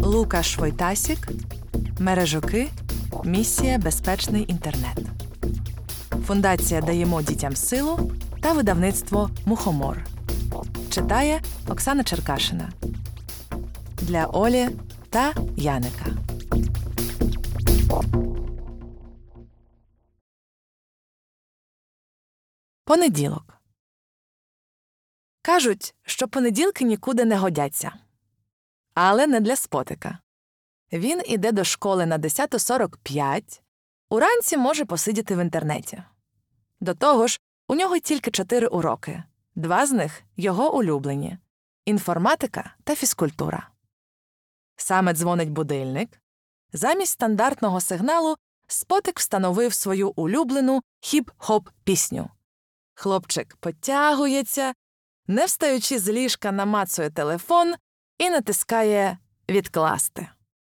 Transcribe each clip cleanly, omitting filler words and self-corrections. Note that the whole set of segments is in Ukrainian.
Лукаш Войтасік, мережоки, місія «Безпечний інтернет». Фундація «Даємо дітям силу» та видавництво «Мухомор». Читає Оксана Черкашина. Для Олі та Яника. Понеділок. Кажуть, що понеділки нікуди не годяться. Але не для Спотика. Він іде до школи на 10:45, уранці може посидіти в інтернеті. До того ж, у нього тільки 4 уроки. 2 з них – його улюблені – інформатика та фізкультура. Саме дзвонить будильник. Замість стандартного сигналу Спотик встановив свою улюблену хіп-хоп-пісню. Хлопчик потягується, не встаючи з ліжка, намацує телефон і натискає «Відкласти».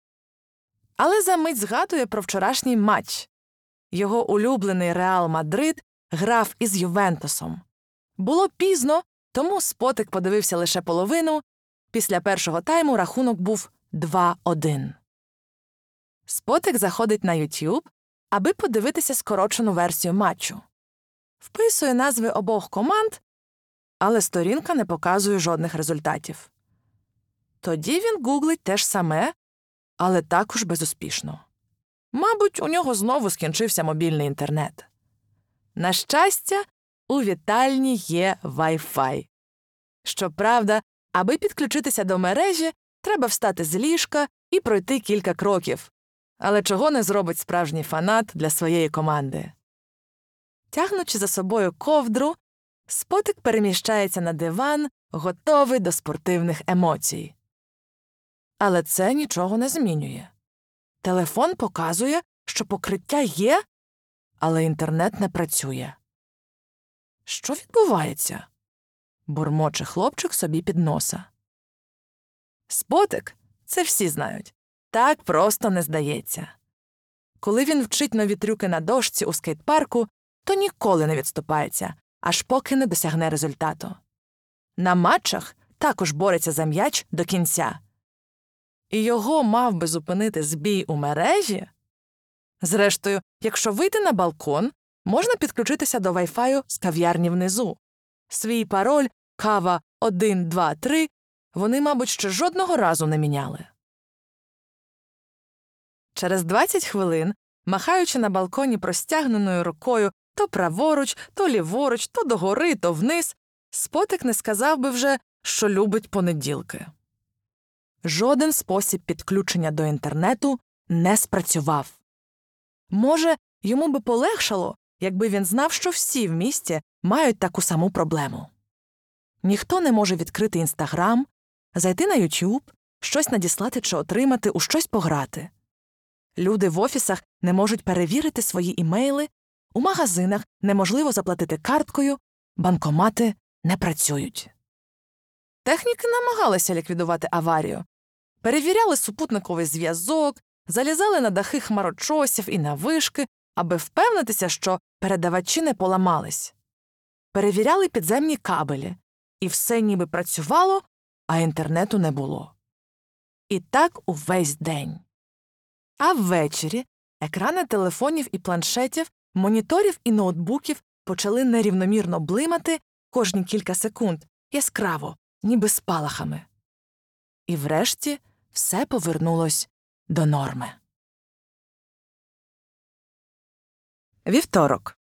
Але за мить згадує про вчорашній матч. Його улюблений Реал Мадрид грав із Ювентусом. Було пізно, тому Спотик подивився лише половину. Після першого тайму рахунок був 2-1. Спотик заходить на YouTube, аби подивитися скорочену версію матчу. Вписує назви обох команд, але сторінка не показує жодних результатів. Тоді він гуглить те ж саме, але також безуспішно. Мабуть, у нього знову скінчився мобільний інтернет. На щастя, у вітальні є Wi-Fi. Щоправда, аби підключитися до мережі, треба встати з ліжка і пройти кілька кроків. Але чого не зробить справжній фанат для своєї команди? Тягнучи за собою ковдру, Спотик переміщається на диван, готовий до спортивних емоцій. Але це нічого не змінює. Телефон показує, що покриття є, але інтернет не працює. Що відбувається? Бурмоче хлопчик собі під носа. Спотик, це всі знають, так просто не здається. Коли він вчить нові трюки на дошці у скейт-парку, то ніколи не відступається, аж поки не досягне результату. На матчах також бореться за м'яч до кінця. І його мав би зупинити збій у мережі? Зрештою, якщо вийти на балкон, можна підключитися до Wi-Fi з кав'ярні внизу. Свій пароль «Кава 123» вони, мабуть, ще жодного разу не міняли. Через 20 хвилин, махаючи на балконі простягненою рукою то праворуч, то ліворуч, то догори, то вниз, Спотик не сказав би вже, що любить понеділки. Жоден спосіб підключення до інтернету не спрацював. Може, йому би полегшало, якби він знав, що всі в місті мають таку саму проблему. Ніхто не може відкрити Інстаграм, зайти на YouTube, щось надіслати чи отримати, у щось пограти. Люди в офісах не можуть перевірити свої імейли, у магазинах неможливо заплатити карткою, банкомати не працюють. Техніки намагалися ліквідувати аварію. Перевіряли супутниковий зв'язок, залізали на дахи хмарочосів і на вишки, аби впевнитися, що передавачі не поламались. Перевіряли підземні кабелі. І все ніби працювало, а інтернету не було. І так увесь день. А ввечері екрани телефонів і планшетів, моніторів і ноутбуків почали нерівномірно блимати кожні кілька секунд, яскраво, ніби спалахами. І врешті все повернулось до норми. Вівторок.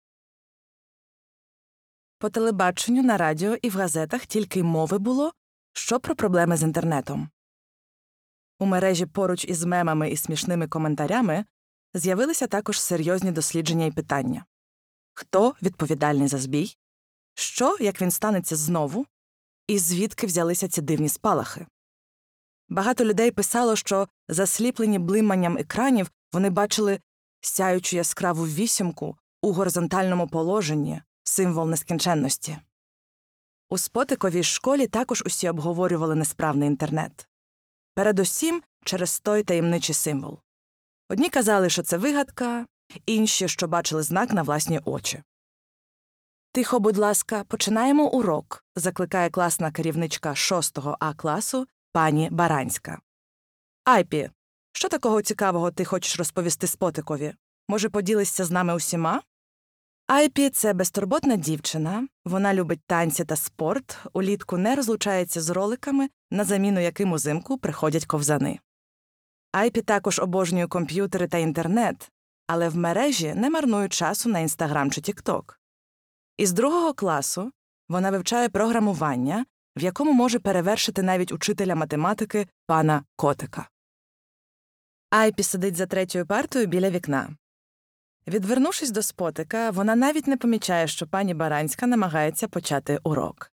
По телебаченню, на радіо і в газетах тільки й мови було, що про проблеми з інтернетом. У мережі поруч із мемами і смішними коментарями з'явилися також серйозні дослідження і питання. Хто відповідальний за збій? Що, як він станеться знову? І звідки взялися ці дивні спалахи? Багато людей писало, що, засліплені блиманням екранів, вони бачили сяючу яскраву вісімку у горизонтальному положенні, символ нескінченності. У Спотиковій школі також усі обговорювали несправний інтернет. Передусім через той таємничий символ. Одні казали, що це вигадка, інші, що бачили знак на власні очі. «Тихо, будь ласка, починаємо урок», – закликає класна керівничка 6 А класу пані Баранська. Айпі, що такого цікавого ти хочеш розповісти Спотикові? Може, поділишся з нами усіма? Айпі – це безтурботна дівчина, вона любить танці та спорт, улітку не розлучається з роликами, на заміну яким узимку приходять ковзани. Айпі також обожнює комп'ютери та інтернет, але в мережі не марнує часу на Інстаграм чи Тікток. Із 2 класу вона вивчає програмування, в якому може перевершити навіть учителя математики пана Котика. Айпі сидить за 3-ю партою біля вікна. Відвернувшись до Спотика, вона навіть не помічає, що пані Баранська намагається почати урок.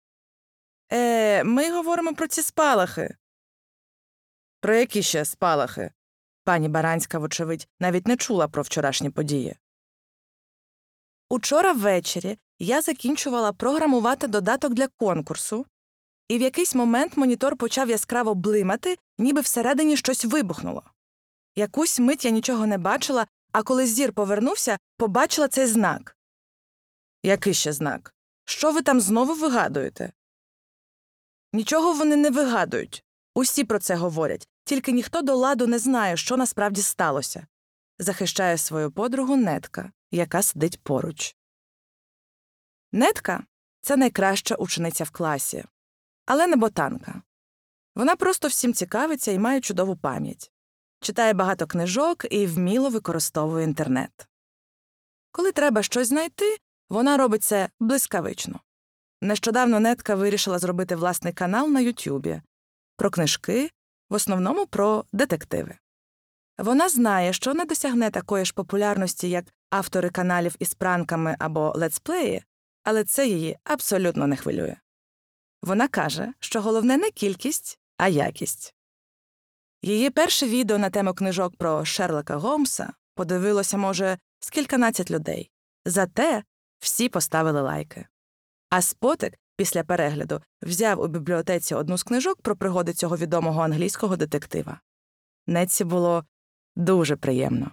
Ми говоримо про ці спалахи. Про які ще спалахи? Пані Баранська, вочевидь, навіть не чула про вчорашні події. Учора ввечері я закінчувала програмувати додаток для конкурсу, і в якийсь момент монітор почав яскраво блимати, ніби всередині щось вибухнуло. Якусь мить я нічого не бачила, а коли зір повернувся, побачила цей знак. Який ще знак? Що ви там знову вигадуєте? Нічого вони не вигадують. Усі про це говорять, тільки ніхто до ладу не знає, що насправді сталося. Захищає свою подругу Нетка, яка сидить поруч. Нетка – це найкраща учениця в класі. Але не ботанка. Вона просто всім цікавиться і має чудову пам'ять. Читає багато книжок і вміло використовує інтернет. Коли треба щось знайти, вона робить це блискавично. Нещодавно Нетка вирішила зробити власний канал на Ютубі. Про книжки, в основному про детективи. Вона знає, що не досягне такої ж популярності, як автори каналів із пранками або летсплеї, але це її абсолютно не хвилює. Вона каже, що головне не кількість, а якість. Її перше відео на тему книжок про Шерлока Голмса подивилося, може, з кільканадцять людей. Зате всі поставили лайки. А Спотик після перегляду взяв у бібліотеці одну з книжок про пригоди цього відомого англійського детектива. Нетці було дуже приємно.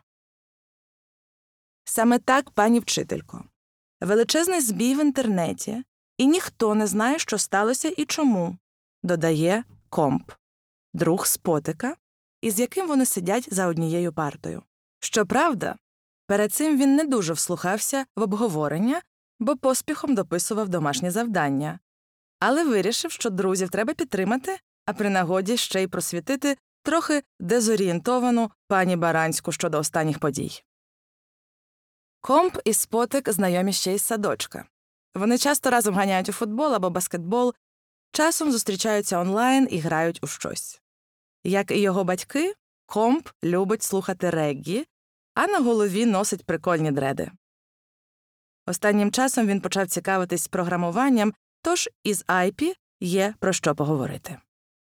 Саме так, пані вчителько. Величезний збій в інтернеті, і ніхто не знає, що сталося і чому, додає Комп, друг Спотика, із яким вони сидять за однією партою. Щоправда, перед цим він не дуже вслухався в обговорення, бо поспіхом дописував домашнє завдання, але вирішив, що друзів треба підтримати, а при нагоді ще й просвітити трохи дезорієнтовану пані Баранську щодо останніх подій. Комп і Спотик знайомі ще із садочка. Вони часто разом ганяють у футбол або баскетбол, часом зустрічаються онлайн і грають у щось. Як і його батьки, Комп любить слухати реггі, а на голові носить прикольні дреди. Останнім часом він почав цікавитись програмуванням, тож із Айпі є про що поговорити.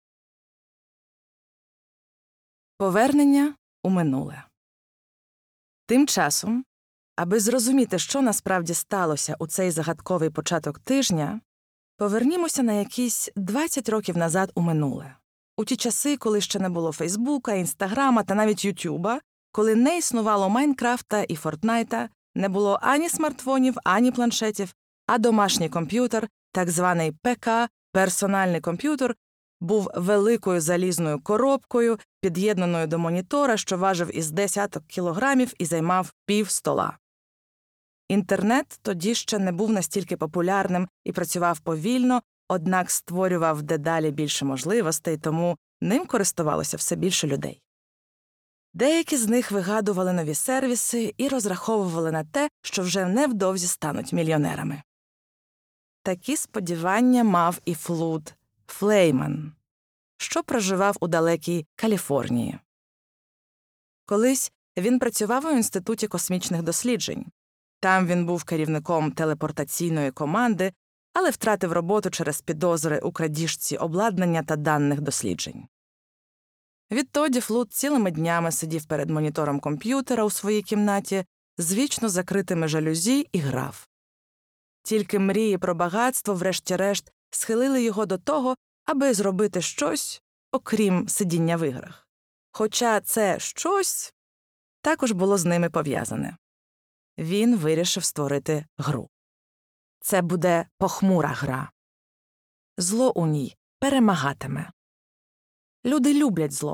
Повернення у минуле. Тим часом, аби зрозуміти, що насправді сталося у цей загадковий початок тижня, повернімося на якісь 20 років назад у минуле. У ті часи, коли ще не було Фейсбука, Інстаграма та навіть Ютуба, коли не існувало Майнкрафта і Фортнайта, не було ані смартфонів, ані планшетів, а домашній комп'ютер, так званий ПК, персональний комп'ютер, був великою залізною коробкою, під'єднаною до монітора, що важив із десяток кілограмів і займав пів стола. Інтернет тоді ще не був настільки популярним і працював повільно, однак створював дедалі більше можливостей, тому ним користувалося все більше людей. Деякі з них вигадували нові сервіси і розраховували на те, що вже невдовзі стануть мільйонерами. Такі сподівання мав і Флуд Флейман, що проживав у далекій Каліфорнії. Колись він працював у Інституті космічних досліджень. Там він був керівником телепортаційної команди, але втратив роботу через підозри у крадіжці обладнання та даних досліджень. Відтоді Флуд цілими днями сидів перед монітором комп'ютера у своїй кімнаті з вічно закритими жалюзі і грав. Тільки мрії про багатство, врешті-решт, схилили його до того, аби зробити щось, окрім сидіння в іграх. Хоча це щось також було з ними пов'язане. Він вирішив створити гру. Це буде похмура гра. Зло у ній перемагатиме. Люди люблять зло,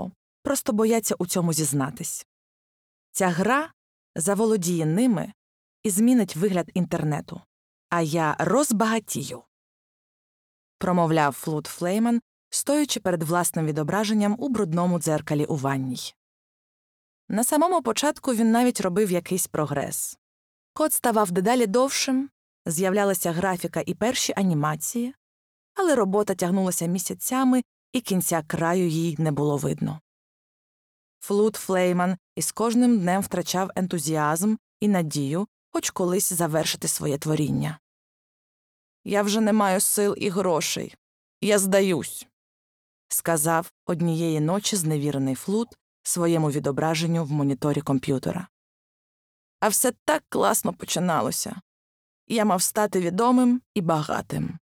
просто бояться у цьому зізнатись. Ця гра заволодіє ними і змінить вигляд інтернету. А я розбагатію, промовляв Флуд Флейман, стоячи перед власним відображенням у брудному дзеркалі у ванній. На самому початку він навіть робив якийсь прогрес. Код ставав дедалі довшим, з'являлася графіка і перші анімації, але робота тягнулася місяцями, і кінця краю їй не було видно. Флуд Флейман із кожним днем втрачав ентузіазм і надію хоч колись завершити своє творіння. «Я вже не маю сил і грошей. Я здаюсь», – сказав однієї ночі зневірений Флуд своєму відображенню в моніторі комп'ютера. «А все так класно починалося. Я мав стати відомим і багатим».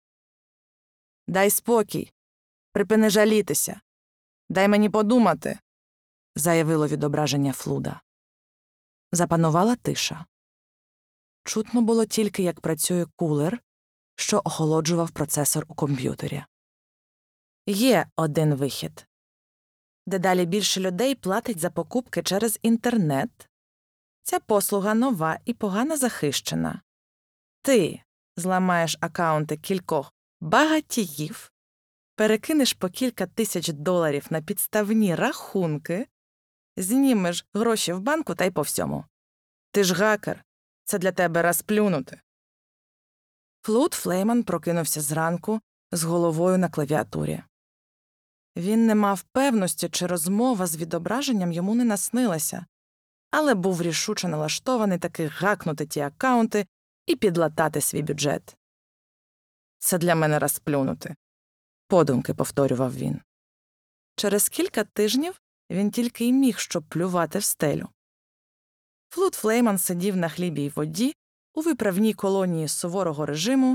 «Дай спокій. Припини жалітися. Дай мені подумати», – заявило відображення Флуда. Запанувала тиша. Чутно було тільки, як працює кулер, що охолоджував процесор у комп'ютері. Є один вихід. Дедалі більше людей платить за покупки через інтернет. Ця послуга нова і погано захищена. Ти зламаєш акаунти кількох багатіїв, перекинеш по кілька тисяч доларів на підставні рахунки, знімеш гроші в банку та й по всьому. Ти ж гакер. Це для тебе раз плюнути. Флуд Флейман прокинувся зранку з головою на клавіатурі. Він не мав певності, чи розмова з відображенням йому не наснилася, але був рішуче налаштований таки гакнути ті акаунти і підлатати свій бюджет. «Це для мене раз плюнути», – подумки повторював він. Через кілька тижнів він тільки й міг, щоб плювати в стелю. Флуд Флейман сидів на хлібі й воді у виправній колонії суворого режиму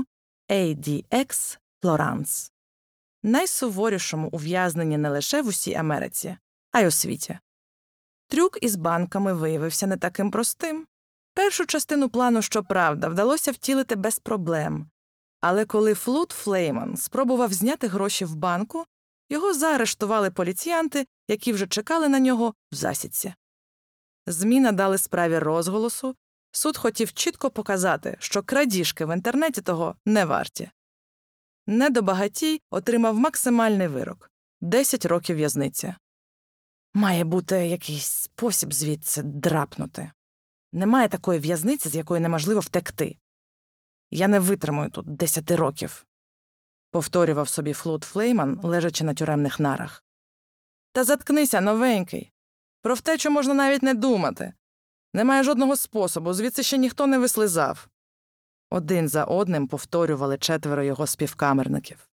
ADX Florence, найсуворішому ув'язненні не лише в усій Америці, а й у світі. Трюк із банками виявився не таким простим. Першу частину плану, щоправда, вдалося втілити без проблем. Але коли Флуд Флейман спробував зняти гроші в банку, його заарештували поліціянти, які вже чекали на нього в засідці. ЗМІ надали справі розголосу, суд хотів чітко показати, що крадіжки в інтернеті того не варті. Недобагатій отримав максимальний вирок – 10 років в'язниці. Має бути якийсь спосіб звідси драпнути. Немає такої в'язниці, з якої неможливо втекти. Я не витримую тут 10 років, повторював собі Флуд Флейман, лежачи на тюремних нарах. Та заткнися, новенький. Про втечу можна навіть не думати. Немає жодного способу, звідси ще ніхто не вислизав. Один за одним повторювали 4 його співкамерників.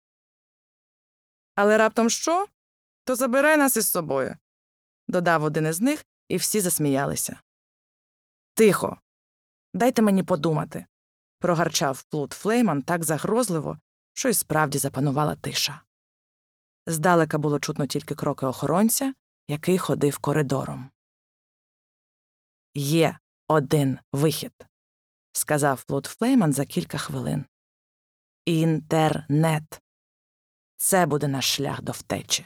Але раптом що? То забирай нас із собою, додав один із них, і всі засміялися. Тихо. Дайте мені подумати, прогарчав Флуд Флейман так загрозливо, що й справді запанувала тиша. Здалека було чутно тільки кроки охоронця, який ходив коридором. «Є один вихід», – сказав Флуд Флейман за кілька хвилин. «Інтернет. Це буде наш шлях до втечі».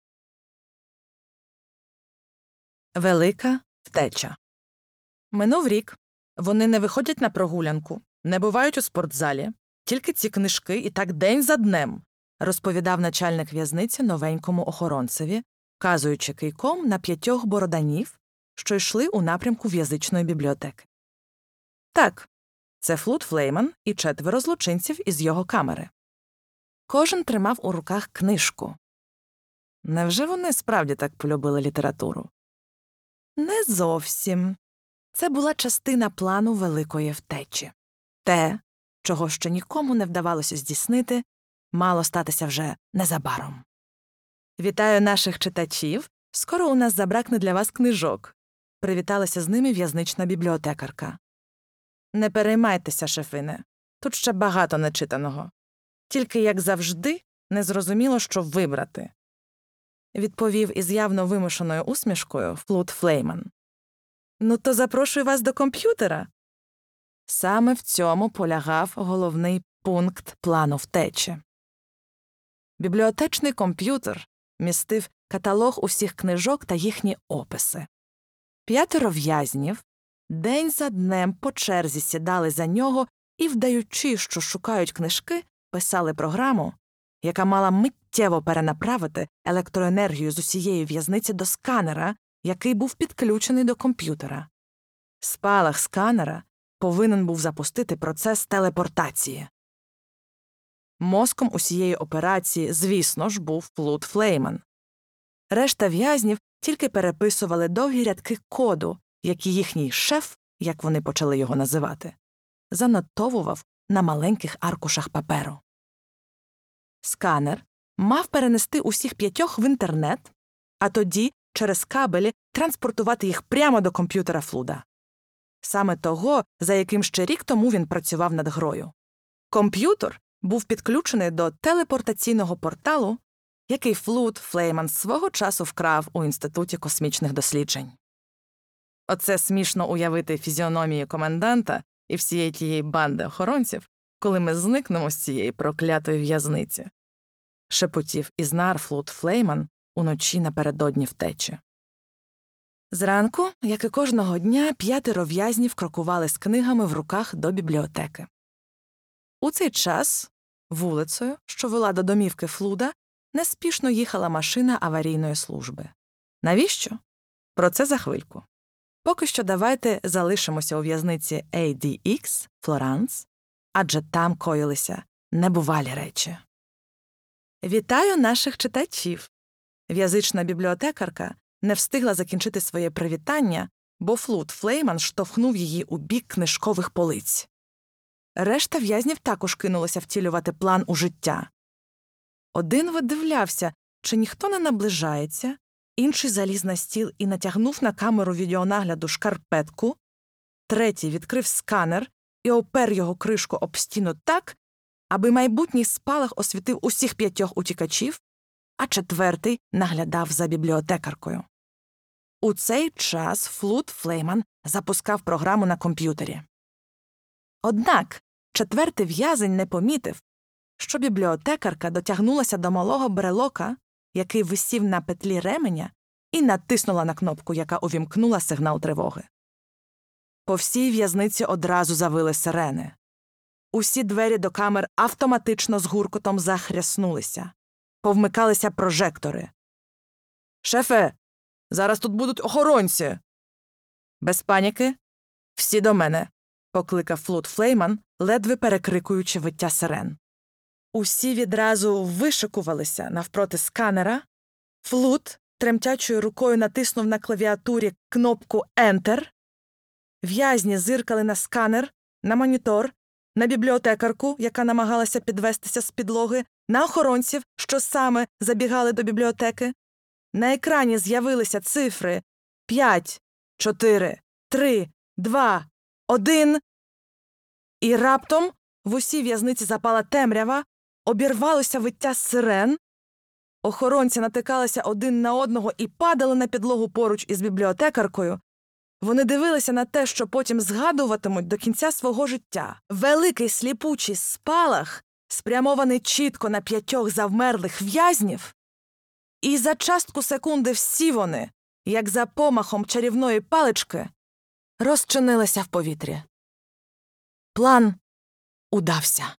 Велика втеча. Минув рік. Вони не виходять на прогулянку, не бувають у спортзалі, тільки ці книжки і так день за днем, розповідав начальник в'язниці новенькому охоронцеві, вказуючи кийком на 5 бороданів, що йшли у напрямку в'язичної бібліотеки. Так, це Флуд Флейман і 4 злочинців із його камери. Кожен тримав у руках книжку. Невже вони справді так полюбили літературу? Не зовсім. Це була частина плану великої втечі. Те, чого ще нікому не вдавалося здійснити, мало статися вже незабаром. «Вітаю наших читачів. Скоро у нас забракне для вас книжок», – привіталася з ними в'язнична бібліотекарка. «Не переймайтеся, шефине. Тут ще багато нечитаного. Тільки, як завжди, незрозуміло, що вибрати», – відповів із явно вимушеною усмішкою Флуд Флейман. «Ну то запрошую вас до комп'ютера». Саме в цьому полягав головний пункт плану втечі. Бібліотечний комп'ютер містив каталог усіх книжок та їхні описи. 5 в'язнів день за днем по черзі сідали за нього і, вдаючи, що шукають книжки, писали програму, яка мала миттєво перенаправити електроенергію з усієї в'язниці до сканера, який був підключений до комп'ютера. Спалах сканера повинен був запустити процес телепортації. Мозком усієї операції, звісно ж, був Флуд Флейман. Решта в'язнів тільки переписували довгі рядки коду, які їхній шеф, як вони почали його називати, занотовував на маленьких аркушах паперу. Сканер мав перенести усіх 5 в інтернет, а тоді через кабелі транспортувати їх прямо до комп'ютера Флуда. Саме того, за яким ще рік тому він працював над грою. Комп'ютер був підключений до телепортаційного порталу, який Флуд Флейман свого часу вкрав у Інституті космічних досліджень. Оце смішно уявити фізіономію коменданта і всієї тієї банди охоронців, коли ми зникнемо з цієї проклятої в'язниці. Шепотів Ізнар Флуд Флейман уночі напередодні втечі. Зранку, як і кожного дня, 5 в'язнів крокували з книгами в руках до бібліотеки. У цей час вулицею, що вела до домівки Флуда, неспішно їхала машина аварійної служби. Навіщо? Про це за хвильку. Поки що давайте залишимося у в'язниці ADX, Флоранс, адже там коїлися небувалі речі. Вітаю наших читачів! В'язична бібліотекарка не встигла закінчити своє привітання, бо Флуд Флейман штовхнув її у бік книжкових полиць. Решта в'язнів також кинулося втілювати план у життя. Один видивлявся, чи ніхто не наближається, інший заліз на стіл і натягнув на камеру відеонагляду шкарпетку, третій відкрив сканер і опер його кришку об стіну так, аби майбутній спалах освітив усіх 5 утікачів, а четвертий наглядав за бібліотекаркою. У цей час Флуд Флейман запускав програму на комп'ютері. Однак четвертий в'язень не помітив, що бібліотекарка дотягнулася до малого брелока, який висів на петлі ременя, і натиснула на кнопку, яка увімкнула сигнал тривоги. По всій в'язниці одразу завили сирени. Усі двері до камер автоматично з гуркотом захряснулися. Повмикалися прожектори. «Шефе, зараз тут будуть охоронці!» «Без паніки. Всі до мене», – покликав Флуд Флейман, ледве перекрикуючи виття сирен. Усі відразу вишикувалися навпроти сканера. Флуд тремтячою рукою натиснув на клавіатурі кнопку «Ентер». В'язні зиркали на сканер, на монітор, на бібліотекарку, яка намагалася підвестися з підлоги, на охоронців, що саме забігали до бібліотеки. На екрані з'явилися цифри 5, 4, 3, 2, 1. І раптом в усій в'язниці запала темрява, обірвалося виття сирен, охоронці натикалися один на одного і падали на підлогу поруч із бібліотекаркою. Вони дивилися на те, що потім згадуватимуть до кінця свого життя. Великий сліпучий спалах, спрямований чітко на 5 завмерлих в'язнів, і за частку секунди всі вони, як за помахом чарівної палички, розчинилися в повітрі. План удався.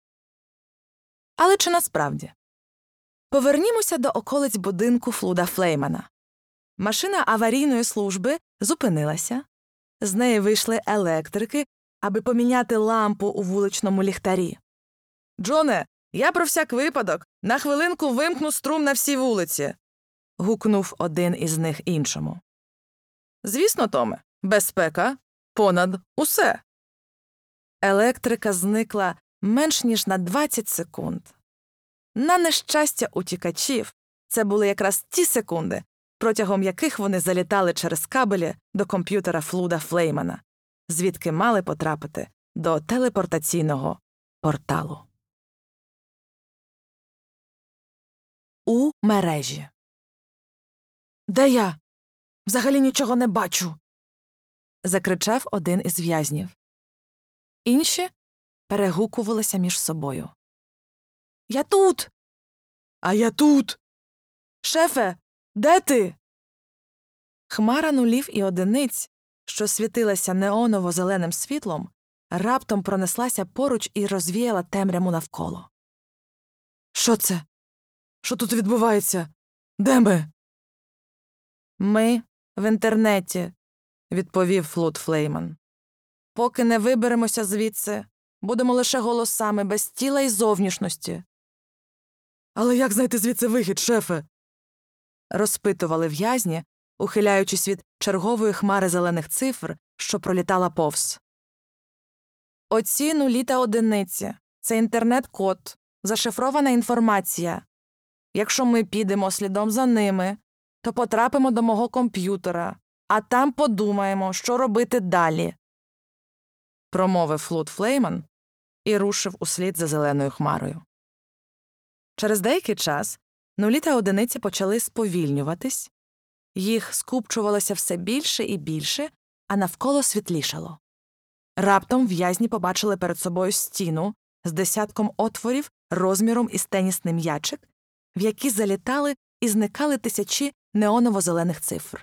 Але чи насправді? Повернімося до околиць будинку Флуда Флеймана. Машина аварійної служби зупинилася. З неї вийшли електрики, аби поміняти лампу у вуличному ліхтарі. «Джоне, я про всяк випадок на хвилинку вимкну струм на всій вулиці», – гукнув один із них іншому. «Звісно, Томе, безпека понад усе». Електрика зникла менш ніж на 20 секунд. На нещастя утікачів це були якраз ті секунди, протягом яких вони залітали через кабелі до комп'ютера Флуда Флеймана, звідки мали потрапити до телепортаційного порталу. У мережі. «Де я? Взагалі нічого не бачу!» – закричав один із в'язнів. Інші перегукувалися між собою. «Я тут!» «А я тут!» «Шефе, Де ти?» Хмара нулів і одиниць, що світилася неоново-зеленим світлом, раптом пронеслася поруч і розвіяла темряву навколо. «Що це? Що тут відбувається? Де ми?» «Ми в інтернеті», – відповів Флут Флейман. «Поки не виберемося звідси, будемо лише голосами, без тіла і зовнішності». «Але як знайти звідси вихід, шефе?» – розпитували в'язні, ухиляючись від чергової хмари зелених цифр, що пролітала повз. «Оці нулі та одиниці – це інтернет-код, зашифрована інформація. Якщо ми підемо слідом за ними, то потрапимо до мого комп'ютера, а там подумаємо, що робити далі», – промовив Флут Флейман і рушив услід за зеленою хмарою. Через деякий час нулі та одиниці почали сповільнюватись, їх скупчувалося все більше і більше, а навколо світлішало. Раптом в'язні побачили перед собою стіну з десятком отворів розміром із тенісний м'ячик, в які залітали і зникали тисячі неоново-зелених цифр.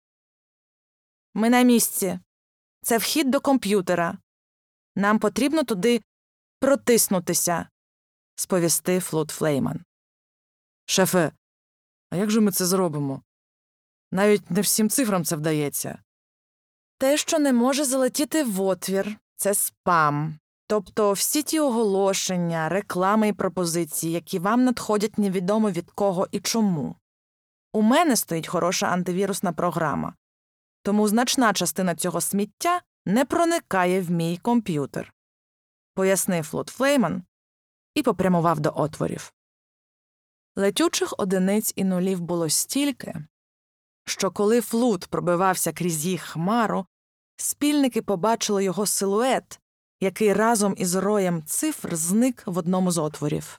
«Ми на місці. Це вхід до комп'ютера. Нам потрібно туди протиснутися», – сповістив Флут Флейман. «Шефе, а як же ми це зробимо? Навіть не всім цифрам це вдається». «Те, що не може залетіти в отвір – це спам. Тобто всі ті оголошення, реклами і пропозиції, які вам надходять невідомо від кого і чому. У мене стоїть хороша антивірусна програма, тому значна частина цього сміття не проникає в мій комп'ютер», – пояснив Флут Флейман і попрямував до отворів. Летючих одиниць і нулів було стільки, що коли Флут пробивався крізь їх хмару, спільники побачили його силует, який разом із роєм цифр зник в одному з отворів.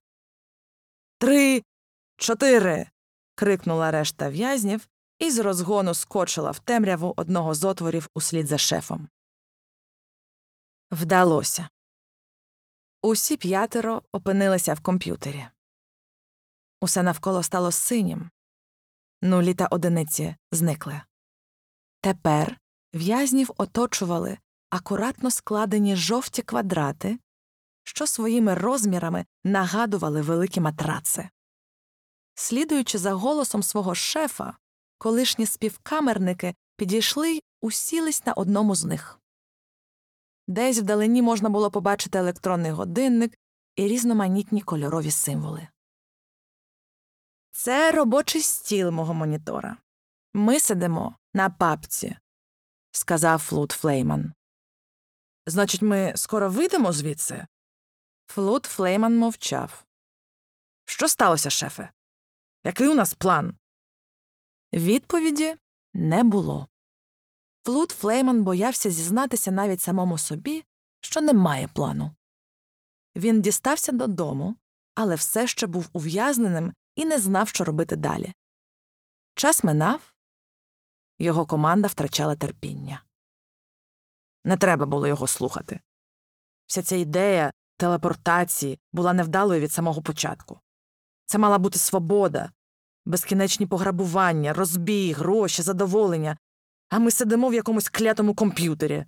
«3, 4!» – крикнула решта в'язнів і з розгону скочила в темряву одного з отворів услід за шефом. Вдалося. Усі 5 опинилися в комп'ютері. Усе навколо стало синім. Нулі та одиниці зникли. Тепер в'язнів оточували акуратно складені жовті квадрати, що своїми розмірами нагадували великі матраци. Слідуючи за голосом свого шефа, колишні співкамерники підійшли й усілись на одному з них. Десь вдалині можна було побачити електронний годинник і різноманітні кольорові символи. «Це робочий стіл мого монітора. Ми сидимо на папці», – сказав Флут Флейман. «Значить, ми скоро вийдемо звідси?» Флут Флейман мовчав. «Що сталося, шефе? Який у нас план?» Відповіді не було. Флут Флейман боявся зізнатися навіть самому собі, що не має плану. Він дістався додому, але все ще був ув'язненим і не знав, що робити далі. Час минав, його команда втрачала терпіння. Не треба було його слухати. Вся ця ідея телепортації була невдалою від самого початку. Це мала бути свобода, безкінечні пограбування, розбій, гроші, задоволення, а ми сидимо в якомусь клятому комп'ютері.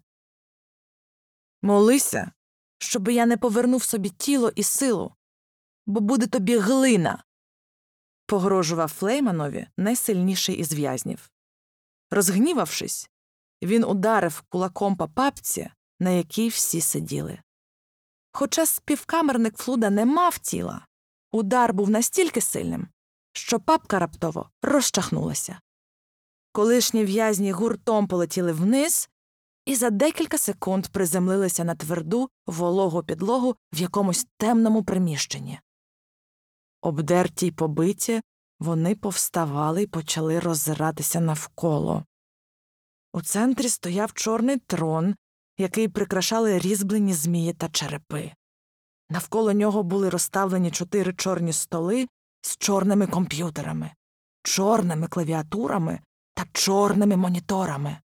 «Молися, щоби я не повернув собі тіло і силу, бо буде тобі глина», – погрожував Флейманові найсильніший із в'язнів. Розгнівавшись, він ударив кулаком по папці, на якій всі сиділи. Хоча співкамерник Флуда не мав тіла, удар був настільки сильним, що папка раптово розчахнулася. Колишні в'язні гуртом полетіли вниз і за декілька секунд приземлилися на тверду, вологу підлогу в якомусь темному приміщенні. Обдерті й побиті, вони повставали й почали роззиратися навколо. У центрі стояв чорний трон, який прикрашали різьблені змії та черепи. Навколо нього були розставлені 4 чорні столи з чорними комп'ютерами, чорними клавіатурами та чорними моніторами.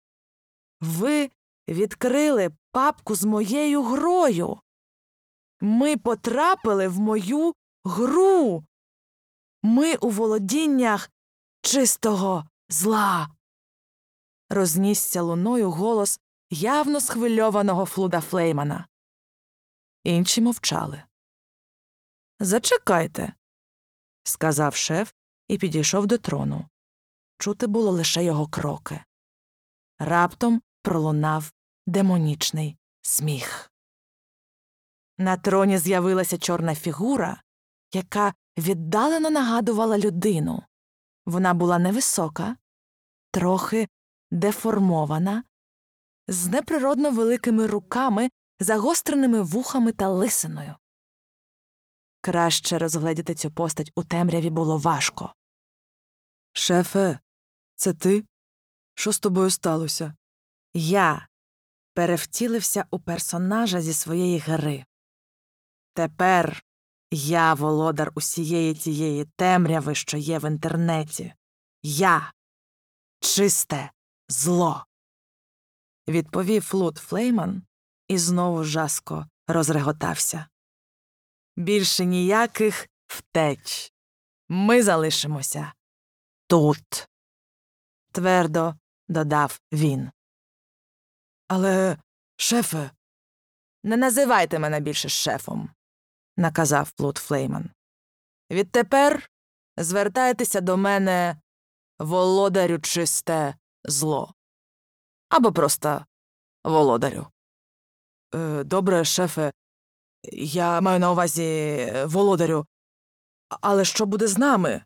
«Ви відкрили папку з моєю грою! Ми потрапили в мою гру! Ми у володіннях чистого зла!» Рознісся луною голос явно схвильованого Флуда Флеймана. Інші мовчали. «Зачекайте», – сказав шеф і підійшов до трону. Чути було лише його кроки. Раптом пролунав демонічний сміх. На троні з'явилася чорна фігура, яка віддалено нагадувала людину. Вона була невисока, трохи деформована, з неприродно великими руками, загостреними вухами та лисиною. Краще розгледіти цю постать у темряві було важко. «Шефе, це ти? Що з тобою сталося?» Я перевтілився у персонажа зі своєї гри. Тепер я володар усієї тієї темряви, що є в інтернеті. Я – чисте зло. Відповів Флуд Флейман і знову жаско розреготався. Більше ніяких втеч. Ми залишимося тут. Твердо додав він. «Але, шефе...» Не називайте мене більше шефом, наказав Флуд Флейман. Відтепер звертайтеся до мене, володарю чисте зло. Або просто володарю. «Добре, шефе, я маю на увазі володарю. Але що буде з нами?»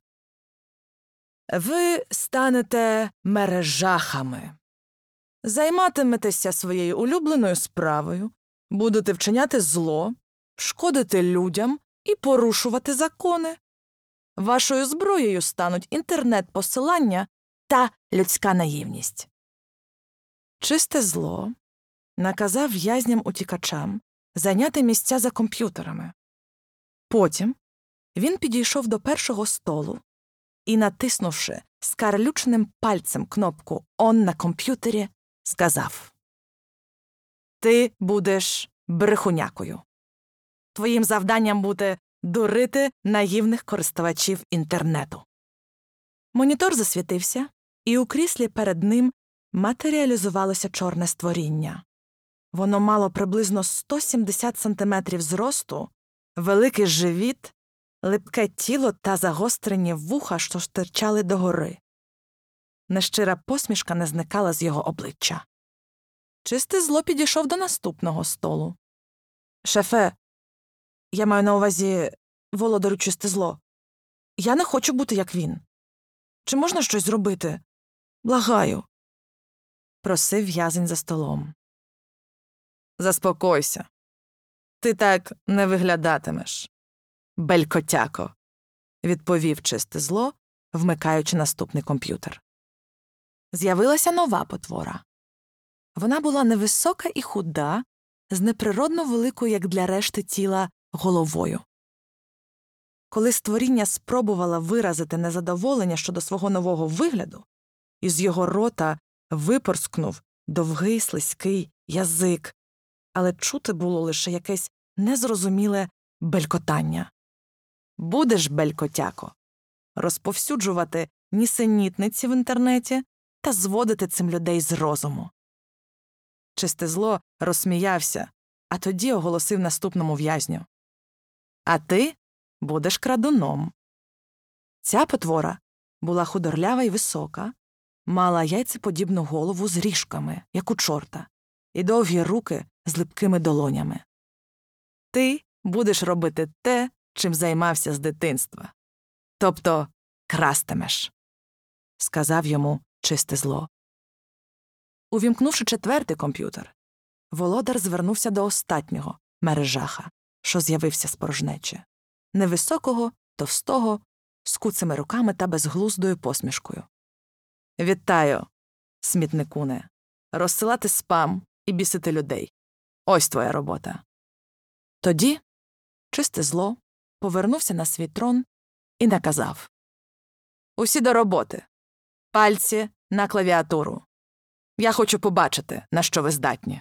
Ви станете мережахами. Займатиметеся своєю улюбленою справою, будете вчиняти зло, шкодити людям і порушувати закони. Вашою зброєю стануть інтернет-посилання та людська наївність. Чисте зло наказав в'язням-утікачам зайняти місця за комп'ютерами. Потім він підійшов до першого столу і, натиснувши скарлюченим пальцем кнопку «Он» на комп'ютері, сказав: «Ти будеш брехунякою. Твоїм завданням буде дурити наївних користувачів інтернету». Монітор засвітився, і у кріслі перед ним матеріалізувалося чорне створіння. Воно мало приблизно 170 сантиметрів зросту, великий живіт, липке тіло та загострені вуха, що стирчали догори. Нещира посмішка не зникала з його обличчя. Чисте зло підійшов до наступного столу. «Шефе, я маю на увазі володарю чисте зло. Я не хочу бути як він. Чи можна щось зробити? Благаю», – просив в'язень за столом. «Заспокойся. Ти так не виглядатимеш, белькотяко», – відповів чисте зло, вмикаючи наступний комп'ютер. З'явилася нова потвора. Вона була невисока і худа, з неприродно великою, як для решти тіла, головою. Коли створіння спробувало виразити незадоволення щодо свого нового вигляду, із його рота випорскнув довгий слизький язик, але чути було лише якесь незрозуміле белькотання. «Будеш, белькотяко, розповсюджувати нісенітниці в інтернеті та зводити цим людей з розуму». Чисте зло розсміявся, а тоді оголосив наступному в'язню: «А ти будеш крадуном». Ця потвора була худорлява й висока, мала яйцеподібну голову з ріжками, як у чорта, і довгі руки з липкими долонями. «Ти будеш робити те, чим займався з дитинства. Тобто крастимеш», – сказав йому чисте зло. Увімкнувши четвертий комп'ютер, володар звернувся до останнього мережаха, що з'явився з порожнечі. Невисокого, товстого, з куцими руками та безглуздою посмішкою. «Вітаю, смітникуне. Розсилати спам і бісити людей. Ось твоя робота». Тоді чисте зло повернувся на свій трон і наказав: «Усі до роботи. Пальці на клавіатуру. Я хочу побачити, на що ви здатні».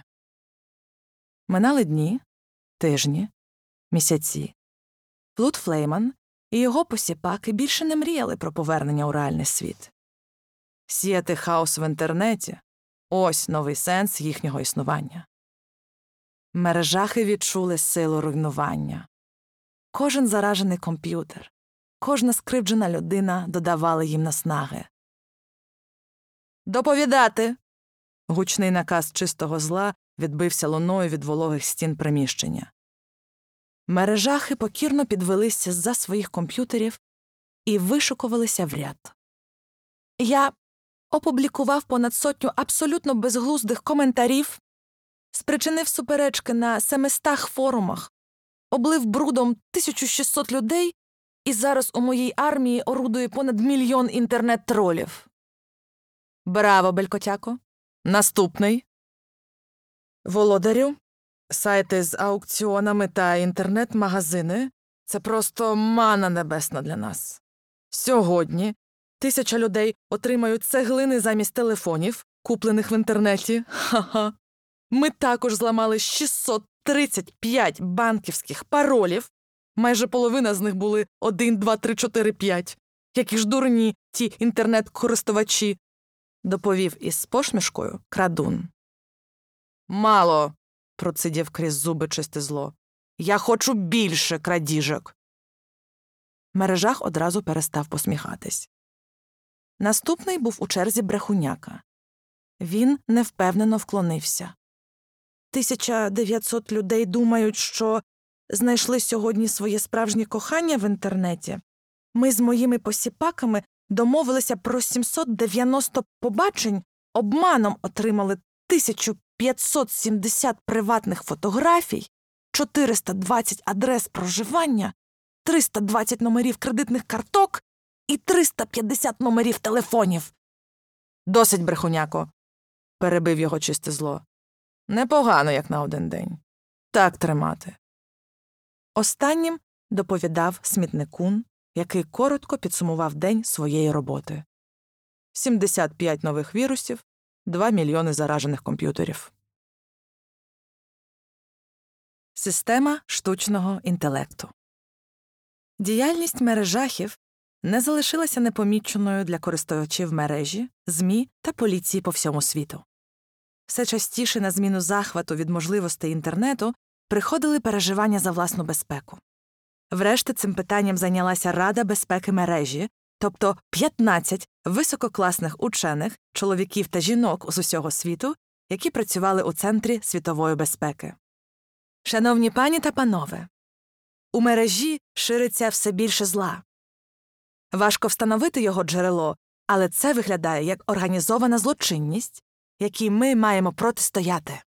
Минали дні, тижні, місяці. Флуд Флейман і його посіпаки більше не мріяли про повернення у реальний світ. Сіяти хаос в інтернеті – ось новий сенс їхнього існування. Мережахи відчули силу руйнування. Кожен заражений комп'ютер, кожна скривджена людина додавали їм наснаги. «Доповідати!» Гучний наказ чистого зла відбився луною від вологих стін приміщення. Мережахи покірно підвелися з-за своїх комп'ютерів і вишукувалися в ряд. Я опублікував понад 100 абсолютно безглуздих коментарів, спричинив суперечки на 700 форумах, облив брудом 1600 людей, і зараз у моїй армії орудує понад 1 мільйон інтернет-тролів. Браво, Белькотяко! Наступний. Володарю, сайти з аукціонами та інтернет-магазини – це просто мана небесна для нас. Сьогодні 1000 людей отримають цеглини замість телефонів, куплених в інтернеті. Ха-ха. Ми також зламали 635 банківських паролів. Майже половина з них були 1, 2, 3, 4, 5. Які ж дурні ті інтернет-користувачі, доповів із посмішкою крадун. Мало, процидів крізь зуби чисте зло. Я хочу більше крадіжок. Мережах одразу перестав посміхатись. Наступний був у черзі брехуняка. Він невпевнено вклонився. 1900 людей думають, що знайшли сьогодні своє справжнє кохання в інтернеті. Ми з моїми посіпаками домовилися про 790 побачень, обманом отримали 1570 приватних фотографій, 420 адрес проживання, 320 номерів кредитних карток і 350 номерів телефонів. Досить, брехуняко, перебив його чисте зло. Непогано, як на один день. Так тримати. Останнім доповідав смітникун, який коротко підсумував день своєї роботи. 75 нових вірусів, 2 мільйони заражених комп'ютерів. Система штучного інтелекту. Діяльність мережахів не залишилася непоміченою для користувачів мережі, ЗМІ та поліції по всьому світу. Все частіше на зміну захвату від можливостей інтернету приходили переживання за власну безпеку. Врешті цим питанням зайнялася Рада безпеки мережі, тобто 15 висококласних учених, чоловіків та жінок з усього світу, які працювали у Центрі світової безпеки. Шановні пані та панове, у мережі шириться все більше зла. Важко встановити його джерело, але це виглядає як організована злочинність, якій ми маємо протистояти.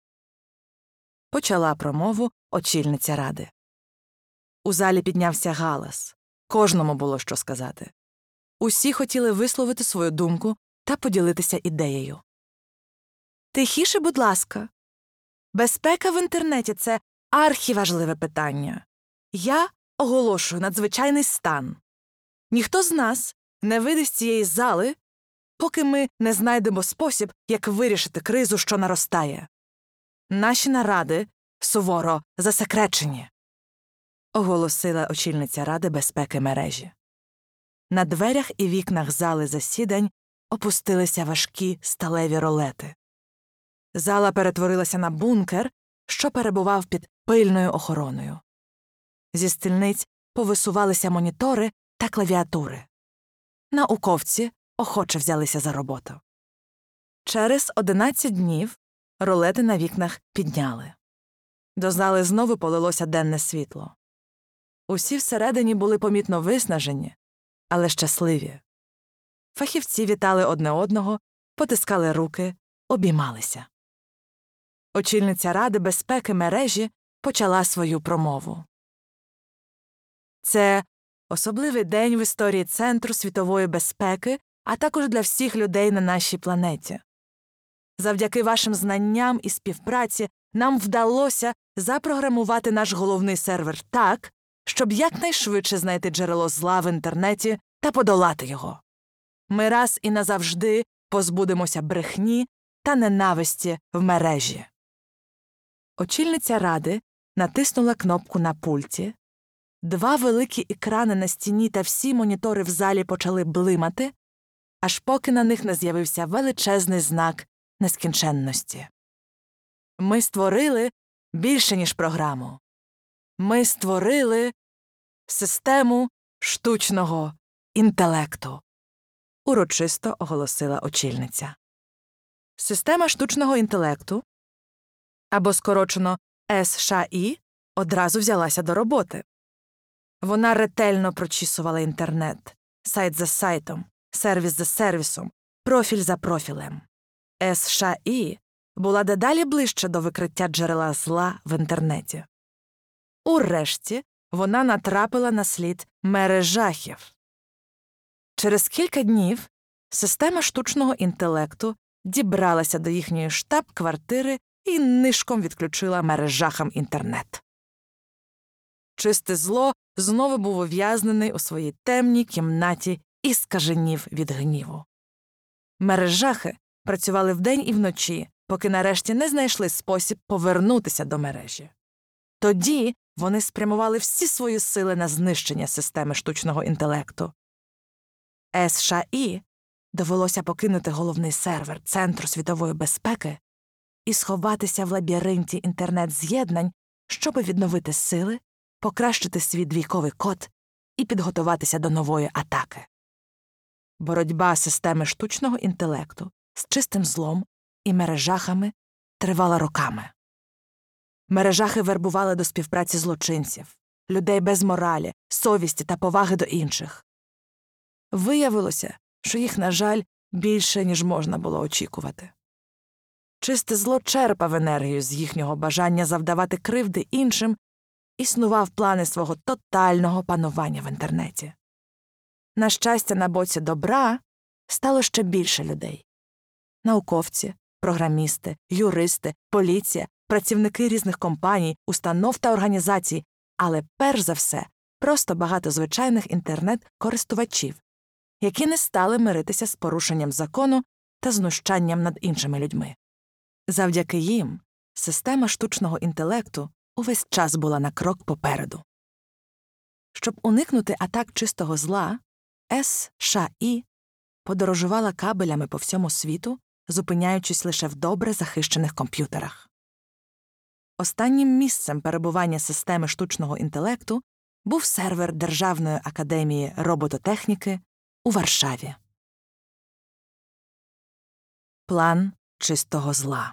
Почала промову очільниця Ради. У залі піднявся галас. Кожному було що сказати. Усі хотіли висловити свою думку та поділитися ідеєю. Тихіше, будь ласка. Безпека в інтернеті – це архіважливе питання. Я оголошую надзвичайний стан. Ніхто з нас не вийде з цієї зали, поки ми не знайдемо спосіб, як вирішити кризу, що наростає. Наші наради суворо засекречені, оголосила очільниця Ради безпеки мережі. На дверях і вікнах зали засідань опустилися важкі сталеві ролети. Зала перетворилася на бункер, що перебував під пильною охороною. Зі стільниць повисувалися монітори та клавіатури. Науковці охоче взялися за роботу. Через 11 днів ролети на вікнах підняли. До зали знову полилося денне світло. Усі всередині були помітно виснажені, але щасливі. Фахівці вітали одне одного, потискали руки, обіймалися. Очільниця Ради безпеки мережі почала свою промову. Це особливий день в історії Центру світової безпеки, а також для всіх людей на нашій планеті. Завдяки вашим знанням і співпраці нам вдалося запрограмувати наш головний сервер так, щоб якнайшвидше знайти джерело зла в інтернеті та подолати його. Ми раз і назавжди позбудемося брехні та ненависті в мережі. Очільниця Ради натиснула кнопку на пульті, 2 великі екрани на стіні та всі монітори в залі почали блимати, аж поки на них не з'явився величезний знак нескінченності. Ми створили більше, ніж програму. Ми створили систему штучного інтелекту, урочисто оголосила очільниця. Система штучного інтелекту, або скорочено СШІ, одразу взялася до роботи. Вона ретельно прочісувала інтернет, сайт за сайтом, сервіс за сервісом, профіль за профілем. СШІ була дедалі ближче до викриття джерела зла в інтернеті. Урешті вона натрапила на слід мережахів. Через кілька днів система штучного інтелекту дібралася до їхньої штаб-квартири і нишком відключила мережахам інтернет. Чисте зло знову був ув'язнений у своїй темній кімнаті і скаженів від гніву. Мережахи працювали вдень і вночі, поки нарешті не знайшли спосіб повернутися до мережі. Тоді вони спрямували всі свої сили на знищення системи штучного інтелекту. СШІ довелося покинути головний сервер Центру світової безпеки і сховатися в лабіринті інтернет-з'єднань, щоб відновити сили, покращити свій двійковий код і підготуватися до нової атаки. Боротьба системи штучного інтелекту з чистим злом і мережахами тривала роками. Мережахи вербували до співпраці злочинців, людей без моралі, совісті та поваги до інших. Виявилося, що їх, на жаль, більше, ніж можна було очікувати. Чисте зло черпав енергію з їхнього бажання завдавати кривди іншим, існував плани свого тотального панування в інтернеті. На щастя, на боці добра стало ще більше людей. Науковці, програмісти, юристи, поліція, працівники різних компаній, установ та організацій, але перш за все просто багато звичайних інтернет-користувачів, які не стали миритися з порушенням закону та знущанням над іншими людьми. Завдяки їм система штучного інтелекту увесь час була на крок попереду. Щоб уникнути атак чистого зла, СШІ подорожувала кабелями по всьому світу, зупиняючись лише в добре захищених комп'ютерах. Останнім місцем перебування системи штучного інтелекту був сервер Державної академії робототехніки у Варшаві. План чистого зла.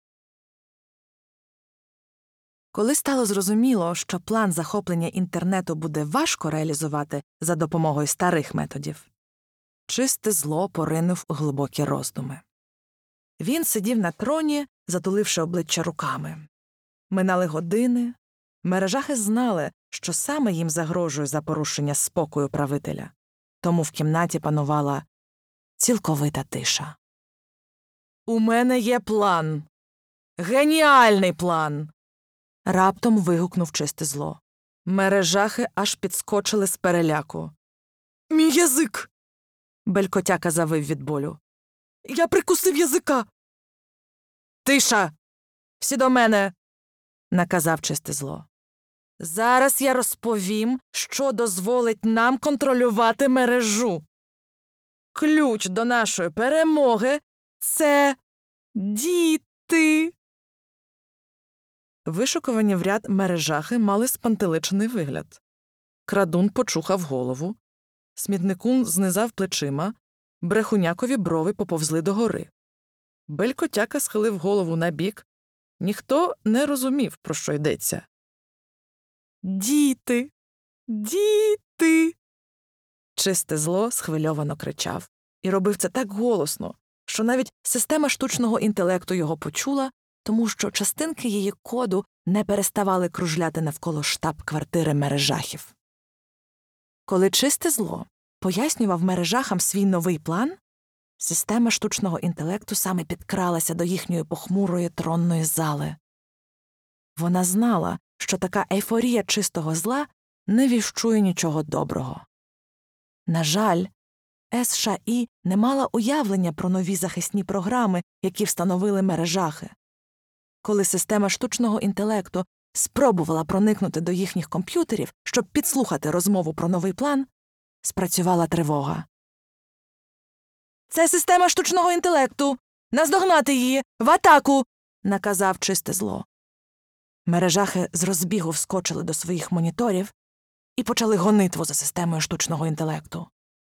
Коли стало зрозуміло, що план захоплення інтернету буде важко реалізувати за допомогою старих методів, чисте зло поринув у глибокі роздуми. Він сидів на троні, затуливши обличчя руками. Минали години. Мережахи знали, що саме їм загрожує за порушення спокою правителя. Тому в кімнаті панувала цілковита тиша. «У мене є план! Геніальний план!» Раптом вигукнув чисте зло. Мережахи аж підскочили з переляку. «Мій язик!» Белькотяка завив від болю. «Я прикусив язика!» «Тиша! Всі до мене!» наказав чисте зло. «Зараз я розповім, що дозволить нам контролювати мережу. Ключ до нашої перемоги – це діти!» Вишукувані в ряд мережахи мали спантеличений вигляд. Крадун почухав голову, смітникун знизав плечима, брехунякові брови поповзли догори. Белькотяка схилив голову набік. Ніхто не розумів, про що йдеться. «Діти! Діти!» Чисте зло схвильовано кричав. І робив це так голосно, що навіть система штучного інтелекту його почула, тому що частинки її коду не переставали кружляти навколо штаб-квартири мережахів. Коли чисте зло пояснював мережахам свій новий план, система штучного інтелекту саме підкралася до їхньої похмурої тронної зали. Вона знала, що така ейфорія чистого зла не віщує нічого доброго. На жаль, СШІ не мала уявлення про нові захисні програми, які встановили мережахи. Коли система штучного інтелекту спробувала проникнути до їхніх комп'ютерів, щоб підслухати розмову про новий план, спрацювала тривога. «Це система штучного інтелекту! Наздогнати її! В атаку!» – наказав чисте зло. Мережахи з розбігу вскочили до своїх моніторів і почали гонитву за системою штучного інтелекту.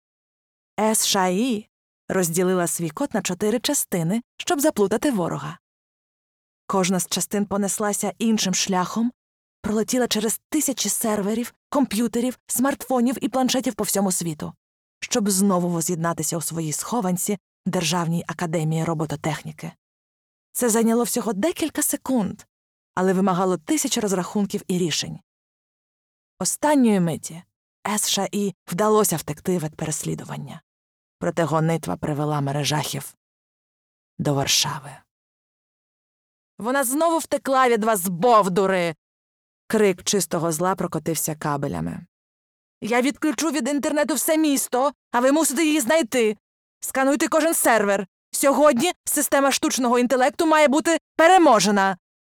СШІ розділила свій код на 4 частини, щоб заплутати ворога. Кожна з частин понеслася іншим шляхом, пролетіла через тисячі серверів, комп'ютерів, смартфонів і планшетів по всьому світу, щоб знову воз'єднатися у своїй схованці Державній академії робототехніки. Це зайняло всього декілька секунд, але вимагало тисяч розрахунків і рішень. Останньої миті СШІ вдалося втекти від переслідування. Проте гонитва привела мережахів до Варшави. «Вона знову втекла від вас, бовдури!» Крик чистого зла прокотився кабелями. «Я відключу від інтернету все місто, а ви мусите її знайти. Скануйте кожен сервер. Сьогодні система штучного інтелекту має бути переможена!»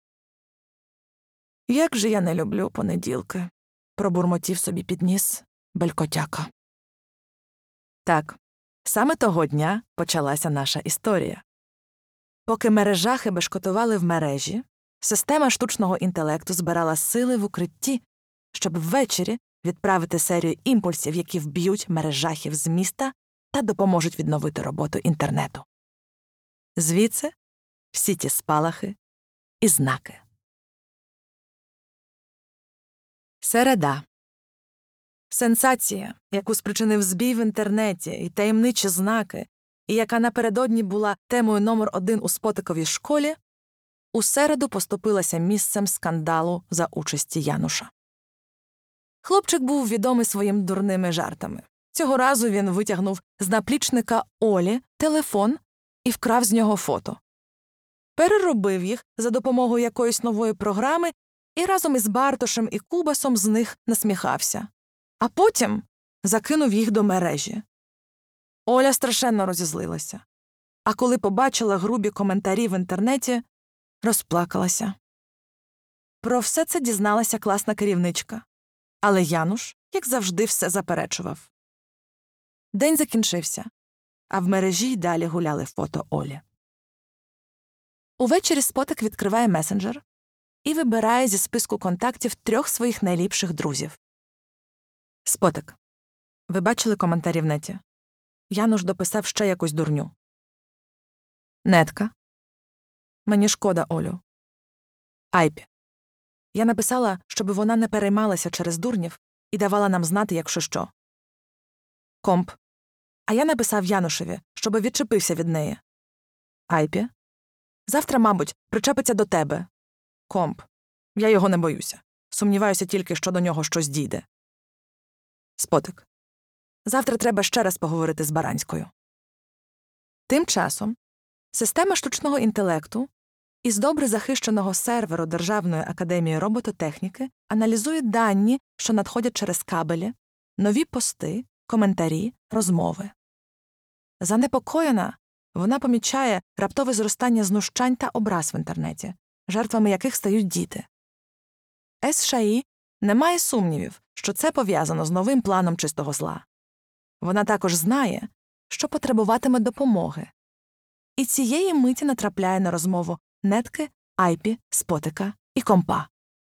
«Як же я не люблю понеділки!» пробурмотів собі під ніс белькотяка. Так, саме того дня почалася наша історія. Поки мережахи бешкотували в мережі, система штучного інтелекту збирала сили в укритті, щоб ввечері відправити серію імпульсів, які вб'ють мережахів з міста та допоможуть відновити роботу інтернету. Звідси всі ті спалахи і знаки. Середа. Сенсація, яку спричинив збій в інтернеті і таємничі знаки, і яка напередодні була темою номер 1 у Спотиковій школі, у середу поступилася місцем скандалу за участі Януша. Хлопчик був відомий своїми дурними жартами. Цього разу він витягнув з наплічника Олі телефон і вкрав з нього фото. Переробив їх за допомогою якоїсь нової програми і разом із Бартошем і Кубасом з них насміхався. А потім закинув їх до мережі. Оля страшенно розізлилася. А коли побачила грубі коментарі в інтернеті, розплакалася. Про все це дізналася класна керівничка. Але Януш, як завжди, все заперечував. День закінчився, а в мережі й далі гуляли фото Олі. Увечері Спотик відкриває месенджер і вибирає зі списку контактів 3 своїх найліпших друзів. Спотик. Ви бачили коментарі в неті? Януш дописав ще якусь дурню. Нетка. Мені шкода Олю. Айпі. Я написала, щоб вона не переймалася через дурнів і давала нам знати, якщо що. Комп. А я написав Янушеві, щоб відчепився від неї. Айпі. Завтра, мабуть, причепиться до тебе. Комп. Я його не боюся. Сумніваюся тільки, що до нього щось дійде. Спотик. Завтра треба ще раз поговорити з Баранською. Тим часом система штучного інтелекту із добре захищеного серверу Державної академії робототехніки аналізує дані, що надходять через кабелі, нові пости, коментарі, розмови. Занепокоєна, вона помічає раптове зростання знущань та образ в інтернеті, жертвами яких стають діти. СШІ не має сумнівів, що це пов'язано з новим планом чистого зла. Вона також знає, що потребуватиме допомоги. І цієї миті натрапляє на розмову Нетки, Айпі, Спотика і Компа.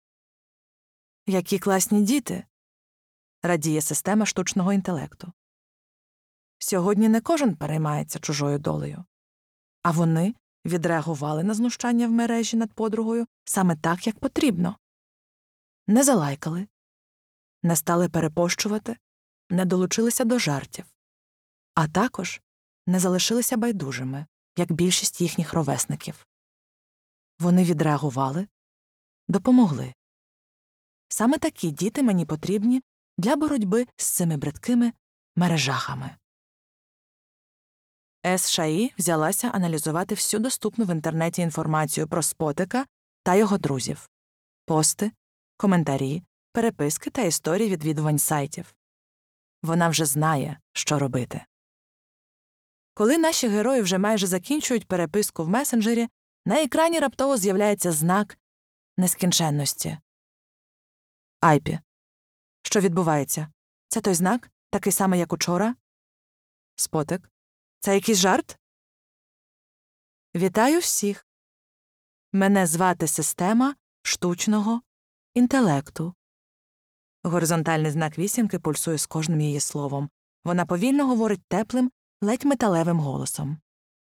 Які класні діти! Радіє система штучного інтелекту. Сьогодні не кожен переймається чужою долею. А вони відреагували на знущання в мережі над подругою саме так, як потрібно. Не залайкали, не стали перепощувати, не долучилися до жартів, а також не залишилися байдужими, як більшість їхніх ровесників. Вони відреагували, допомогли. Саме такі діти мені потрібні для боротьби з цими бридкими мережахами. СШІ взялася аналізувати всю доступну в інтернеті інформацію про Спотика та його друзів. Пости, коментарі, переписки та історії відвідувань сайтів. Вона вже знає, що робити. Коли наші герої вже майже закінчують переписку в месенджері, на екрані раптово з'являється знак нескінченності. Айпі. Що відбувається? Це той знак? Такий самий, як учора? Спотик. Це якийсь жарт? Вітаю всіх. Мене звати система штучного інтелекту. Горизонтальний знак вісімки пульсує з кожним її словом. Вона повільно говорить теплим, ледь металевим голосом.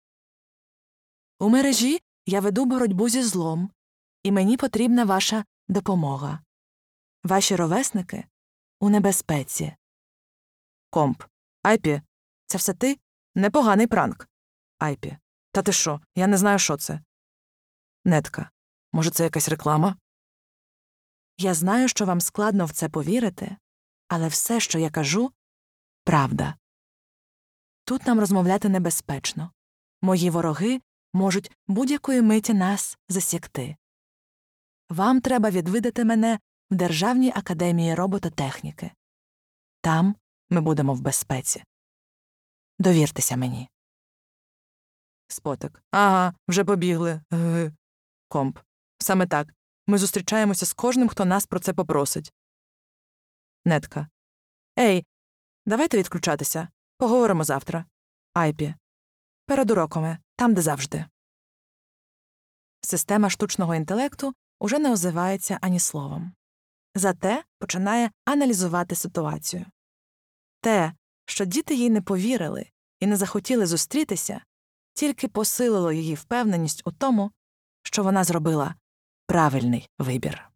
У мережі я веду боротьбу зі злом, і мені потрібна ваша допомога. Ваші ровесники у небезпеці. Комп. Айпі, це все ти? Непоганий пранк. Айпі. Та ти що? Я не знаю, що це. Нетка. Може, це якась реклама? Я знаю, що вам складно в це повірити, але все, що я кажу – правда. Тут нам розмовляти небезпечно. Мої вороги можуть будь-якої миті нас засікти. Вам треба відвідати мене в Державній академії робототехніки. Там ми будемо в безпеці. Довіртеся мені. Спотик. Ага, вже побігли. Комп. Саме так. Ми зустрічаємося з кожним, хто нас про це попросить. Нетка. Ей, давайте відключатися. Поговоримо завтра. Айпі. Перед уроками, там, де завжди. Система штучного інтелекту уже не озивається ані словом. Зате починає аналізувати ситуацію. Те, що діти їй не повірили і не захотіли зустрітися, тільки посилило її впевненість у тому, що вона зробила правильний вибір.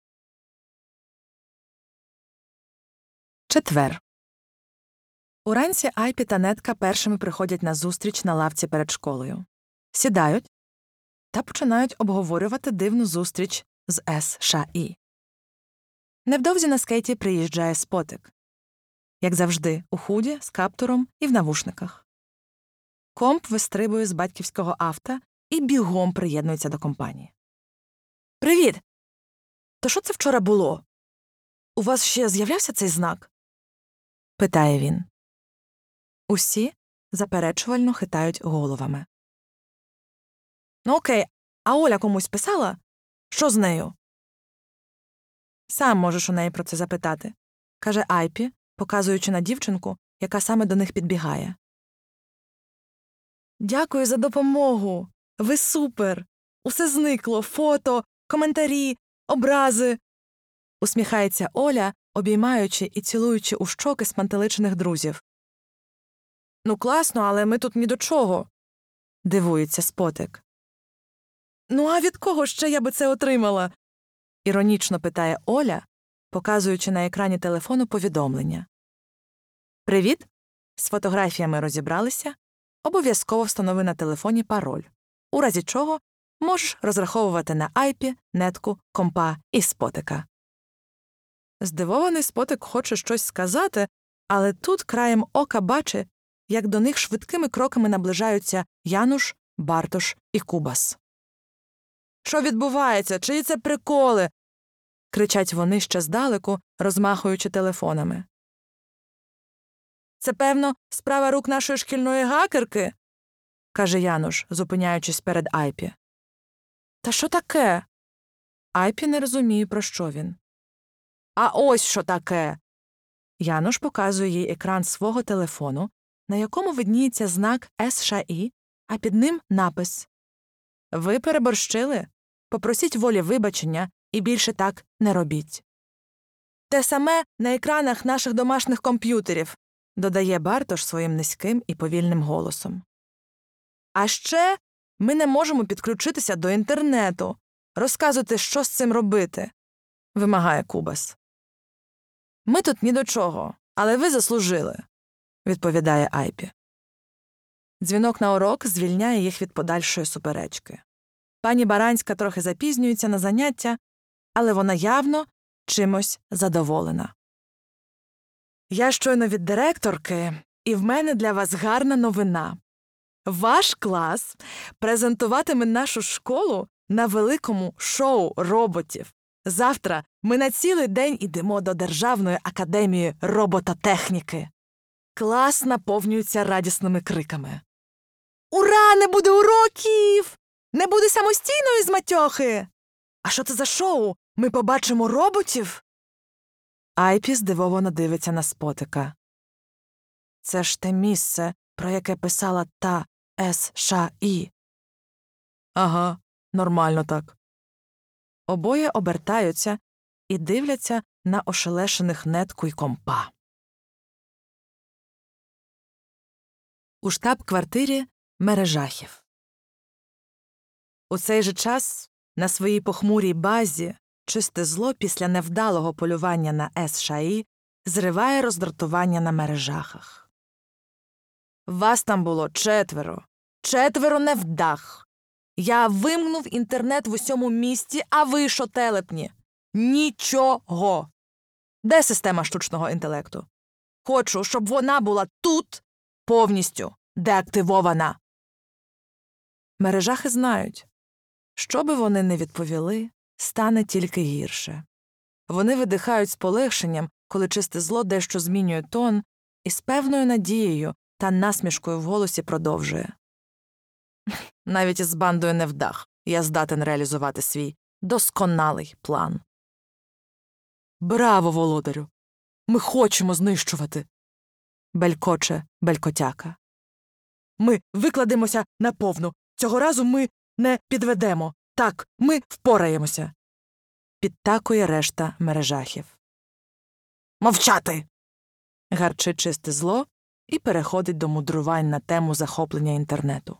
Четвер. Уранці Айпі та Нетка першими приходять на зустріч на лавці перед школою. Сідають та починають обговорювати дивну зустріч з СШІ. Невдовзі на скейті приїжджає Спотик. Як завжди, у худі, з каптуром і в навушниках. Комп вистрибує з батьківського авто і бігом приєднується до компанії. «Привіт! То що це вчора було? У вас ще з'являвся цей знак?» – питає він. Усі заперечувально хитають головами. «Ну окей, а Оля комусь писала? Що з нею?» «Сам можеш у неї про це запитати», – каже Айпі, показуючи на дівчинку, яка саме до них підбігає. «Дякую за допомогу! Ви супер! Усе зникло, фото, коментарі, образи!» Усміхається Оля, обіймаючи і цілуючи у щоки спантеличених друзів. «Ну класно, але ми тут ні до чого», – дивується Спотик. «Ну а від кого ще я би це отримала?» – іронічно питає Оля, показуючи на екрані телефону повідомлення. «Привіт! З фотографіями розібралися. Обов'язково встанови на телефоні пароль. У разі чого можеш розраховувати на Айпі, Нетку, Компа і Спотика». Здивований Спотик хоче щось сказати, але тут краєм ока бачить, як до них швидкими кроками наближаються Януш, Бартош і Кубас. «Що відбувається? Чиї це приколи?» – кричать вони ще здалеку, розмахуючи телефонами. «Це, певно, справа рук нашої шкільної гакерки?» – каже Януш, зупиняючись перед Айпі. «Та що таке?» Айпі не розуміє, про що він. «А ось що таке!» Януш показує їй екран свого телефону, на якому видніється знак СШІ, а під ним напис «Ви переборщили? Попросіть волі вибачення і більше так не робіть». «Те саме на екранах наших домашніх комп'ютерів», – додає Бартош своїм низьким і повільним голосом. «А ще ми не можемо підключитися до інтернету. Розказуйте, що з цим робити», – вимагає Кубас. «Ми тут ні до чого, але ви заслужили», – відповідає Айпі. Дзвінок на урок звільняє їх від подальшої суперечки. Пані Баранська трохи запізнюється на заняття, але вона явно чимось задоволена. «Я щойно від директорки, і в мене для вас гарна новина. Ваш клас презентуватиме нашу школу на великому шоу роботів. Завтра ми на цілий день ідемо до Державної академії робототехніки». Клас наповнюється радісними криками. «Ура! Не буде уроків! Не буде самостійної з матьохи!» А що це за шоу? Ми побачимо роботів? Айпі здивовано дивиться на Спотика. Це ж те місце, про яке писала та СШІ. Ага, нормально так. Обоє обертаються і дивляться на ошелешених Нетку й Компа. У штаб-квартирі Мережахів. У цей же час на своїй похмурій базі Чисте зло після невдалого полювання на СШІ зриває роздратування на Мережахах. Вас там було 4. 4 невдах. Я вимкнув інтернет в усьому місті, а ви що телепні? Нічого. Де система штучного інтелекту? Хочу, щоб вона була тут повністю деактивована. Мережахи знають, що би вони не відповіли, стане тільки гірше. Вони видихають з полегшенням, коли Чисте зло дещо змінює тон і з певною надією та насмішкою в голосі продовжує. Навіть із бандою невдах я здатен реалізувати свій досконалий план. Браво, володарю! Ми хочемо знищувати! Белькоче Белькотяка. Ми викладемося наповну. Цього разу ми не підведемо. Так, ми впораємося. Підтакує решта Мережахів. Мовчати! Гарчить Чисте зло і переходить до мудрувань на тему захоплення інтернету.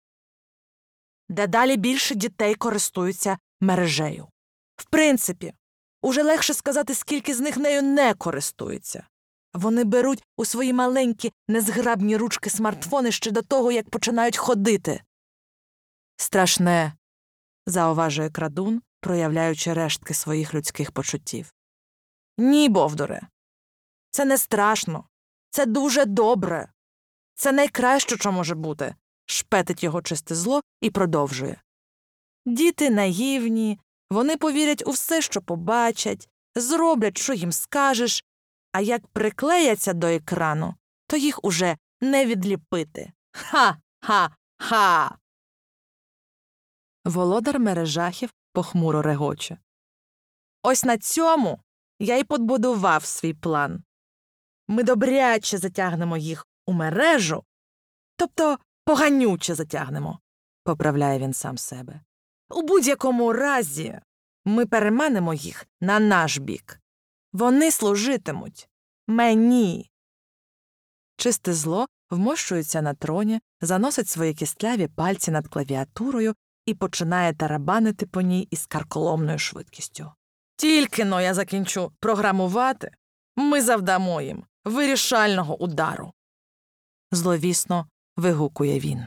Дедалі більше дітей користуються мережею. В принципі, уже легше сказати, скільки з них нею не користуються. Вони беруть у свої маленькі, незграбні ручки смартфони ще до того, як починають ходити. Страшне, зауважує крадун, проявляючи рештки своїх людських почуттів. Ні, бовдуре. Це не страшно. Це дуже добре. Це найкраще, що може бути. Шпетить його Чисте зло і продовжує. Діти наївні, вони повірять у все, що побачать, зроблять, що їм скажеш, а як приклеяться до екрану, то їх уже не відліпити. Ха-ха-ха! Володар Мережахів похмуро регоче. Ось на цьому я й подбудував свій план. Ми добряче затягнемо їх у мережу, тобто поганюче затягнемо, поправляє він сам себе. У будь-якому разі ми переманимо їх на наш бік. Вони служитимуть мені. Чисте зло вмощується на троні, заносить свої кістляві пальці над клавіатурою і починає тарабанити по ній із карколомною швидкістю. Тільки-но я закінчу програмувати, ми завдамо їм вирішального удару. Зловісно вигукує він.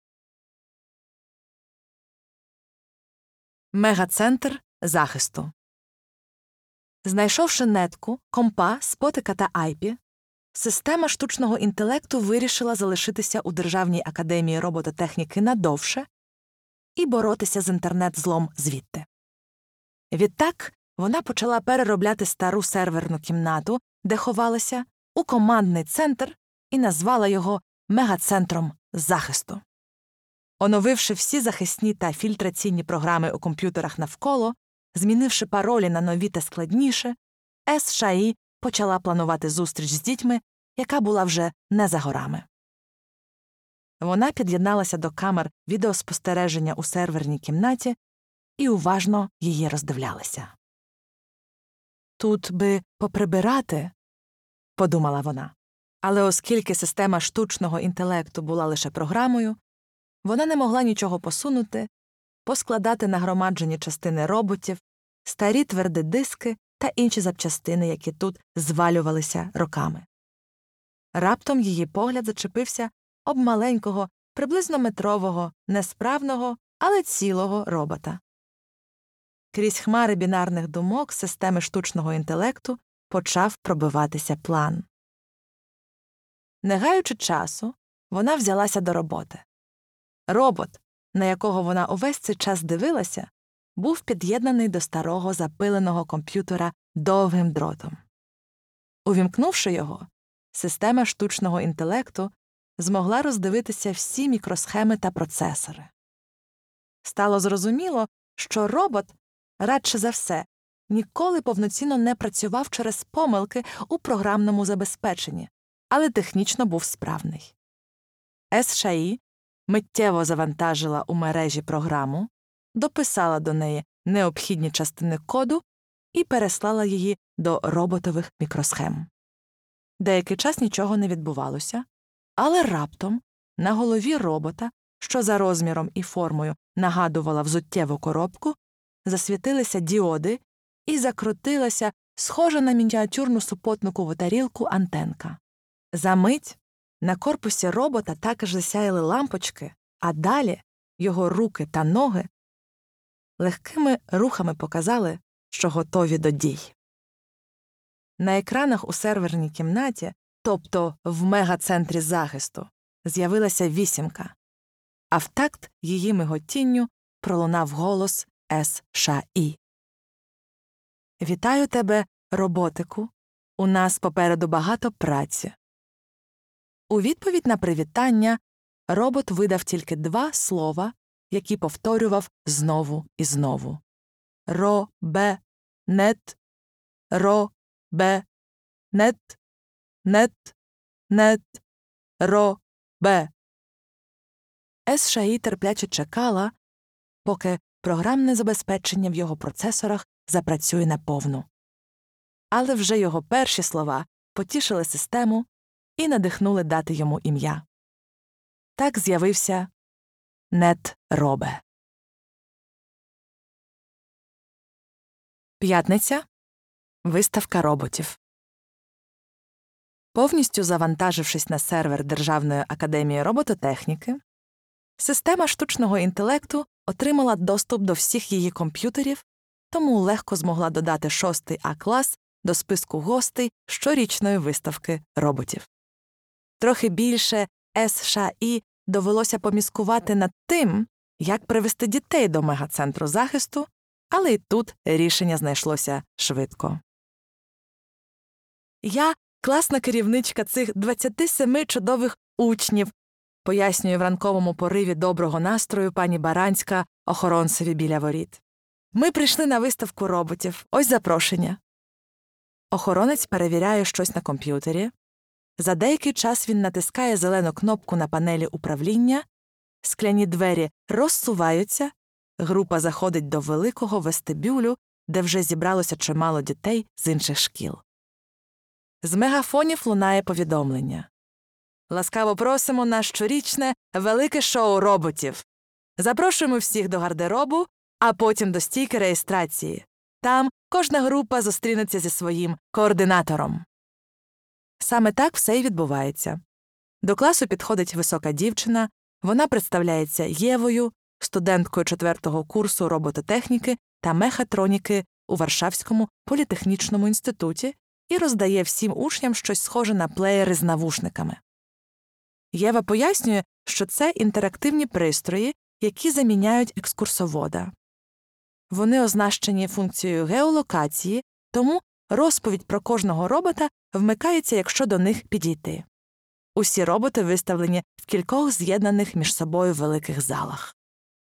Мегацентр захисту. Знайшовши Нетку, Компа, Спотика та Айпі, система штучного інтелекту вирішила залишитися у Державній академії робототехніки надовше і боротися з інтернет-злом звідти. Відтак вона почала переробляти стару серверну кімнату, де ховалася, у командний центр і назвала його Мегацентром захисту. Оновивши всі захисні та фільтраційні програми у комп'ютерах навколо, змінивши паролі на нові та складніше, СШІ почала планувати зустріч з дітьми, яка була вже не за горами. Вона під'єдналася до камер відеоспостереження у серверній кімнаті і уважно її роздивлялася. «Тут би поприбирати», – подумала вона. Але оскільки система штучного інтелекту була лише програмою, вона не могла нічого посунути, поскладати нагромаджені частини роботів, старі тверді диски та інші запчастини, які тут звалювалися роками. Раптом її погляд зачепився об маленького, приблизно метрового, несправного, але цілого робота. Крізь хмари бінарних думок системи штучного інтелекту почав пробиватися план. Не гаючи часу, вона взялася до роботи. Робот, на якого вона увесь цей час дивилася, був під'єднаний до старого запиленого комп'ютера довгим дротом. Увімкнувши його, система штучного інтелекту змогла роздивитися всі мікросхеми та процесори. Стало зрозуміло, що робот радше за все, ніколи повноцінно не працював через помилки у програмному забезпеченні, але технічно був справний. СШІ миттєво завантажила у мережі програму, дописала до неї необхідні частини коду і переслала її до роботових мікросхем. Деякий час нічого не відбувалося, але раптом на голові робота, що за розміром і формою нагадувала взуттєву коробку, засвітилися діоди і закрутилася схожа на мініатюрну супутникову тарілку антенка. Замить на корпусі робота також засяяли лампочки, а далі його руки та ноги легкими рухами показали, що готові до дій. На екранах у серверній кімнаті, тобто в мегацентрі захисту, з'явилася вісімка, а в такт її миготінню пролунав голос СШІ. «Вітаю тебе, роботику. У нас попереду багато праці». У відповідь на привітання робот видав тільки 2 слова, які повторював знову і знову. «Ро-бе-нет, ро-бе-нет, нет, ро-бе». СШІ терпляче чекала, поки програмне забезпечення в його процесорах запрацює наповну. Але вже його перші слова потішили систему і надихнули дати йому ім'я. Так з'явився NetRobe. П'ятниця. Виставка роботів. Повністю завантажившись на сервер Державної академії робототехніки, система штучного інтелекту отримала доступ до всіх її комп'ютерів, тому легко змогла додати 6-й А-клас до списку гостей щорічної виставки роботів. Трохи більше СШІ довелося поміскувати над тим, як привести дітей до мегацентру захисту, але й тут рішення знайшлося швидко. «Я – класна керівничка цих 27 чудових учнів», пояснює в ранковому пориві доброго настрою пані Баранська охоронцеві біля воріт. «Ми прийшли на виставку роботів. Ось запрошення». Охоронець перевіряє щось на комп'ютері. За деякий час він натискає зелену кнопку на панелі управління, скляні двері розсуваються, група заходить до великого вестибюлю, де вже зібралося чимало дітей з інших шкіл. З мегафонів лунає повідомлення. «Ласкаво просимо на щорічне велике шоу роботів. Запрошуємо всіх до гардеробу, а потім до стійки реєстрації. Там кожна група зустрінеться зі своїм координатором». Саме так все й відбувається. До класу підходить висока дівчина, вона представляється Євою, студенткою 4-го курсу робототехніки та мехатроніки у Варшавському політехнічному інституті і роздає всім учням щось схоже на плеєри з навушниками. Єва пояснює, що це інтерактивні пристрої, які заміняють екскурсовода. Вони оснащені функцією геолокації, тому розповідь про кожного робота вмикається, якщо до них підійти. Усі роботи виставлені в кількох з'єднаних між собою великих залах.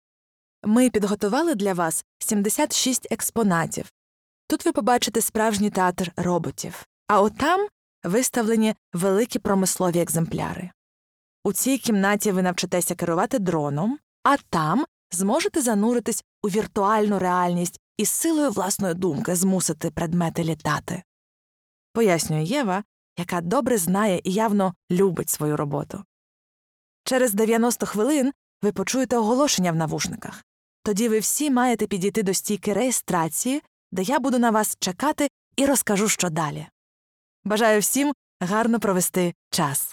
Ми підготували для вас 76 експонатів. Тут ви побачите справжній театр роботів, а отам виставлені великі промислові екземпляри. У цій кімнаті ви навчитеся керувати дроном, а там зможете зануритись у віртуальну реальність і з силою власної думки змусити предмети літати. Пояснює Єва, яка добре знає і явно любить свою роботу. Через 90 хвилин ви почуєте оголошення в навушниках. Тоді ви всі маєте підійти до стійки реєстрації, де я буду на вас чекати і розкажу, що далі. Бажаю всім гарно провести час.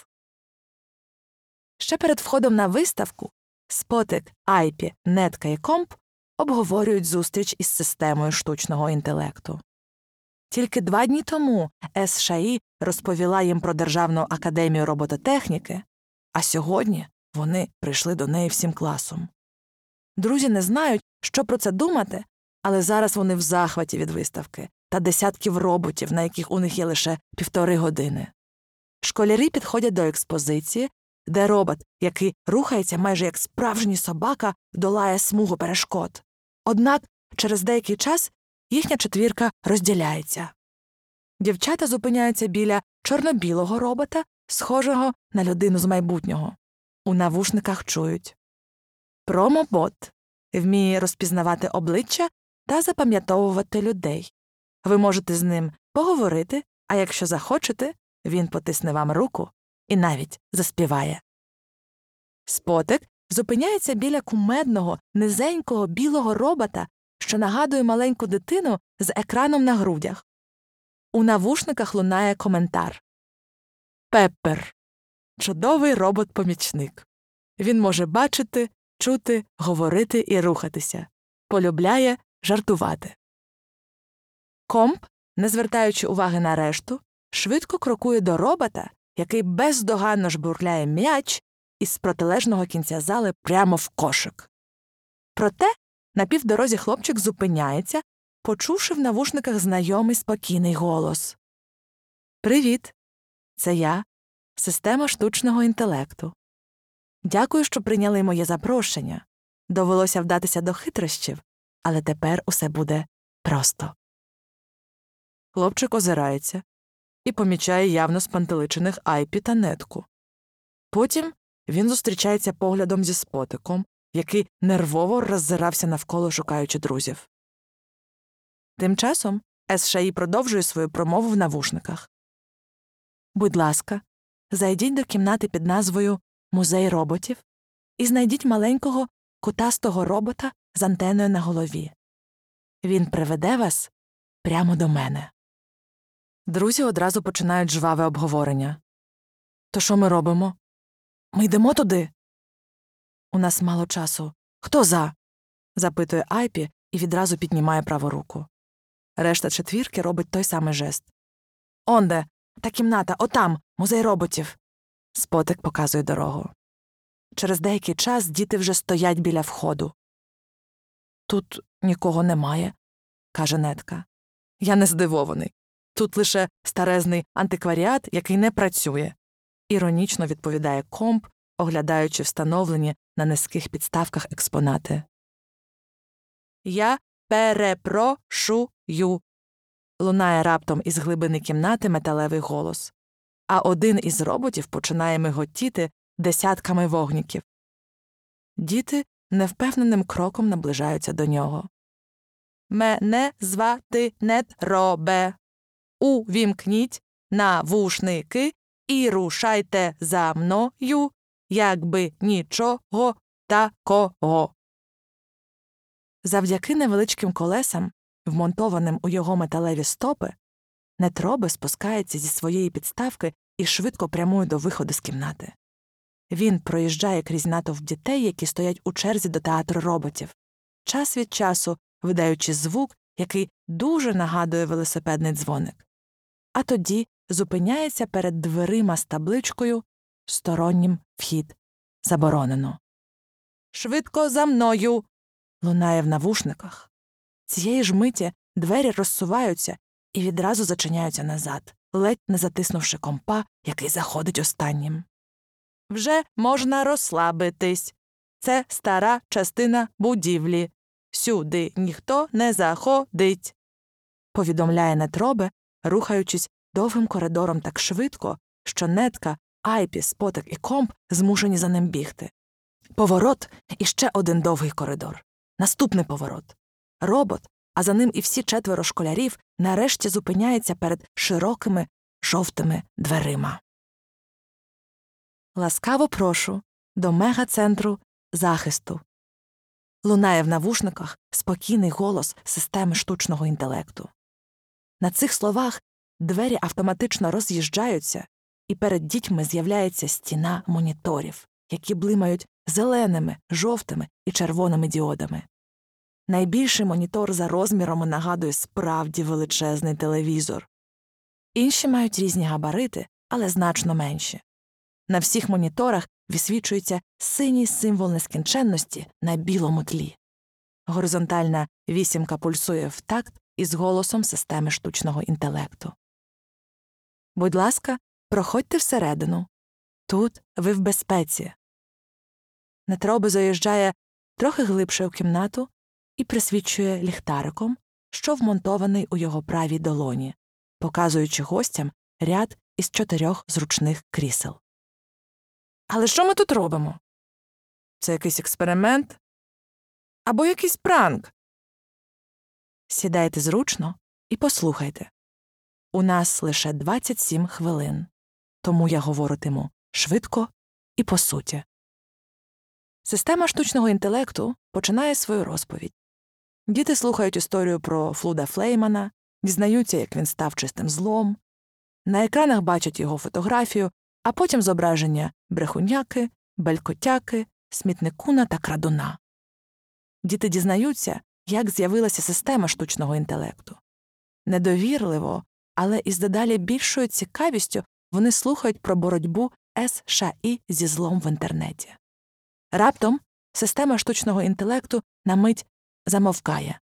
Ще перед входом на виставку Спотик, Айпі, Нетка і Комп обговорюють зустріч із системою штучного інтелекту. Тільки 2 дні тому СШІ розповіла їм про Державну академію робототехніки, а сьогодні вони прийшли до неї всім класом. Друзі не знають, що про це думати, але зараз вони в захваті від виставки та десятків роботів, на яких у них є лише 1,5 години. Школярі підходять до експозиції, де робот, який рухається майже як справжній собака, долає смугу перешкод. Однак Через деякий час їхня четвірка розділяється. Дівчата зупиняються біля чорно-білого робота, схожого на людину з майбутнього. У навушниках чують: «Промобот вміє розпізнавати обличчя та запам'ятовувати людей. Ви можете з ним поговорити, а якщо захочете, він потисне вам руку і навіть заспіває». Спотик зупиняється біля кумедного, низенького білого робота, що нагадує маленьку дитину з екраном на грудях. У навушниках лунає коментар: «Пеппер – чудовий робот-помічник. Він може бачити, чути, говорити і рухатися. Полюбляє жартувати». Комп, не звертаючи уваги на решту, швидко крокує до робота, який бездоганно жбурляє м'яч із протилежного кінця зали прямо в кошик. Проте на півдорозі хлопчик зупиняється, почувши в навушниках знайомий спокійний голос: «Привіт! Це я, система штучного інтелекту. Дякую, що прийняли моє запрошення. Довелося вдатися до хитрощів, але тепер усе буде просто». Хлопчик озирається і помічає явно спантеличених Айпі та Нетку. Потім він зустрічається поглядом зі Спотиком, який нервово роззирався навколо, шукаючи друзів. Тим часом Ес-Шаї продовжує свою промову в навушниках. «Будь ласка, зайдіть до кімнати під назвою «Музей роботів» і знайдіть маленького кутастого робота з антеною на голові. Він приведе вас прямо до мене». Друзі одразу починають жваве обговорення. «То що ми робимо? Ми йдемо туди?» «У нас мало часу. Хто за?» – запитує Айпі і відразу піднімає праву руку. Решта четвірки робить той самий жест. «Онде, та кімната, отам, музей роботів!» Спотик показує дорогу. Через деякий час діти вже стоять біля входу. «Тут нікого немає», – каже Нетка. «Я не здивований. Тут лише старезний антикваріат, який не працює», – іронічно відповідає Комп, оглядаючи встановлені на низьких підставках експонати. «Я перепрошую», – лунає раптом із глибини кімнати металевий голос, а один із роботів починає миготіти десятками вогніків. Діти невпевненим кроком наближаються до нього. «Мене звати Нетробе. Увімкніть навушники і рушайте за мною, якби нічого такого». Завдяки невеличким колесам, вмонтованим у його металеві стопи, Нетробе спускається зі своєї підставки і швидко прямує до виходу з кімнати. Він проїжджає крізь натовп дітей, які стоять у черзі до театру роботів, час від часу видаючи звук, який дуже нагадує велосипедний дзвоник. А тоді зупиняється перед дверима з табличкою «Стороннім вхід заборонено». «Швидко за мною!» – лунає в навушниках. Цієї ж миті двері розсуваються і відразу зачиняються назад, ледь не затиснувши компа, який заходить останнім. «Вже можна розслабитись. Це стара частина будівлі. Сюди ніхто не заходить», – повідомляє Нетробе, рухаючись довгим коридором так швидко, що Нетка, Айпі, Спотик і Комп змушені за ним бігти. Поворот і ще один довгий коридор. Наступний поворот. Робот, а за ним і всі четверо школярів, нарешті зупиняється перед широкими жовтими дверима. «Ласкаво прошу до мегацентру захисту», – лунає в навушниках спокійний голос системи штучного інтелекту. На цих словах двері автоматично роз'їжджаються, і перед дітьми з'являється стіна моніторів, які блимають зеленими, жовтими і червоними діодами. Найбільший монітор за розмірами нагадує справді величезний телевізор. Інші мають різні габарити, але значно менші. На всіх моніторах висвічується синій символ нескінченності на білому тлі. Горизонтальна вісімка пульсує в такт із голосом системи штучного інтелекту. «Будь ласка, проходьте всередину. Тут ви в безпеці». Нетробе заїжджає трохи глибше у кімнату і присвічує ліхтариком, що вмонтований у його правій долоні, показуючи гостям ряд із 4 зручних крісел. Але що ми тут робимо? Це якийсь експеримент? Або якийсь пранк? Сідайте зручно і послухайте. У нас лише 27 хвилин, тому я говоритиму швидко і по суті. Система штучного інтелекту починає свою розповідь. Діти слухають історію про Флуда Флеймана, дізнаються, як він став чистим злом. На екранах бачать його фотографію, а потім зображення брехуняки, белькотяки, смітникуна та крадуна. Діти дізнаються, як з'явилася система штучного інтелекту. Недовірливо, але із дедалі більшою цікавістю вони слухають про боротьбу США зі злом в інтернеті. Раптом система штучного інтелекту на мить замовкає.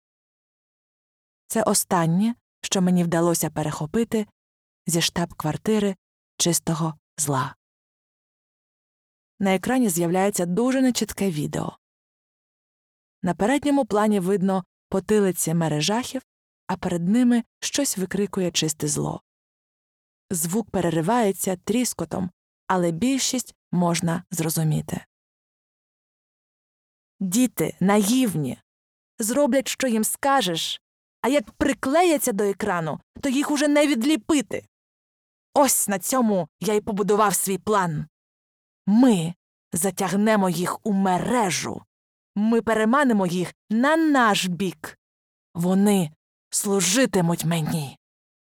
Це останнє, що мені вдалося перехопити зі штаб-квартири чистого зла. На екрані з'являється дуже нечітке відео. На передньому плані видно потилиці мережахів, а перед ними щось викрикує чисте зло. Звук переривається тріскотом, але більшість можна зрозуміти. Діти наївні. Зроблять, що їм скажеш, а як приклеяться до екрану, то їх уже не відліпити. Ось на цьому я й побудував свій план. Ми затягнемо їх у мережу. Ми переманимо їх на наш бік. Вони служитимуть мені.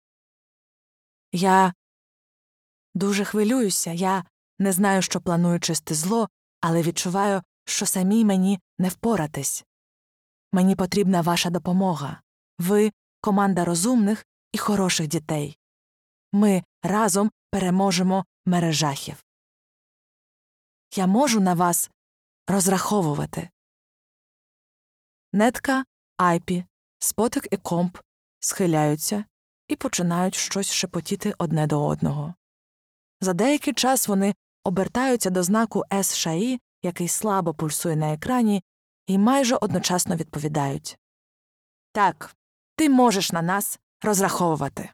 Я дуже хвилююся. Я не знаю, що планує чисте зло, але відчуваю, що самій мені не впоратись. Мені потрібна ваша допомога. Ви – команда розумних і хороших дітей. Ми разом переможемо мережахів. Я можу на вас розраховувати. Нетка, Айпі, Спотик і Комп схиляються і починають щось шепотіти одне до одного. За деякий час вони обертаються до знаку США, який слабо пульсує на екрані, і майже одночасно відповідають. Так, ти можеш на нас розраховувати.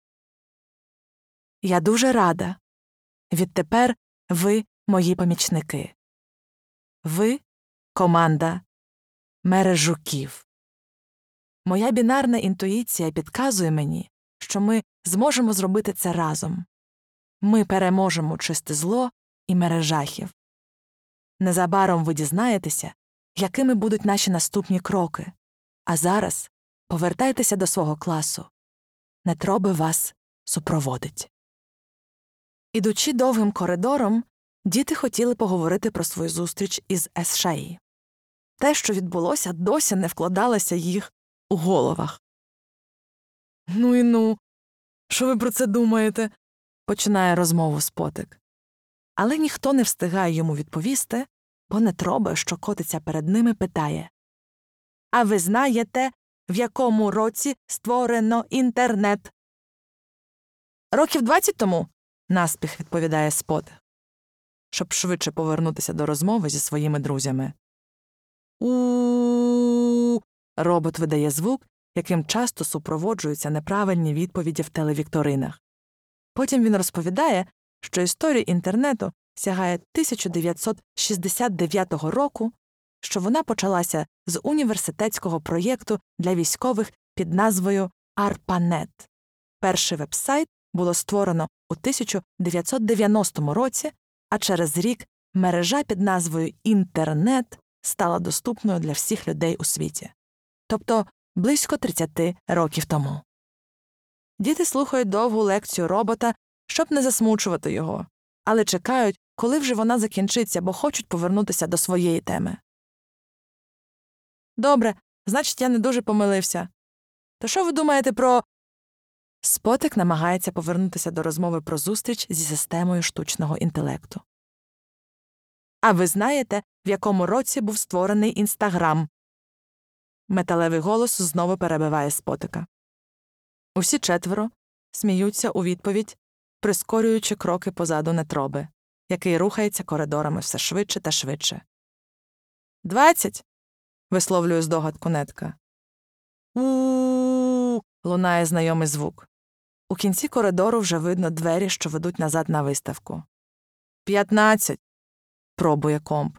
Я дуже рада. Відтепер ви мої помічники. Ви – команда мережуків. Моя бінарна інтуїція підказує мені, що ми зможемо зробити це разом. Ми переможемо чисте зло і мережахів. Незабаром ви дізнаєтеся, якими будуть наші наступні кроки. А зараз повертайтеся до свого класу. Нетроби вас супроводить. Ідучи довгим коридором, діти хотіли поговорити про свою зустріч із США. Те, що відбулося, досі не вкладалося їх у головах. «Ну і ну, що ви про це думаєте?» – починає розмову Спотик. Але ніхто не встигає йому відповісти, бо Нетроба, що котиться перед ними, питає: «А ви знаєте, в якому році створено інтернет?» «Років 20 тому», – наспіх відповідає Спотик, щоб швидше повернутися до розмови зі своїми друзями. «У-у-у-у-у!» – робот видає звук, яким часто супроводжуються неправильні відповіді в телевікторинах. Потім він розповідає, що історія інтернету сягає 1969 року, що вона почалася з університетського проєкту для військових під назвою ARPANET. Перший веб-сайт було створено у 1990 році, а через рік мережа під назвою «Інтернет» стала доступною для всіх людей у світі. Тобто близько 30 років тому. Діти слухають довгу лекцію робота, щоб не засмучувати його, але чекають, коли вже вона закінчиться, бо хочуть повернутися до своєї теми. «Добре, значить, я не дуже помилився. То що ви думаєте про…» Спотик намагається повернутися до розмови про зустріч зі системою штучного інтелекту. «А ви знаєте, в якому році був створений Інстаграм?» Металевий голос знову перебиває Спотика. Усі четверо сміються у відповідь, прискорюючи кроки позаду Нетроби, який рухається коридорами все швидше та швидше. 20. висловлює здогадку нетка. У лунає знайомий звук. У кінці коридору вже видно двері, що ведуть назад на виставку. 15. Пробує комп.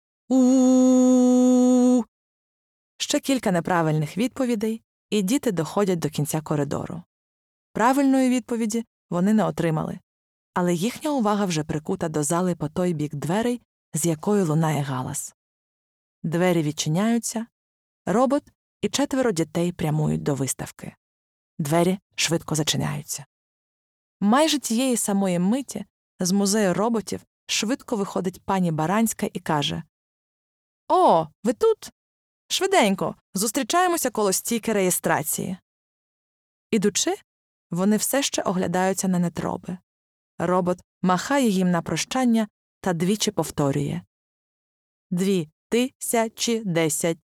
У Ще кілька неправильних відповідей, і діти доходять до кінця коридору. Правильної відповіді вони не отримали, але їхня увага вже прикута до зали по той бік дверей, з якої лунає галас. Двері відчиняються, робот і 4 дітей прямують до виставки. Двері швидко зачиняються. Майже тієї самої миті з музею роботів швидко виходить пані Баранська і каже: «О, ви тут? Швиденько, зустрічаємося коло стійки реєстрації». Ідучи, вони все ще оглядаються на нетроби. Робот махає їм на прощання та двічі повторює: 2010.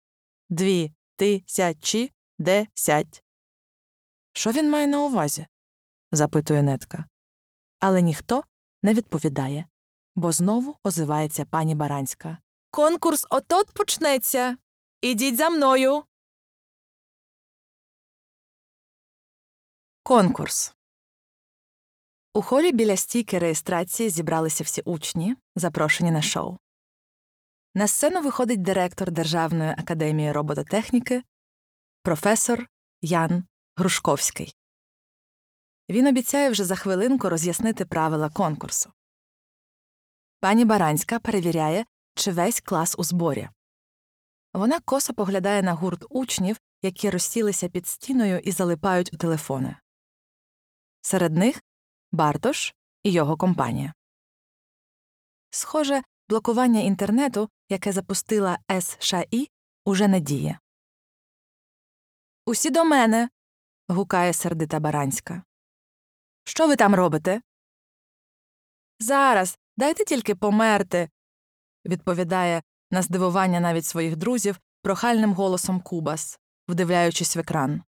2010. «Що він має на увазі?» – запитує нетка. Але ніхто не відповідає, бо знову озивається пані Баранська. «Конкурс от-от почнеться! Ідіть за мною!» Конкурс. У холі біля стійки реєстрації зібралися всі учні, запрошені на шоу. На сцену виходить директор Державної академії робототехніки, професор Ян Грушковський. Він обіцяє вже за хвилинку роз'яснити правила конкурсу. Пані Баранська перевіряє, чи весь клас у зборі. Вона косо поглядає на гурт учнів, які розсілися під стіною і залипають у телефони. Серед них Бартош і його компанія. Схоже, блокування інтернету, яке запустила СШІ, уже не діє. «Усі до мене!» – гукає сердита Баранська. «Що ви там робите?» «Зараз, дайте тільки померти!» – відповідає, на здивування навіть своїх друзів, прохальним голосом Кубас, вдивляючись в екран.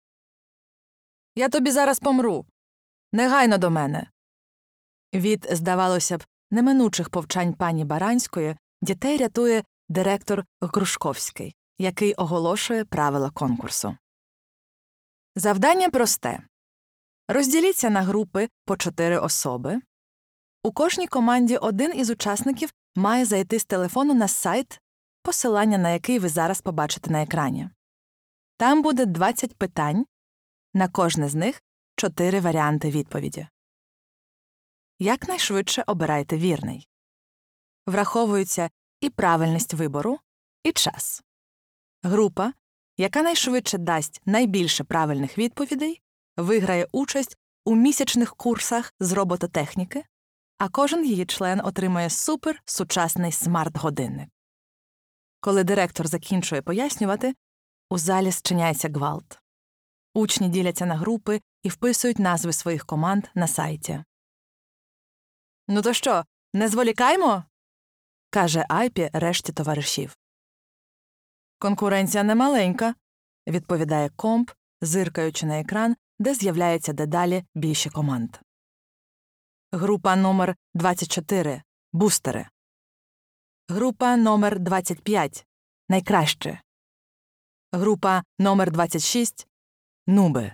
«Я тобі зараз помру! Негайно до мене!» Від, здавалося б, неминучих повчань пані Баранської дітей рятує директор Грушковський, який оголошує правила конкурсу. Завдання просте. Розділіться на групи по 4 особи. У кожній команді один із учасників має зайти з телефону на сайт, посилання на який ви зараз побачите на екрані. Там буде 20 питань, на кожне з них 4 варіанти відповіді. Якнайшвидше обирайте вірний. Враховується і правильність вибору, і час. Група, яка найшвидше дасть найбільше правильних відповідей, виграє участь у місячних курсах з робототехніки, а кожен її член отримує супер-сучасний смарт-годинник. Коли директор закінчує пояснювати, у залі зчиняється гвалт. Учні діляться на групи і вписують назви своїх команд на сайті. «Ну то що, не зволікаймо?» – каже Айпі решті товаришів. «Конкуренція немаленька», – відповідає комп, зиркаючи на екран, де з'являється дедалі більше команд. Група номер 24 – бустери. Група номер 25 – найкраще. Група номер 26 – нуби.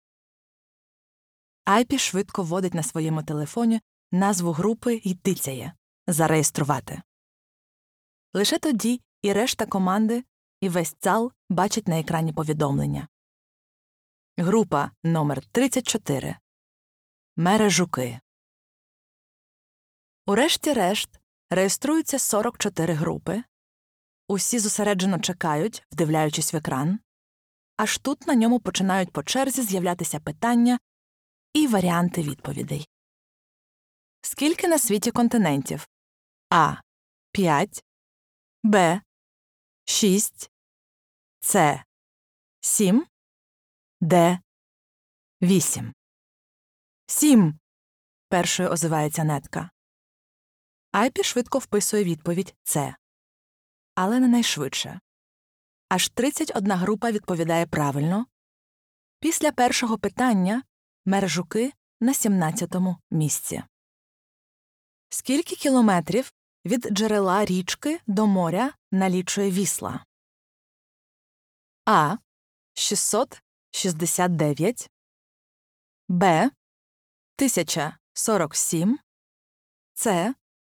Айпі швидко вводить на своєму телефоні назву групи і тицяє «Зареєструвати». Лише тоді і решта команди, і весь зал бачать на екрані повідомлення. Група номер 34 – мережуки. Урешті-решт реєструються 44 групи. Усі зосереджено чекають, вдивляючись в екран. Аж тут на ньому починають по черзі з'являтися питання і варіанти відповідей. Скільки на світі континентів? А. 5. Б. 6. С. 7. Д. 8. 7. Першою озивається нетка. Айпі швидко вписує відповідь С. Але не найшвидше. Аж 31 група відповідає правильно. Після першого питання мережуки на 17-му місці. Скільки кілометрів від джерела річки до моря налічує Вісла? А. 669, Б. 1047, С.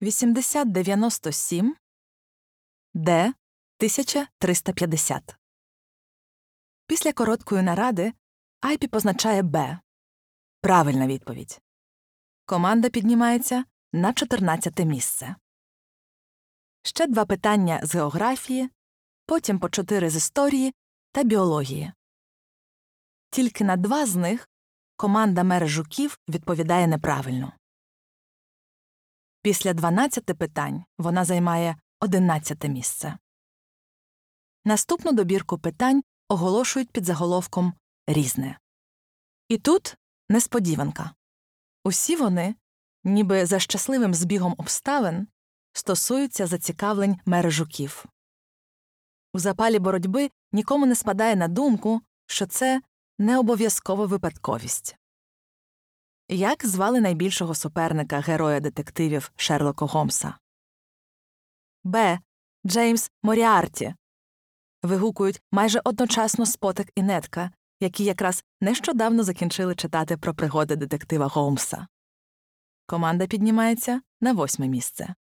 8097, Д. 1350. Після короткої наради Айпі позначає Б. Правильна відповідь. Команда піднімається на 14-те місце. Ще 2 питання з географії, потім по 4 з історії та біології. Тільки на 2 з них команда Мережуків відповідає неправильно. Після 12 питань вона займає 11-те місце. Наступну добірку питань оголошують під заголовком «Різне». І тут несподіванка. Усі вони, ніби за щасливим збігом обставин, стосуються зацікавлень Мережуків. У запалі боротьби нікому не спадає на думку, що це не обов'язково випадковість. Як звали найбільшого суперника героя детективів Шерлока Голмса? Б. Джеймс Моріарті. Вигукують майже одночасно Спотик і Нетка, які якраз нещодавно закінчили читати про пригоди детектива Голмса. Команда піднімається на 8-ме місце.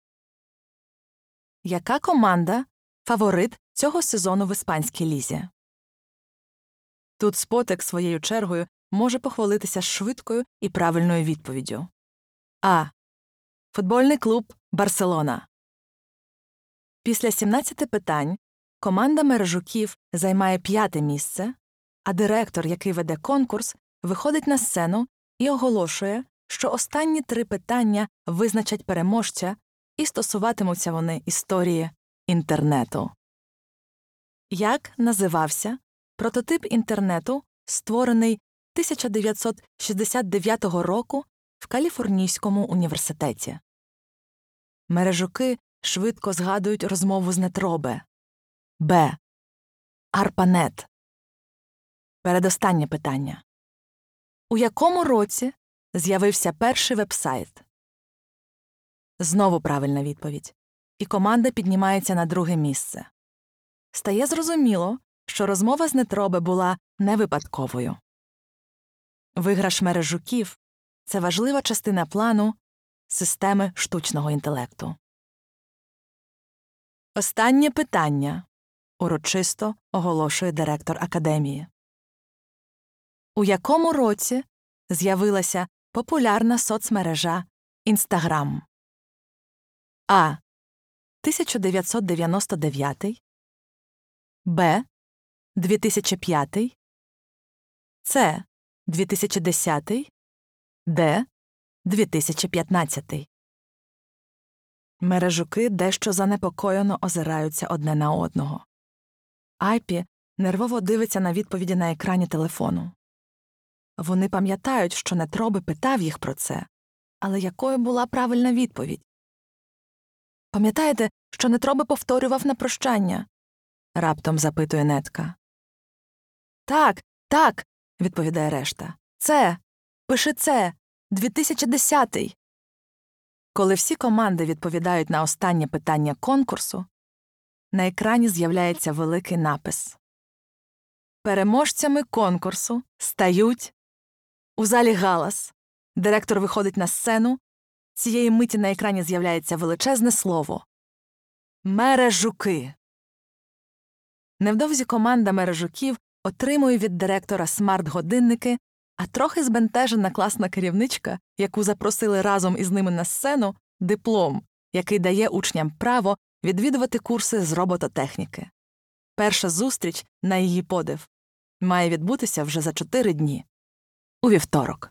Яка команда – фаворит цього сезону в іспанській лізі? Тут Спотик своєю чергою може похвалитися швидкою і правильною відповіддю. А. Футбольний клуб «Барселона». Після 17 питань команда Мережуків займає 5-те місце, а директор, який веде конкурс, виходить на сцену і оголошує, що останні 3 питання визначать переможця і стосуватимуться вони історії інтернету. Як називався прототип інтернету, створений 1969 року в Каліфорнійському університеті? Мережуки швидко згадують розмову з Нетробе. Б. Арпанет. Передостаннє питання. У якому році з'явився перший вебсайт? Знову правильна відповідь. І команда піднімається на 2-ге місце. Стає зрозуміло, що розмова з Нетробе була не випадковою. Виграш Мережуків – це важлива частина плану системи штучного інтелекту. Останнє питання урочисто оголошує директор академії. У якому році з'явилася популярна соцмережа Інстаграм? А. 1999, Б. 2005, С. 2010, Д. 2015. Мережуки дещо занепокоєно озираються одне на одного. Айпі нервово дивиться на відповіді на екрані телефону. Вони пам'ятають, що Нетробе питав їх про це, але якою була правильна відповідь? Пам'ятаєте, що Нетробе повторював на прощання? Раптом запитує Нетка. Так, так, відповідає решта. Це, пиши це, 2010. Коли всі команди відповідають на останнє питання конкурсу, на екрані з'являється великий напис. Переможцями конкурсу стають… У залі галас. Директор виходить на сцену. Цієї миті на екрані з'являється величезне слово. Мережуки. Невдовзі команда Мережуків отримує від директора смарт-годинники, а трохи збентежена класна керівничка, яку запросили разом із ними на сцену, диплом, який дає учням право відвідувати курси з робототехніки. Перша зустріч, на її подив, має відбутися вже за 4 дні. У вівторок.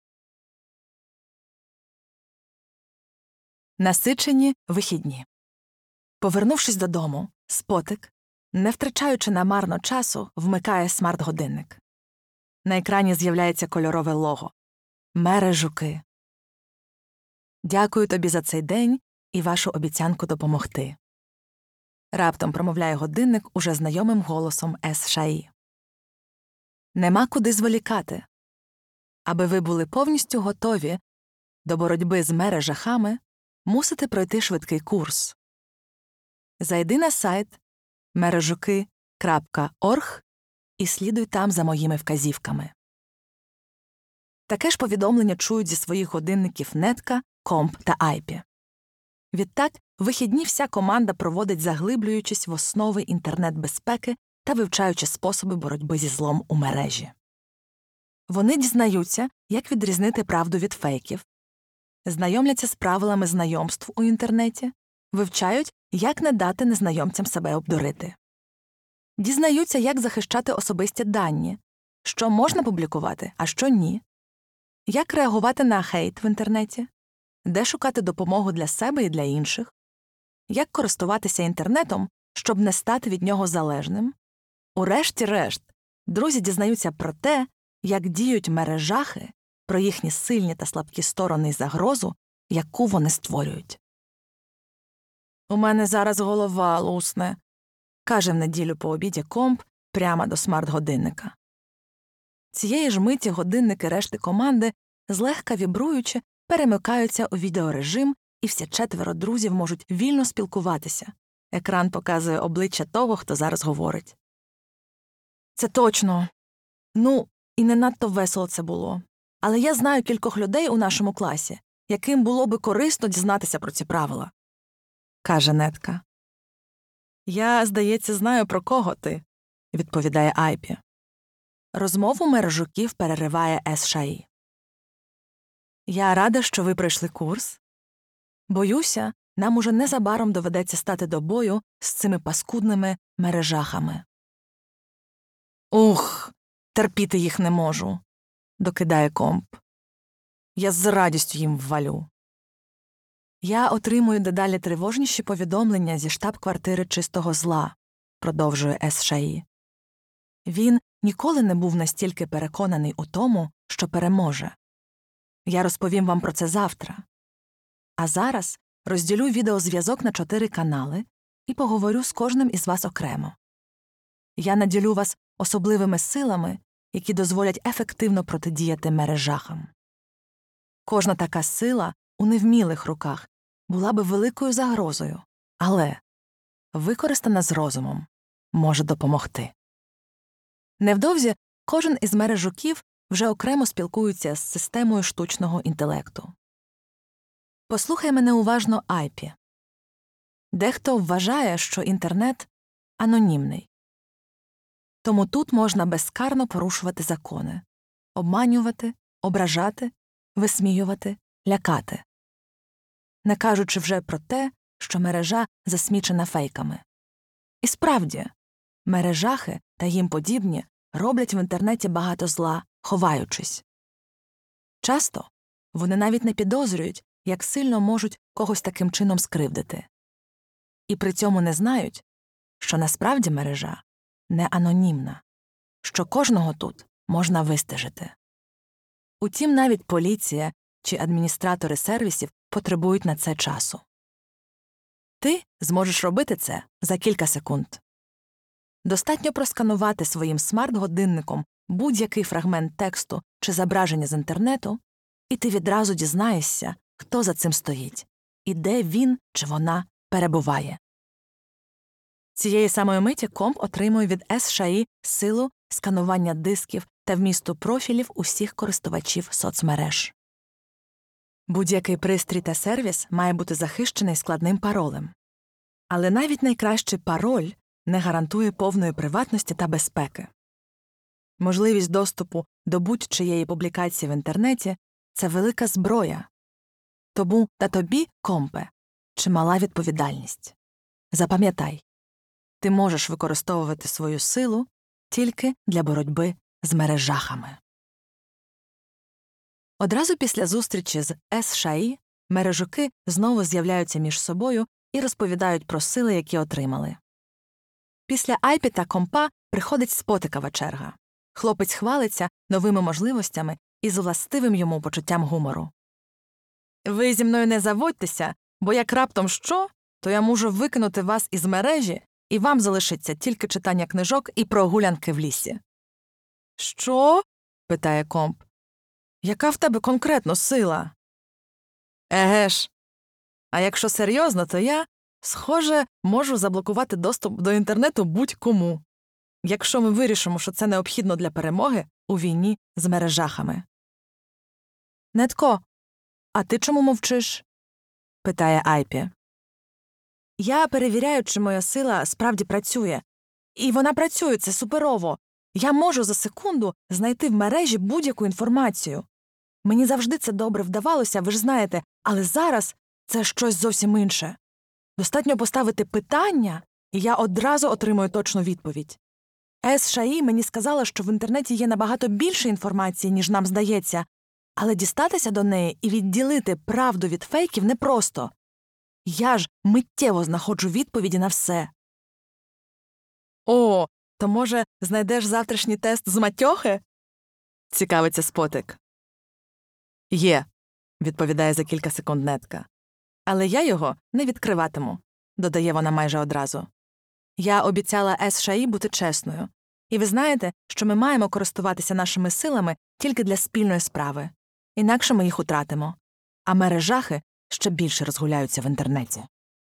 Насичені вихідні. Повернувшись додому, Спотик, не втрачаючи намарно часу, вмикає смарт-годинник. На екрані з'являється кольорове лого. Мережуки. Дякую тобі за цей день і вашу обіцянку допомогти. Раптом промовляє годинник уже знайомим голосом С. Шаї. Нема куди зволікати. Аби ви були повністю готові до боротьби з мережахами, мусите пройти швидкий курс. Зайди на сайт .org і слідуй там за моїми вказівками. Таке ж повідомлення чують зі своїх годинників Нетка, Комп та Айпі. Відтак, вихідні вся команда проводить, заглиблюючись в основи інтернет-безпеки та вивчаючи способи боротьби зі злом у мережі. Вони дізнаються, як відрізнити правду від фейків, знайомляться з правилами знайомств у інтернеті, вивчають, як не дати незнайомцям себе обдурити. Дізнаються, як захищати особисті дані, що можна публікувати, а що ні, як реагувати на хейт в інтернеті, де шукати допомогу для себе і для інших, як користуватися інтернетом, щоб не стати від нього залежним. Урешті-решт, друзі дізнаються про те, як діють мережахи, про їхні сильні та слабкі сторони і загрозу, яку вони створюють. «У мене зараз голова лусне», – каже в неділю по обіді Комп прямо до смарт-годинника. Цієї ж миті годинники решти команди, злегка вібруючи, перемикаються у відеорежим, і всі 4 друзів можуть вільно спілкуватися. Екран показує обличчя того, хто зараз говорить. «Це точно. Ну, і не надто весело це було. Але я знаю кількох людей у нашому класі, яким було би корисно дізнатися про ці правила», – каже Нетка. «Я, здається, знаю, про кого ти», – відповідає Айпі. Розмову мережуків перериває СШІ. «Я рада, що ви пройшли курс. Боюся, нам уже незабаром доведеться стати до бою з цими паскудними мережахами». «Ух, терпіти їх не можу», – докидає Комп. «Я з радістю їм ввалю». «Я отримую дедалі тривожніші повідомлення зі штаб-квартири чистого зла», – продовжує СШІ. «Він ніколи не був настільки переконаний у тому, що переможе. Я розповім вам про це завтра. А зараз розділю відеозв'язок на 4 канали і поговорю з кожним із вас окремо. Я наділю вас особливими силами, які дозволять ефективно протидіяти мережахам. Кожна така сила у невмілих руках була би великою загрозою, але, використана з розумом, може допомогти». Невдовзі кожен із мережуків вже окремо спілкується з системою штучного інтелекту. Послухай мене уважно, Айпі. Дехто вважає, що інтернет – анонімний. Тому тут можна безкарно порушувати закони, обманювати, ображати, висміювати, лякати. Не кажучи вже про те, що мережа засмічена фейками. І справді, мережахи та їм подібні роблять в інтернеті багато зла, ховаючись. Часто вони навіть не підозрюють, як сильно можуть когось таким чином скривдити. І при цьому не знають, що насправді мережа не анонімна, що кожного тут можна вистежити. Утім, навіть поліція чи адміністратори сервісів потребують на це часу. Ти зможеш робити це за кілька секунд. Достатньо просканувати своїм смарт-годинником будь-який фрагмент тексту чи зображення з інтернету, і ти відразу дізнаєшся, хто за цим стоїть, і де він чи вона перебуває. Цієї самої миті Комп отримує від СШІ силу сканування дисків та вмісту профілів усіх користувачів соцмереж. Будь-який пристрій та сервіс має бути захищений складним паролем. Але навіть найкращий пароль не гарантує повної приватності та безпеки. Можливість доступу до будь-чиєї публікації в інтернеті – це велика зброя. Тому та тобі, Компе, чимала відповідальність. Запам'ятай, ти можеш використовувати свою силу тільки для боротьби з мережахами. Одразу після зустрічі з СШІ мережуки знову з'являються між собою і розповідають про сили, які отримали. Після Айпі та Компа приходить спотикова черга. Хлопець хвалиться новими можливостями і з властивим йому почуттям гумору. «Ви зі мною не заводьтеся, бо як раптом що, то я можу викинути вас із мережі, і вам залишиться тільки читання книжок і прогулянки в лісі». «Що?» – питає Комп. «Яка в тебе конкретно сила?» «Еге ж. А якщо серйозно, то я, схоже, можу заблокувати доступ до інтернету будь-кому. якщо ми вирішимо, що це необхідно для перемоги у війні з мережахами. «Нетко, а ти чому мовчиш?» – питає Айпі. «Я перевіряю, чи моя сила справді працює. І вона працює, це суперово. Я можу за секунду знайти в мережі будь-яку інформацію. Мені завжди це добре вдавалося, ви ж знаєте, але зараз це щось зовсім інше. Достатньо поставити питання, і я одразу отримую точну відповідь. СШІ мені сказала, що в інтернеті є набагато більше інформації, ніж нам здається, але дістатися до неї і відділити правду від фейків непросто. Я ж миттєво знаходжу відповіді на все». «О, то, може, знайдеш завтрашній тест з матьохи?» – цікавиться Спотик. «Є», – відповідає за кілька секунд Нетка. «Але я його не відкриватиму», – додає вона майже одразу. «Я обіцяла СШІ бути чесною. І ви знаєте, що ми маємо користуватися нашими силами тільки для спільної справи. Інакше ми їх утратимо. А мережахи ще більше розгуляються в інтернеті».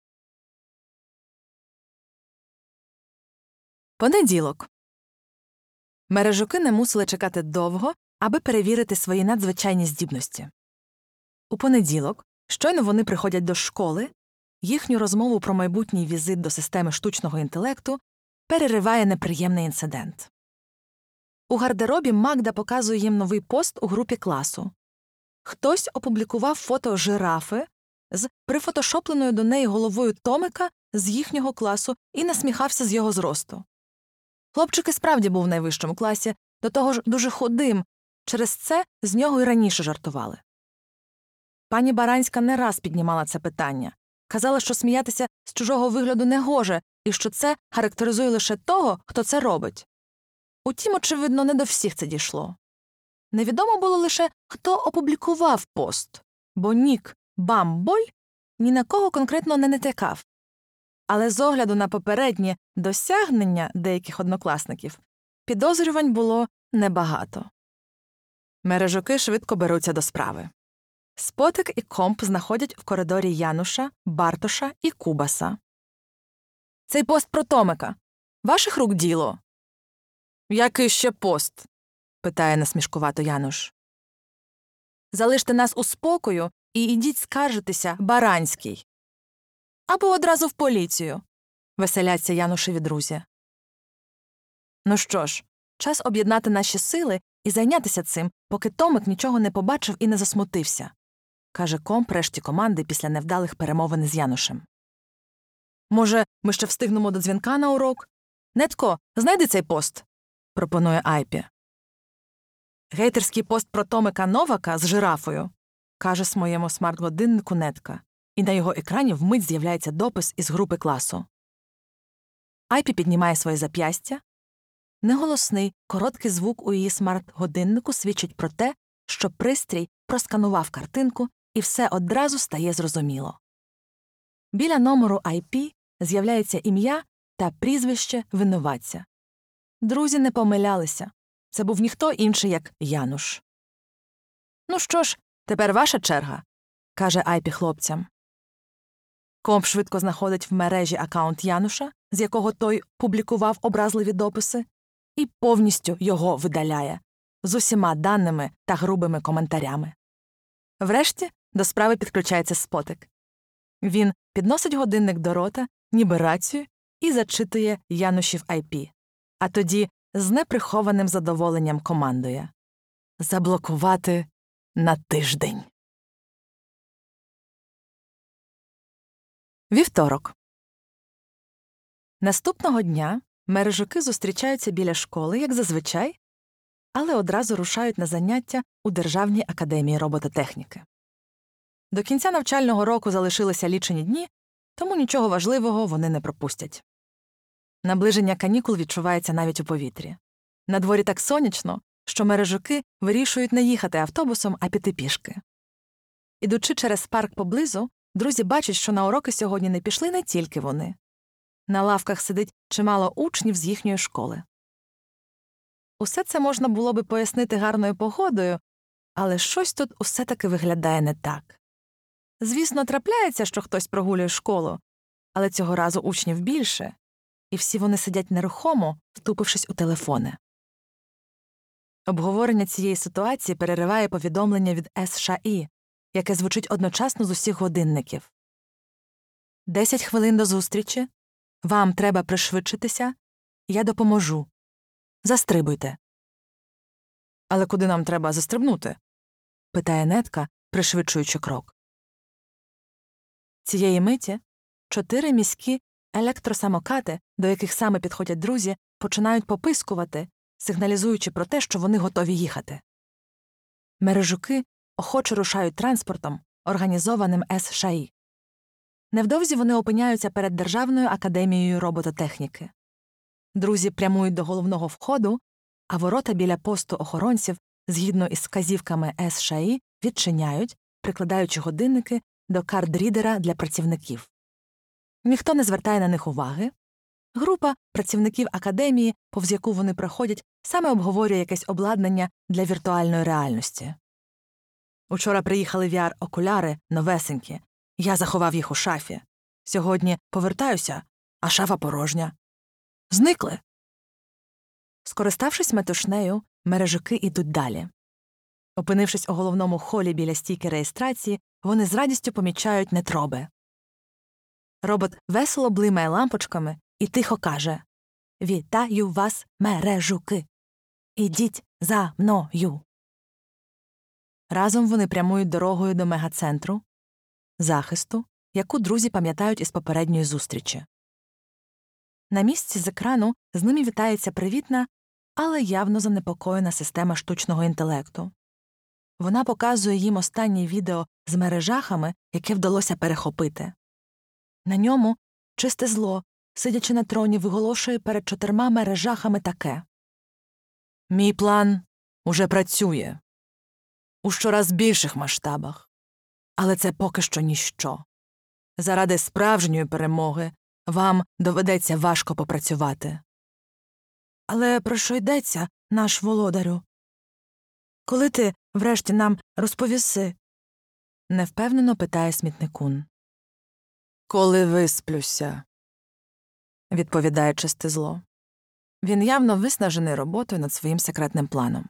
Понеділок. Мережуки не мусили чекати довго, аби перевірити свої надзвичайні здібності. У понеділок, щойно вони приходять до школи, їхню розмову про майбутній візит до системи штучного інтелекту перериває неприємний інцидент. У гардеробі Магда показує їм новий пост у групі класу. Хтось опублікував фото жирафи з прифотошопленою до неї головою Томика з їхнього класу і насміхався з його зросту. Хлопчик і справді був в найвищому класі, до того ж дуже худим, через це з нього й раніше жартували. Пані Баранська не раз піднімала це питання. Казала, що сміятися з чужого вигляду не гоже, і що це характеризує лише того, хто це робить. Утім, очевидно, не до всіх це дійшло. Невідомо було лише, хто опублікував пост, бо нік «Бамболь» ні на кого конкретно не натякав. Але з огляду на попередні досягнення деяких однокласників, підозрювань було небагато. Мережуки швидко беруться до справи. Спотик і Комп знаходять в коридорі Януша, Бартоша і Кубаса. «Цей пост про Томика. Ваших рук діло?» «Який ще пост?» – питає насмішкувато Януш. «Залиште нас у спокою і ідіть скаржитися Баранській. Або одразу в поліцію», – веселяться Янушеві друзі. «Ну що ж, час об'єднати наші сили і зайнятися цим, поки Томик нічого не побачив і не засмутився», – каже Комп решті команди після невдалих перемовин з Янушем. «Може, ми ще встигнемо до дзвінка на урок? Нетко, знайди цей пост», – пропонує Айпі. «Гейтерський пост про Томика Новака з жирафою», – каже своєму смарт-годиннику Нетка, і на його екрані вмить з'являється допис із групи класу. Айпі піднімає своє зап'ястя. Неголосний, короткий звук у її смарт-годиннику свідчить про те, що пристрій просканував картинку, і все одразу стає зрозуміло. Біля номеру IP з'являється ім'я та прізвище винуватця. Друзі не помилялися. Це був ніхто інший, як Януш. «Ну що ж, тепер ваша черга», – каже Айпі хлопцям. Комп швидко знаходить в мережі акаунт Януша, з якого той публікував образливі дописи, і повністю його видаляє, з усіма даними та грубими коментарями. Врешті до справи підключається Спотик. Він підносить годинник до рота, ніби рацію, і зачитує Янушів IP. А тоді з неприхованим задоволенням командує: «Заблокувати на тиждень». Вівторок. Наступного дня мережуки зустрічаються біля школи, як зазвичай, але одразу рушають на заняття у Державній академії робототехніки. До кінця навчального року залишилися лічені дні, тому нічого важливого вони не пропустять. Наближення канікул відчувається навіть у повітрі. На дворі так сонячно, що мережуки вирішують не їхати автобусом, а піти пішки. Ідучи через парк поблизу, друзі бачать, що на уроки сьогодні не пішли не тільки вони. На лавках сидить чимало учнів з їхньої школи. Усе це можна було би пояснити гарною погодою, але щось тут усе-таки виглядає не так. Звісно, трапляється, що хтось прогулює школу, але цього разу учнів більше, і всі вони сидять нерухомо, втупившись у телефони. Обговорення цієї ситуації перериває повідомлення від США, яке звучить одночасно з усіх годинників. 10 хвилин до зустрічі. Вам треба пришвидшитися. Я допоможу. Застрибуйте. Але куди нам треба застрибнути? Питає Нетка, пришвидшуючи крок. Цієї миті 4 міські електросамокати, до яких саме підходять друзі, починають попискувати, сигналізуючи про те, що вони готові їхати. Мережуки охоче рушають транспортом, організованим США. Невдовзі вони опиняються перед Державною академією робототехніки. Друзі прямують до головного входу, а ворота біля посту охоронців, згідно із вказівками США, відчиняють, прикладаючи годинники до карт-рідера для працівників. Ніхто не звертає на них уваги. Група працівників академії, повз яку вони проходять, саме обговорює якесь обладнання для віртуальної реальності. Учора приїхали VR-окуляри, новесенькі. Я заховав їх у шафі. Сьогодні повертаюся, а шафа порожня. Зникли. Скориставшись метушнею, мережуки йдуть далі. Опинившись у головному холі біля стійки реєстрації, вони з радістю помічають Нетробе. Робот весело блимає лампочками і тихо каже: «Вітаю вас, мережуки! Ідіть за мною!» Разом вони прямують дорогою до мегацентру, захисту, яку друзі пам'ятають із попередньої зустрічі. На місці з екрану з ними вітається привітна, але явно занепокоєна система штучного інтелекту. Вона показує їм останнє відео з мережахами, яке вдалося перехопити. На ньому чисте зло, сидячи на троні, виголошує перед 4 мережахами таке: «Мій план уже працює. У щораз більших масштабах. Але це поки що ніщо. Заради справжньої перемоги вам доведеться важко попрацювати». «Але про що йдеться, наш володарю? Коли ти, врешті, нам розповіси?» – невпевнено питає Смітникун. «Коли висплюся», – відповідає чисте зло. Він явно виснажений роботою над своїм секретним планом.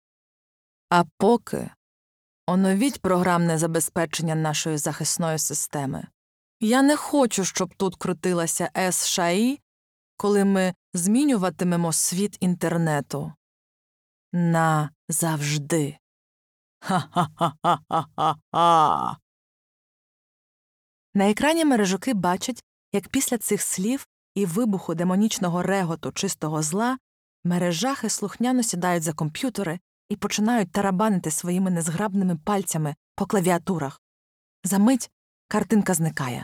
«А поки оновіть програмне забезпечення нашої захисної системи. Я не хочу, щоб тут крутилася США, коли ми змінюватимемо світ інтернету. Назавжди. Ха-ха-ха-ха-ха-ха!» На екрані мережуки бачать, як після цих слів і вибуху демонічного реготу чистого зла мережахи слухняно сідають за комп'ютери і починають тарабанити своїми незграбними пальцями по клавіатурах. Замить картинка зникає.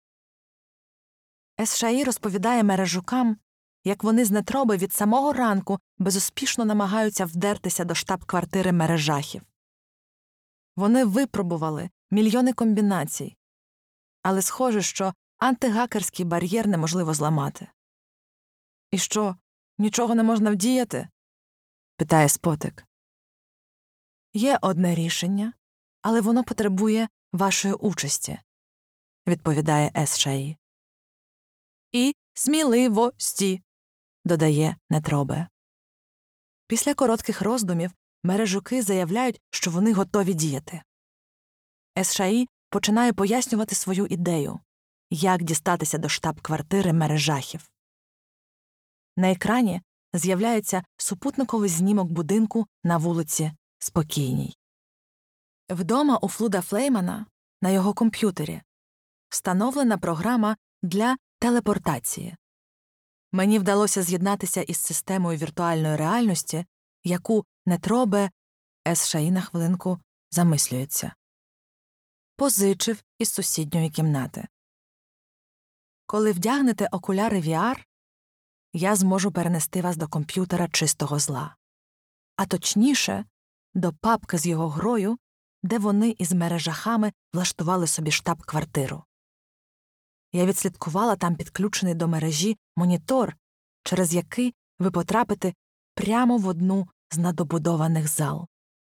США розповідає мережукам, як вони з Нетроби від самого ранку безуспішно намагаються вдертися до штаб-квартири мережахів. Вони випробували мільйони комбінацій, але схоже, що антигакерський бар'єр неможливо зламати. «І що, нічого не можна вдіяти?» – питає Спотик. «Є одне рішення, але воно потребує вашої участі», – відповідає США. «І сміливості», – додає Нетробе. Після коротких роздумів мережуки заявляють, що вони готові діяти. США починає пояснювати свою ідею, як дістатися до штаб-квартири мережахів. На екрані з'являється супутниковий знімок будинку на вулиці Спокійній. Вдома у Флуда Флеймана на його комп'ютері встановлена програма для телепортації. Мені вдалося з'єднатися із системою віртуальної реальності, яку Нетробе, США на хвилинку замислюється, позичив із сусідньої кімнати. Коли вдягнете окуляри VR, я зможу перенести вас до комп'ютера чистого зла. А точніше, до папки з його грою, де вони із мережахами влаштували собі штаб-квартиру. Я відслідкувала там підключений до мережі монітор, через який ви потрапите прямо в одну з надобудованих зал.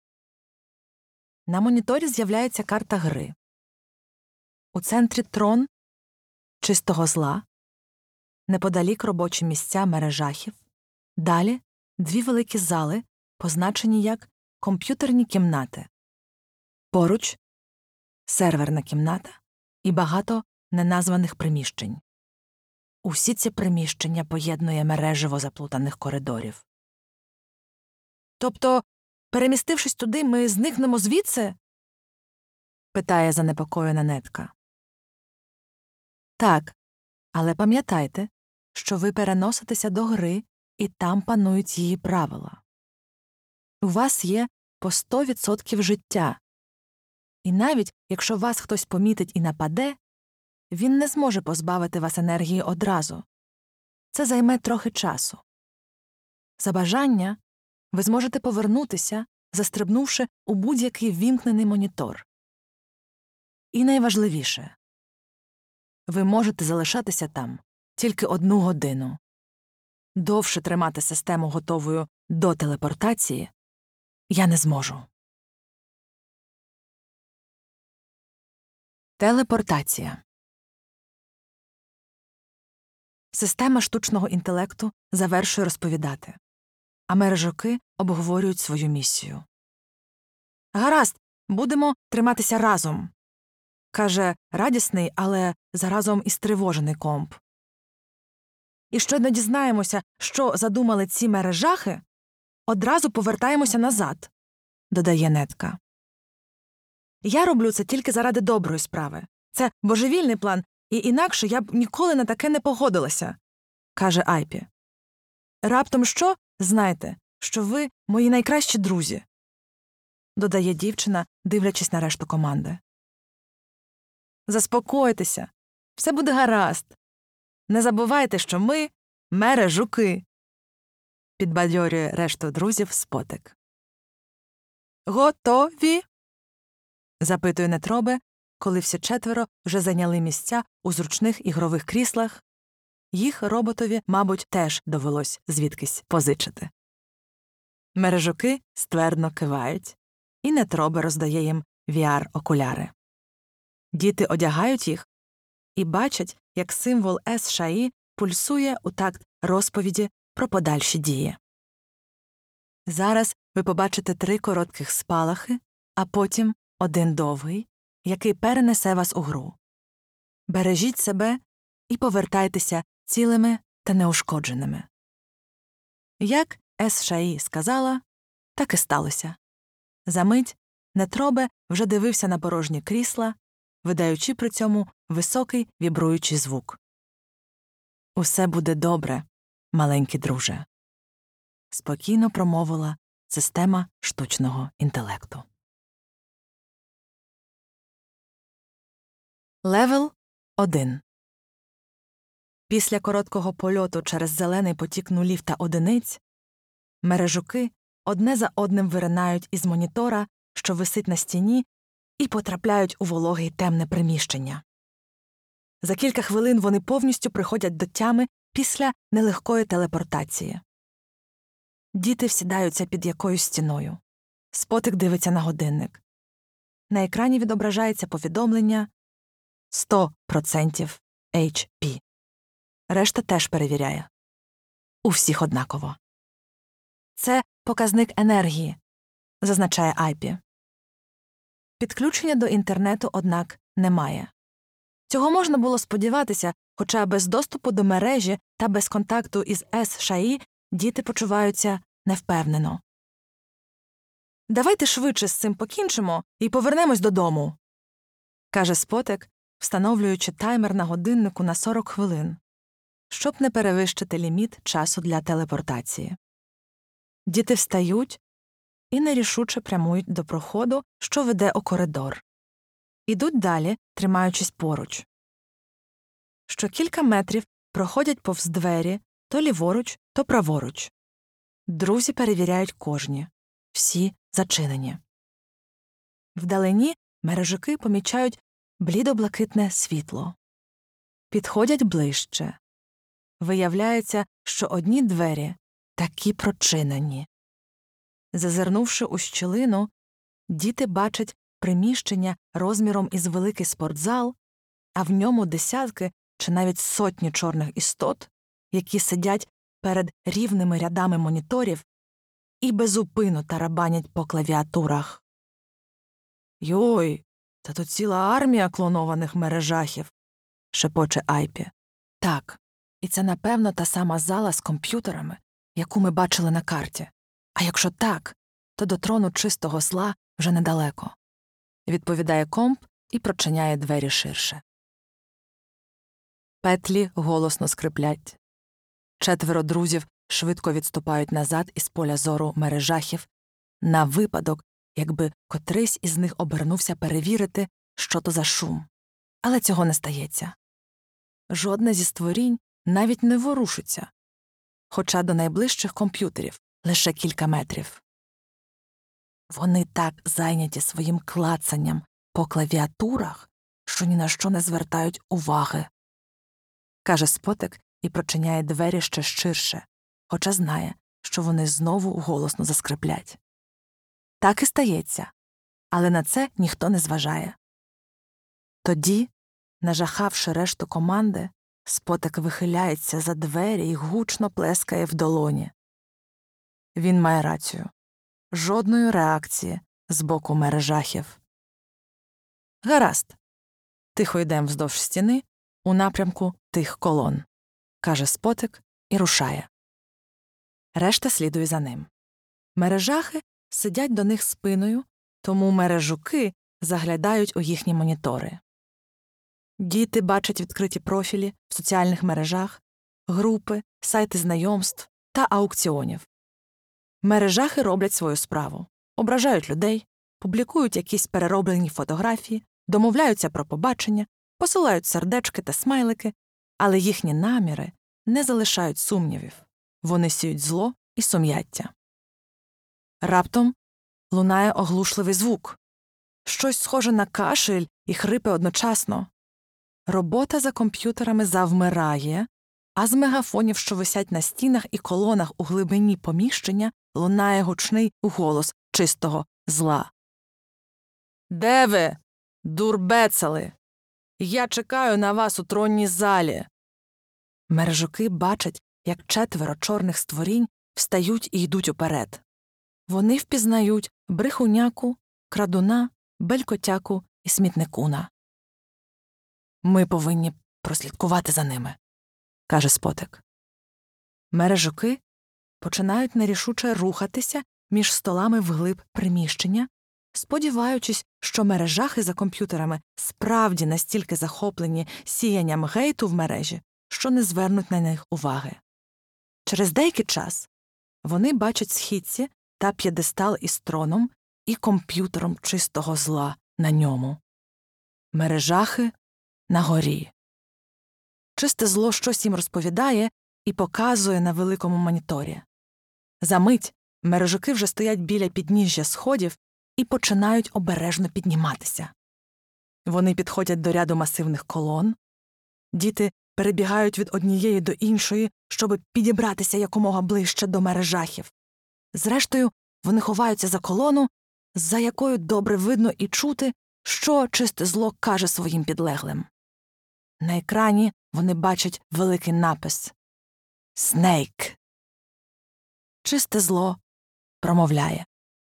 На моніторі з'являється карта гри. У центрі трон чистого зла, неподалік робочі місця мережахів, далі 2 великі зали, позначені як комп'ютерні кімнати, поруч серверна кімната і багато неназваних приміщень. Усі ці приміщення поєднує мережево заплутаних коридорів. «Тобто, перемістившись туди, ми зникнемо звідси?» – питає занепокоєна Нетка. «Так, але пам'ятайте, що ви переноситеся до гри, і там панують її правила. У вас є по 100% життя. І навіть, якщо вас хтось помітить і нападе, він не зможе позбавити вас енергії одразу. Це займе трохи часу. За бажання ви зможете повернутися, застрибнувши у будь-який ввімкнений монітор. І найважливіше – ви можете залишатися там тільки 1 годину. Довше тримати систему готовою до телепортації я не зможу». Телепортація. Система штучного інтелекту завершує розповідати, а мережуки обговорюють свою місію. «Гаразд, будемо триматися разом», – каже радісний, але заразом і стривожений комп. «І щойно дізнаємося, що задумали ці мережахи, одразу повертаємося назад», – додає Нетка. «Я роблю це тільки заради доброї справи. Це божевільний план, і інакше я б ніколи на таке не погодилася», – каже Айпі. «Раптом що? Знайте, що ви мої найкращі друзі», – додає дівчина, дивлячись на решту команди. «Заспокойтеся, все буде гаразд. Не забувайте, що ми – мережуки», – підбадьорює решту друзів Спотик. «Готові?» – запитує Нетробе, коли всі 4 вже зайняли місця у зручних ігрових кріслах. Їх роботові, мабуть, теж довелось звідкись позичити. Мережуки ствердно кивають, і Нетробе роздає їм VR-окуляри. Діти одягають їх і бачать, як символ ес-ШАІ пульсує у такт розповіді про подальші дії. Зараз ви побачите 3 коротких спалахи, а потім 1 довгий, який перенесе вас у гру. Бережіть себе і повертайтеся цілими та неушкодженими. Як ес-ШАІ сказала, так і сталося. Замить Нетробе вже дивився на порожні крісла, видаючи при цьому високий вібруючий звук. «Усе буде добре, маленький друже», – спокійно промовила система штучного інтелекту. Левел 1. Після короткого польоту через зелений потік нулів та одиниць мережуки одне за одним виринають із монітора, що висить на стіні, і потрапляють у вологе й темне приміщення. За кілька хвилин вони повністю приходять до тями після нелегкої телепортації. Діти всідаються під якоюсь стіною. Спотик дивиться на годинник. На екрані відображається повідомлення 100% HP. Решта теж перевіряє. У всіх однаково. «Це показник енергії», – зазначає Айпі. Підключення до інтернету, однак, немає. Цього можна було сподіватися, хоча без доступу до мережі та без контакту із ес-ШАІ діти почуваються невпевнено. «Давайте швидше з цим покінчимо і повернемось додому», – каже Спотик, встановлюючи таймер на годиннику на 40 хвилин, щоб не перевищити ліміт часу для телепортації. Діти встають і нерішуче прямують до проходу, що веде у коридор. Ідуть далі, тримаючись поруч. Що кілька метрів проходять повз двері то ліворуч, то праворуч. Друзі перевіряють кожні. Всі зачинені. Вдалині мережуки помічають блідо-блакитне світло. Підходять ближче. Виявляється, що одні двері такі прочинені. Зазирнувши у щілину, діти бачать приміщення розміром із великий спортзал, а в ньому десятки чи навіть сотні чорних істот, які сидять перед рівними рядами моніторів і безупинно тарабанять по клавіатурах. «Йой, та тут ціла армія клонованих мережахів», – шепоче Айпі. «Так, і це, напевно, та сама зала з комп'ютерами, яку ми бачили на карті. А якщо так, то до трону чистого зла вже недалеко», – відповідає комп і прочиняє двері ширше. Петлі голосно скриплять. 4 друзів швидко відступають назад із поля зору мережахів на випадок, якби котрийсь із них обернувся перевірити, що то за шум. Але цього не стається. Жодне зі створінь навіть не ворушиться, хоча до найближчих комп'ютерів лише кілька метрів. Вони так зайняті своїм клацанням по клавіатурах, що ні на що не звертають уваги, каже Спотик і прочиняє двері ще ширше, хоча знає, що вони знову голосно заскриплять. Так і стається, але на це ніхто не зважає. Тоді, нажахавши решту команди, Спотик вихиляється за двері і гучно плескає в долоні. Він має рацію. Жодної реакції з боку мережахів. «Гаразд. Тихо йдем вздовж стіни у напрямку тих колон», – каже Спотик і рушає. Решта слідує за ним. Мережахи сидять до них спиною, тому мережуки заглядають у їхні монітори. Діти бачать відкриті профілі в соціальних мережах, групи, сайти знайомств та аукціонів. Мережахи роблять свою справу, ображають людей, публікують якісь перероблені фотографії, домовляються про побачення, посилають сердечки та смайлики, але їхні наміри не залишають сумнівів. Вони сіють зло і сум'яття. Раптом лунає оглушливий звук. Щось схоже на кашель і хрипи одночасно. Робота за комп'ютерами завмирає, а з мегафонів, що висять на стінах і колонах у глибині поміщення, лунає гучний голос чистого зла. «Де ви, дурбецели? Я чекаю на вас у тронній залі!» Мережуки бачать, як 4 чорних створінь встають і йдуть уперед. Вони впізнають брехуняку, крадуна, белькотяку і смітникуна. «Ми повинні прослідкувати за ними», – каже Спотик. Мережуки починають нерішуче рухатися між столами вглиб приміщення, сподіваючись, що мережахи за комп'ютерами справді настільки захоплені сіянням гейту в мережі, що не звернуть на них уваги. Через деякий час вони бачать східці та п'єдестал із троном і комп'ютером чистого зла на ньому. Мережахи на горі. Чисте зло щось їм розповідає і показує на великому моніторі. Замить мережуки вже стоять біля підніжжя сходів і починають обережно підніматися. Вони підходять до ряду масивних колон. Діти перебігають від однієї до іншої, щоб підібратися якомога ближче до мережахів. Зрештою, вони ховаються за колону, за якою добре видно і чути, що чисте зло каже своїм підлеглим. На екрані вони бачать великий напис «Снейк». Чисте зло промовляє.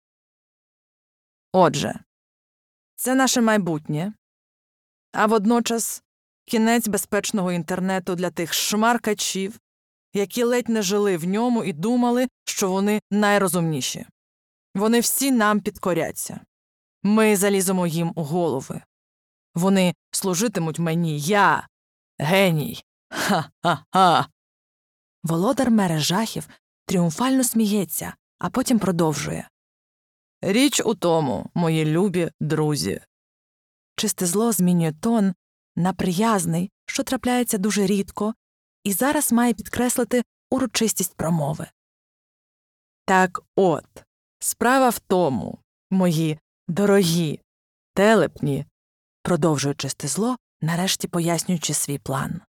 «Отже, це наше майбутнє, а водночас кінець безпечного інтернету для тих шмаркачів, які ледь не жили в ньому і думали, що вони найрозумніші. Вони всі нам підкоряться. Ми заліземо їм у голови. Вони служитимуть мені, я, геній. Ха-ха-ха!» Володар мережахів тріумфально сміється, а потім продовжує. «Річ у тому, мої любі друзі». Чисте зло змінює тон на приязний, що трапляється дуже рідко, і зараз має підкреслити урочистість промови. «Так от, справа в тому, мої дорогі телепні», продовжує чисте зло, нарешті пояснюючи свій план.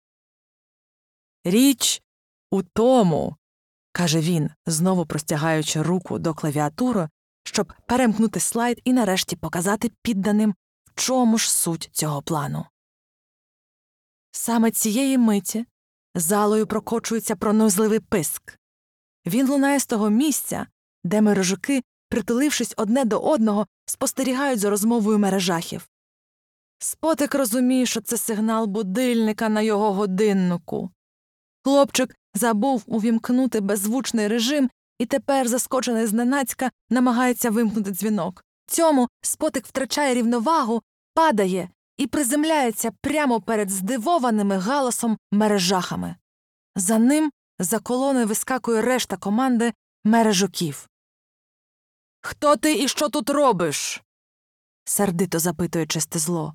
«Річ у тому», каже він, знову простягаючи руку до клавіатури, щоб перемкнути слайд і нарешті показати підданим, в чому ж суть цього плану. Саме цієї миті Залою прокочується пронизливий писк. Він лунає з того місця, де мережуки, притулившись одне до одного, спостерігають за розмовою мережахів. Спотик розуміє, що це сигнал будильника на його годиннику. Хлопчик забув увімкнути беззвучний режим і тепер, заскочений зненацька, намагається вимкнути дзвінок. Цьому Спотик втрачає рівновагу, падає і приземляється прямо перед здивованими галасом мережахами. За ним за колони вискакує решта команди мережуків. «Хто ти і що тут робиш?» – сердито запитує чисте зло.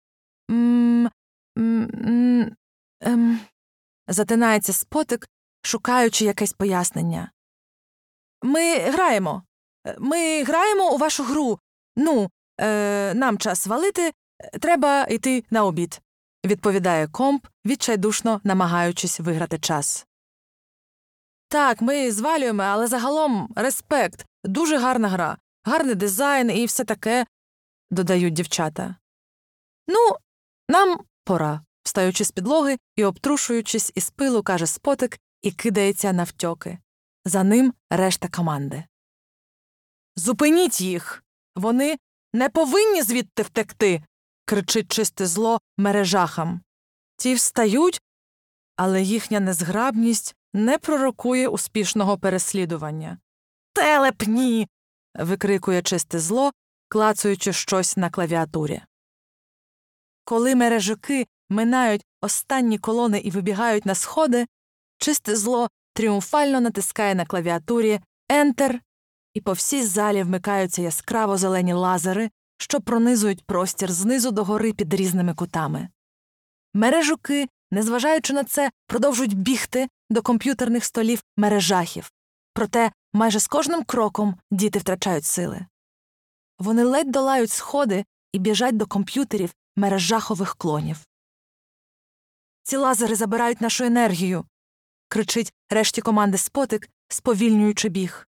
Затинається Спотик, шукаючи якесь пояснення. Ми граємо у вашу гру. Нам час валити, треба йти на обід», – відповідає комп, відчайдушно намагаючись виграти час. «Так, ми звалюємо, але загалом респект, дуже гарна гра, гарний дизайн і все таке», – додають дівчата. Нам пора», – встаючи з підлоги і обтрушуючись із пилу, каже Спотик і кидається навтьоки. За ним решта команди. «Зупиніть їх! Вони не повинні звідти втекти!» – кричить чисте зло мережахам. Ті встають, але їхня незграбність не пророкує успішного переслідування. «Телепні!» – викрикує чисте зло, клацаючи щось на клавіатурі. Коли мережуки минають останні колони і вибігають на сходи, чисте зло тріумфально натискає на клавіатурі «Ентер», і по всій залі вмикаються яскраво-зелені лазери, що пронизують простір знизу до гори під різними кутами. Мережуки, незважаючи на це, продовжують бігти до комп'ютерних столів мережахів. Проте майже з кожним кроком діти втрачають сили. Вони ледь долають сходи і біжать до комп'ютерів мережахових клонів. «Ці лазери забирають нашу енергію!» – кричить решті команди Спотик, сповільнюючи біг.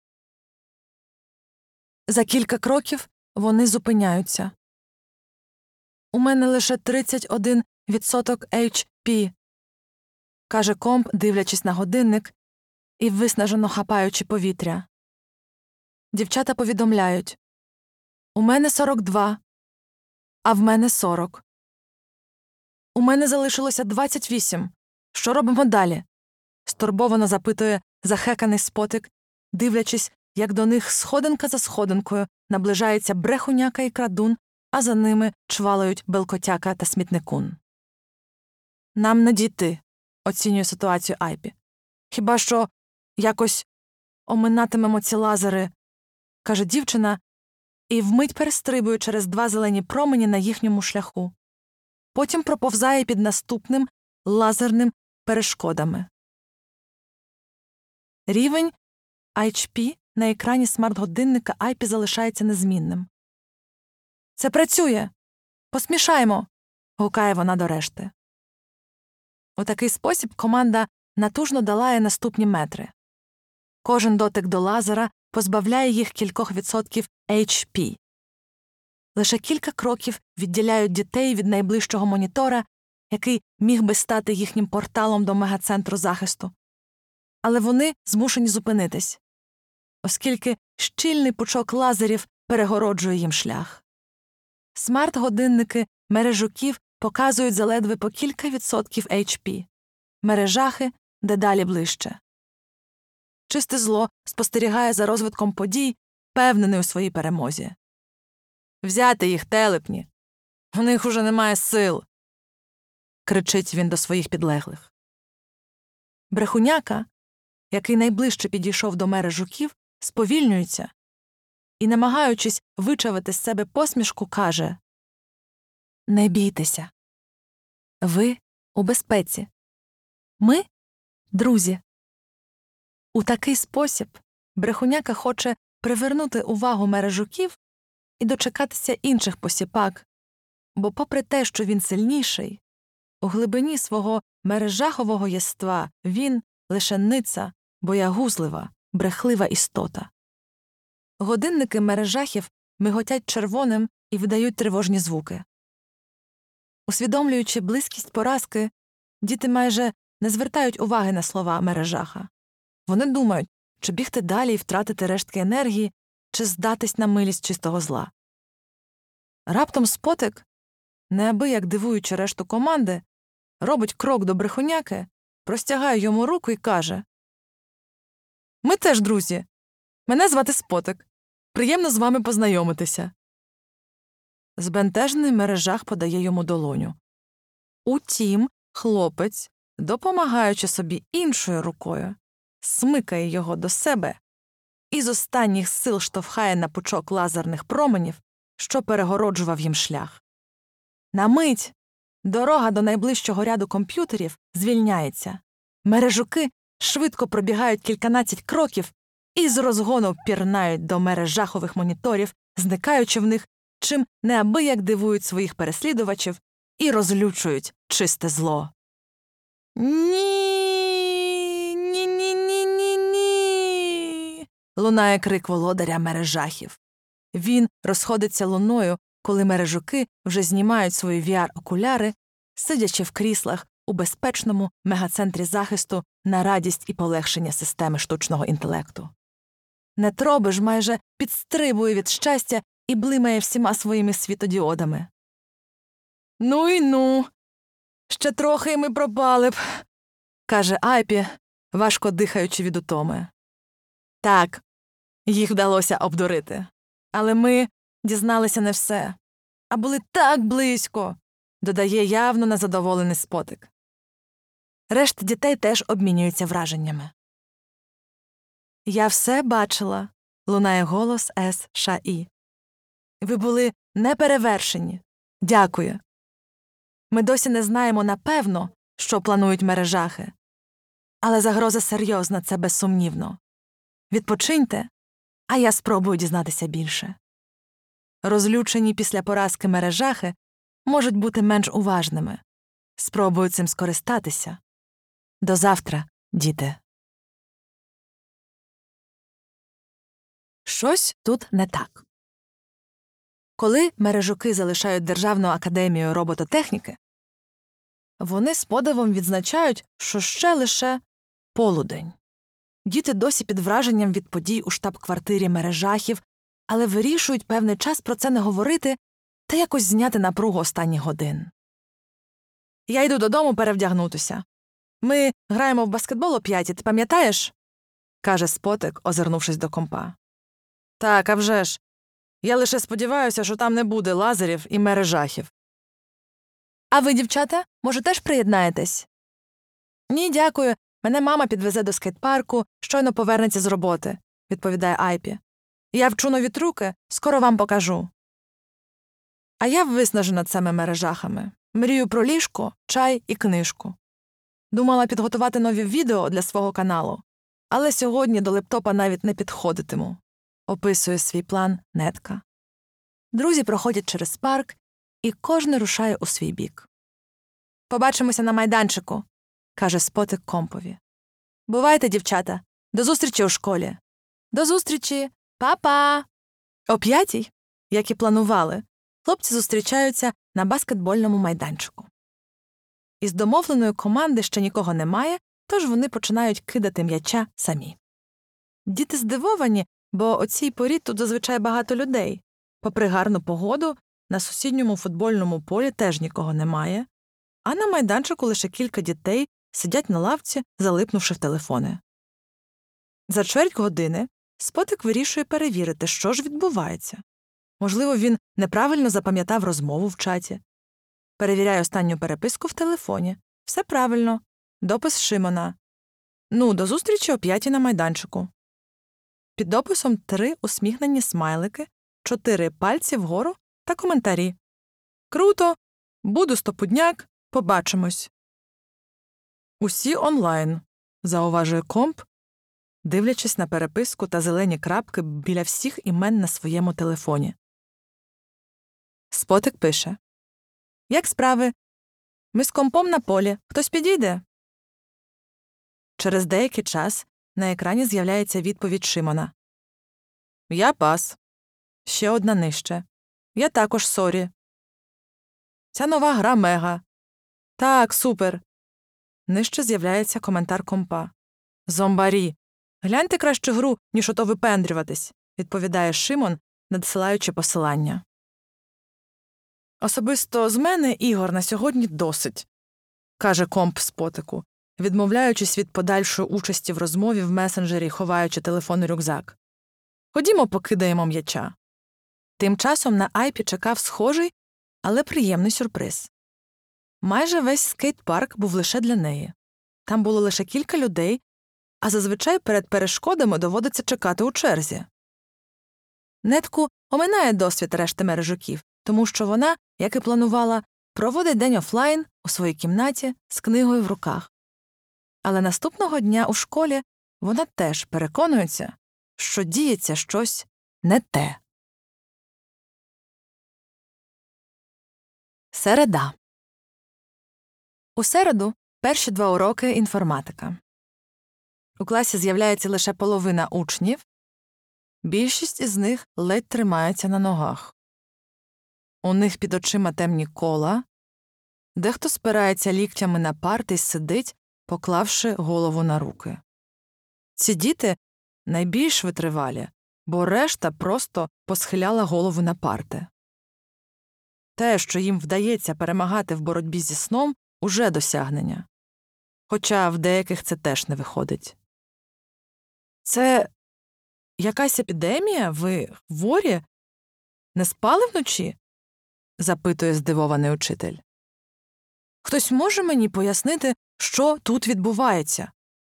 За кілька кроків вони зупиняються. «У мене лише 31% HP», – каже комп, дивлячись на годинник і виснажено хапаючи повітря. Дівчата повідомляють: «У мене 42, а в мене 40. У мене залишилося 28. Що робимо далі?» – стурбовано запитує захеканий Спотик, дивлячись, як до них сходинка за сходинкою наближається брехуняка і крадун, а за ними чвалають белкотяка та смітникун. «Нам не дійти», – оцінює ситуацію Айпі. «Хіба що якось оминатимемо ці лазери», – каже дівчина, і вмить перестрибує через 2 зелені промені на їхньому шляху. Потім проповзає під наступним лазерним перешкодами. Рівень HP на екрані смарт-годинника Айпі залишається незмінним. «Це працює! Посмішаймо!» – гукає вона до решти. У такий спосіб команда натужно долає наступні метри. Кожен дотик до лазера позбавляє їх кількох відсотків HP. Лише кілька кроків відділяють дітей від найближчого монітора, який міг би стати їхнім порталом до мегацентру захисту. Але вони змушені зупинитись, оскільки щільний пучок лазерів перегороджує їм шлях. Смарт-годинники мережуків показують заледве по кілька відсотків HP. Мережахи дедалі ближче. Чисте зло спостерігає за розвитком подій, впевнений у своїй перемозі. «Взяти їх, телепні! У них уже немає сил!» – кричить він до своїх підлеглих. Брехуняка, який найближче підійшов до мережуків, сповільнюється і, намагаючись вичавити з себе посмішку, каже: «Не бійтеся. Ви у безпеці. Ми – друзі». У такий спосіб брехуняка хоче привернути увагу мережуків і дочекатися інших посіпак, бо попри те, що він сильніший, у глибині свого мережахового єства він лише ниця, боягузлива, брехлива істота. Годинники мережахів миготять червоним і видають тривожні звуки. Усвідомлюючи близькість поразки, діти майже не звертають уваги на слова мережаха. Вони думають, чи бігти далі і втратити рештки енергії, чи здатись на милість чистого зла. Раптом Спотик, неабияк дивуючи решту команди, робить крок до брехуняки, простягає йому руку і каже: «Ми теж друзі. Мене звати Спотик. Приємно з вами познайомитися». Збентежений мережах подає йому долоню. Утім, хлопець, допомагаючи собі іншою рукою, смикає його до себе і з останніх сил штовхає на пучок лазерних променів, що перегороджував їм шлях. На мить дорога до найближчого ряду комп'ютерів звільняється. Мережуки швидко пробігають кільканадцять кроків і з розгону пірнають до мережахових моніторів, зникаючи в них, чим неабияк дивують своїх переслідувачів і розлючують чисте зло. «Ні! Ні-ні-ні-ні-ні!» лунає крик володаря мережахів. Він розходиться луною, коли мережуки вже знімають свої VR-окуляри, сидячи в кріслах у безпечному мегацентрі захисту на радість і полегшення системи штучного інтелекту. Нетробиш майже підстрибує від щастя і блимає всіма своїми світодіодами. «Ну й ну! Ще трохи і ми пропали б», – каже Айпі, важко дихаючи від утоми. Так, їх вдалося обдурити. Але ми дізналися не все. А були так близько, додає явно незадоволений Спотик. Решта дітей теж обмінюються враженнями. «Я все бачила», – лунає голос С.Ш.І. «Ви були неперевершені. Дякую. Ми досі не знаємо напевно, що планують мережахи. Але загроза серйозна, це безсумнівно. Відпочиньте, а я спробую дізнатися більше». Розлючені після поразки мережахи можуть бути менш уважними. Спробую цим скористатися. До завтра, діти. Щось тут не так. Коли мережуки залишають Державну академію робототехніки, вони з подивом відзначають, що ще лише полудень. Діти досі під враженням від подій у штаб-квартирі мережахів, але вирішують певний час про це не говорити та якось зняти напругу останніх годин. «Я йду додому перевдягнутися. Ми граємо в баскетбол о 5:00, ти пам'ятаєш?» – каже Спотик, озирнувшись до компа. «Так, а вже ж. Я лише сподіваюся, що там не буде лазерів і мережахів». «А ви, дівчата, може, теж приєднаєтесь?» «Ні, дякую. Мене мама підвезе до скейт-парку, щойно повернеться з роботи», – відповідає Айпі. «Я вчу нові трюки, скоро вам покажу». А я виснажена цими мережахами. Мрію про ліжко, чай і книжку. Думала підготувати нові відео для свого каналу, але сьогодні до лептопа навіть не підходитиму, описує свій план Нетка. Друзі проходять через парк, і кожен рушає у свій бік. «Побачимося на майданчику», – каже Спотик компові. «Бувайте, дівчата. До зустрічі у школі». «До зустрічі. Па-па!» О 5:00, як і планували, хлопці зустрічаються на баскетбольному майданчику. Із домовленої команди ще нікого немає, тож вони починають кидати м'яча самі. Діти здивовані, бо о цій порі тут зазвичай багато людей. Попри гарну погоду, на сусідньому футбольному полі теж нікого немає, а на майданчику лише кілька дітей сидять на лавці, залипнувши в телефони. За чверть години Спотик вирішує перевірити, що ж відбувається. Можливо, він неправильно запам'ятав розмову в чаті. Перевіряє останню переписку в телефоні. Все правильно. Допис Шимона. «Ну, до зустрічі о 5:00 на майданчику». Під дописом 3 усміхнені смайлики, 4 пальці вгору та коментарі. «Круто! Буду стопудняк! Побачимось!» «Усі онлайн», – зауважує комп, дивлячись на переписку та зелені крапки біля всіх імен на своєму телефоні. Спотик пише: «Як справи? Ми з компом на полі. Хтось підійде?» Через деякий час на екрані з'являється відповідь Шимона. «Я пас». Ще одна нижче. «Я також сорі». «Ця нова гра мега». «Так, супер». Нижче з'являється коментар компа. «Зомбарі! Гляньте краще гру, ніж ото випендрюватись», відповідає Шимон, надсилаючи посилання. «Особисто з мене ігор на сьогодні досить», каже комп Спотику, відмовляючись від подальшої участі в розмові в месенджері, ховаючи телефон у рюкзак. «Ходімо покидаємо м'яча». Тим часом на Айпі чекав схожий, але приємний сюрприз. Майже весь скейт-парк був лише для неї. Там було лише кілька людей, а зазвичай перед перешкодами доводиться чекати у черзі. Нетку оминає досвід решти мережуків, тому що вона, як і планувала, проводить день офлайн у своїй кімнаті з книгою в руках. Але наступного дня у школі вона теж переконується, що діється щось не те. Середа. У середу перші 2 уроки інформатика. У класі з'являється лише половина учнів, більшість із них ледь тримається на ногах. У них під очима темні кола, дехто спирається ліктями на парти й сидить, поклавши голову на руки. Ці діти найбільш витривалі, бо решта просто посхиляла голову на парти. Те, що їм вдається перемагати в боротьбі зі сном, уже досягнення. Хоча в деяких це теж не виходить. «Це якась епідемія? Ви хворі? Не спали вночі?» – запитує здивований учитель. «Хтось може мені пояснити, що тут відбувається?»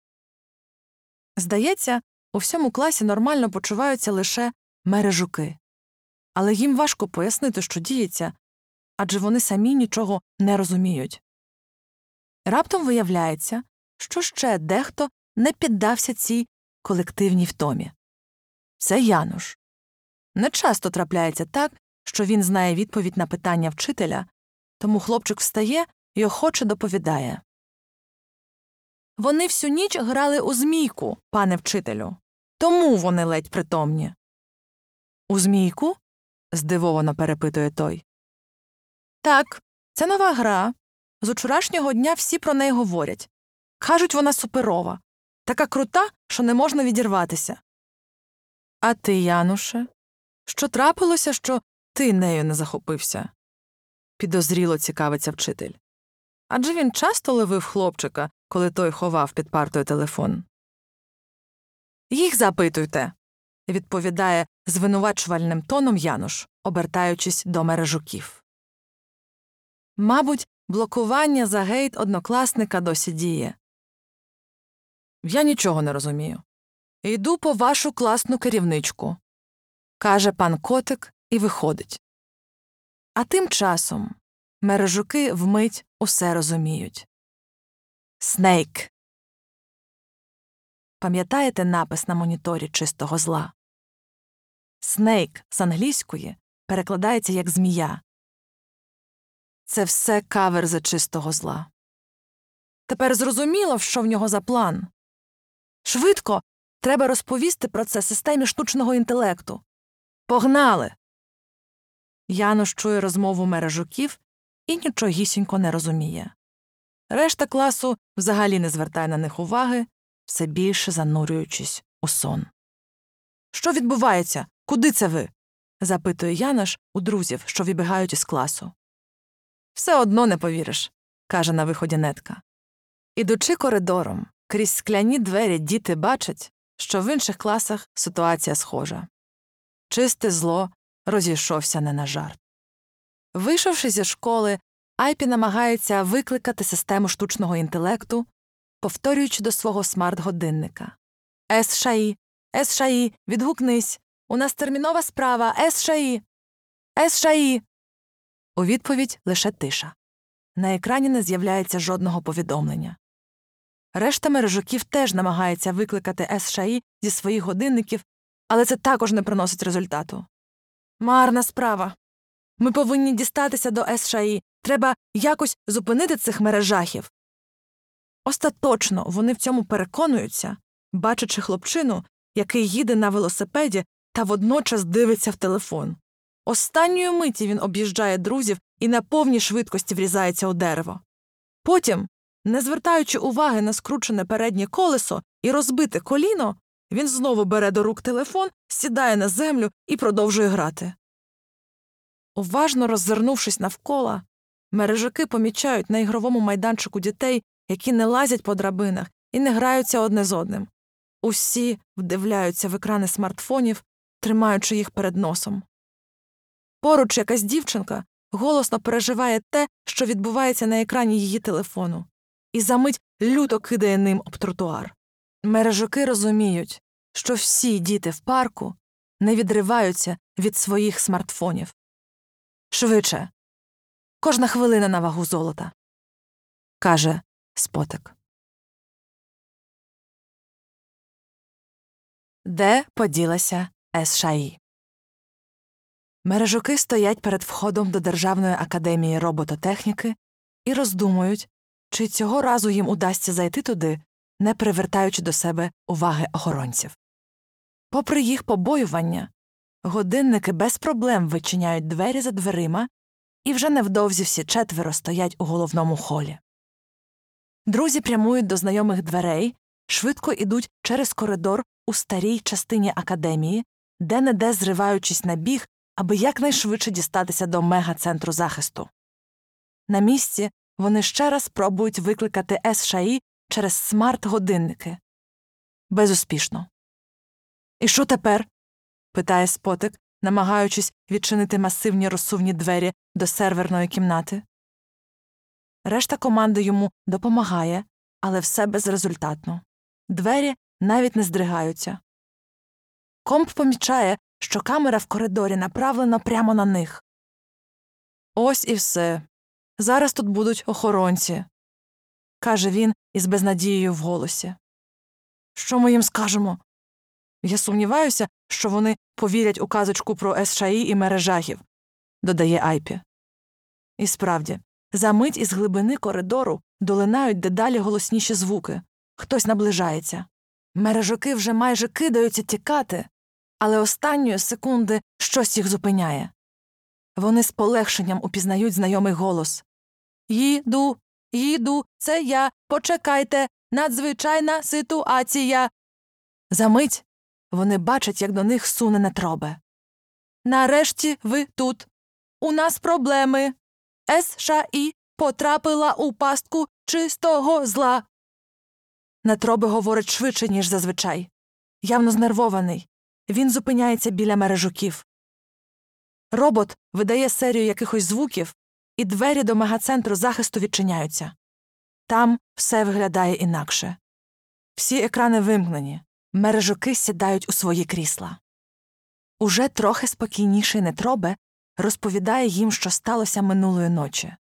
Здається, у всьому класі нормально почуваються лише мережуки. Але їм важко пояснити, що діється, адже вони самі нічого не розуміють. Раптом виявляється, що ще дехто не піддався цій колективній втомі. Це Януш. Нечасто трапляється так, що він знає відповідь на питання вчителя, тому хлопчик встає і охоче доповідає. «Вони всю ніч грали у змійку, пане вчителю. Тому вони ледь притомні». «У змійку?» – здивовано перепитує той. «Так, це нова гра. З учорашнього дня всі про неї говорять. Кажуть, вона суперова. Така крута, що не можна відірватися». «А ти, Януше, що трапилося, що ти нею не захопився?» Підозріло цікавиться вчитель. Адже він часто ловив хлопчика, коли той ховав під партою телефон. «Їх запитуйте», – відповідає звинувачувальним тоном Януш, обертаючись до мережуків. Мабуть, блокування за гейт однокласника досі діє. «Я нічого не розумію. Йду по вашу класну керівничку», – каже пан Котик і виходить. А тим часом мережуки вмить усе розуміють. Снейк. Пам'ятаєте напис на моніторі «Чистого зла»? Снейк з англійської перекладається як «змія». Це все каверзи «Чистого зла». Тепер зрозуміло, що в нього за план. Швидко треба розповісти про це системі штучного інтелекту. Погнали! Януш чує розмову мережуків і нічогісінько не розуміє. Решта класу взагалі не звертає на них уваги, все більше занурюючись у сон. «Що відбувається? Куди це ви?» – запитує Януш у друзів, що вибігають із класу. «Все одно не повіриш», – каже на виході Нетка. Ідучи коридором, крізь скляні двері діти бачать, що в інших класах ситуація схожа. Чисте зло розійшовся не на жарт. Вийшовши зі школи, Айпі намагається викликати систему штучного інтелекту, повторюючи до свого смарт-годинника. «СШІ! СШІ! Відгукнись! У нас термінова справа! СШІ! СШІ!» У відповідь лише тиша. На екрані не з'являється жодного повідомлення. Решта мережуків теж намагається викликати СШІ зі своїх годинників, але це також не приносить результату. «Марна справа! Ми повинні дістатися до СШІ. Треба якось зупинити цих мережахів». Остаточно вони в цьому переконуються, бачачи хлопчину, який їде на велосипеді та водночас дивиться в телефон. Останньої миті він об'їжджає друзів і на повній швидкості врізається у дерево. Потім Не звертаючи уваги на скручене переднє колесо і розбите коліно, він знову бере до рук телефон, сідає на землю і продовжує грати. Уважно роззирнувшись навколо, мережаки помічають на ігровому майданчику дітей, які не лазять по драбинах і не граються одне з одним. Усі вдивляються в екрани смартфонів, тримаючи їх перед носом. Поруч якась дівчинка голосно переживає те, що відбувається на екрані її телефону, і за мить люто кидає ним об тротуар. Мережаки розуміють, що всі діти в парку не відриваються від своїх смартфонів. «Швидше! Кожна хвилина на вагу золота», – каже Спотик. Де поділася СШІ? Мережаки стоять перед входом до Державної академії робототехніки і роздумують, чи цього разу їм удасться зайти туди, не привертаючи до себе уваги охоронців. Попри їх побоювання, годинники без проблем вичиняють двері за дверима, і вже невдовзі всі четверо стоять у головному холі. Друзі прямують до знайомих дверей, швидко ідуть через коридор у старій частині академії, де-не-де зриваючись на біг, аби якнайшвидше дістатися до мега-центру захисту. На місці вони ще раз пробують викликати СШІ через смарт-годинники. Безуспішно. «І що тепер?» – питає Спотик, намагаючись відчинити масивні розсувні двері до серверної кімнати. Решта команди йому допомагає, але все безрезультатно. Двері навіть не здригаються. Комп помічає, що камера в коридорі направлена прямо на них. «Ось і все. Зараз тут будуть охоронці», – каже він із безнадією в голосі. «Що ми їм скажемо? Я сумніваюся, що вони повірять у казочку про СШІ і мережахів», – додає Айпі. І справді, за мить із глибини коридору долинають дедалі голосніші звуки. Хтось наближається. Мережаки вже майже кидаються тікати, але останньої секунди щось їх зупиняє. Вони з полегшенням упізнають знайомий голос. «Їду, це я, почекайте, надзвичайна ситуація». За мить вони бачать, як до них суне Нетробе. «Нарешті ви тут. У нас проблеми. СШІ потрапила у пастку чистого зла». Нетробе говорить швидше, ніж зазвичай. Явно знервований. Він зупиняється біля мережуків. Робот видає серію якихось звуків, і двері до мегацентру захисту відчиняються. Там все виглядає інакше. Всі екрани вимкнені. Мережуки сідають у свої крісла. Уже трохи спокійніший Нетробе розповідає їм, що сталося минулої ночі.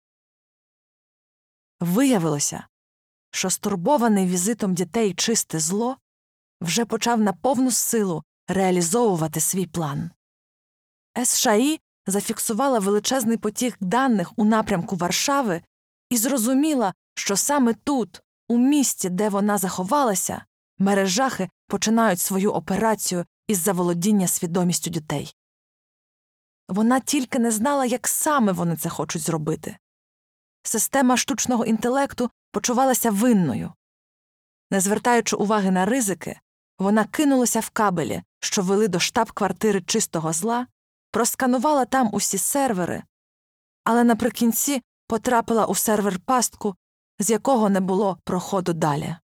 Виявилося, що стурбований візитом дітей чисте зло вже почав на повну силу реалізовувати свій план. СШІ зафіксувала величезний потік даних у напрямку Варшави і зрозуміла, що саме тут, у місті, де вона заховалася, мережахи починають свою операцію із заволодіння свідомістю дітей. Вона тільки не знала, як саме вони це хочуть зробити. Система штучного інтелекту почувалася винною. Не звертаючи уваги на ризики, вона кинулася в кабелі, що вели до штаб-квартири чистого зла, просканувала там усі сервери, але наприкінці потрапила у сервер-пастку, з якого не було проходу далі.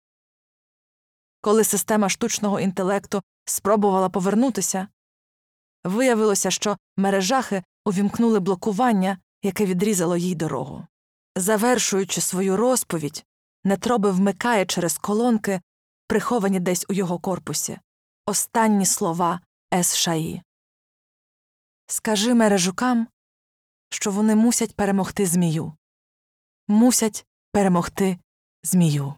Коли система штучного інтелекту спробувала повернутися, виявилося, що мережахи увімкнули блокування, яке відрізало їй дорогу. Завершуючи свою розповідь, Нетробе вмикає через колонки, приховані десь у його корпусі, останні слова СШІ. «Скажи мережукам, що вони мусять перемогти змію. Мусять перемогти змію».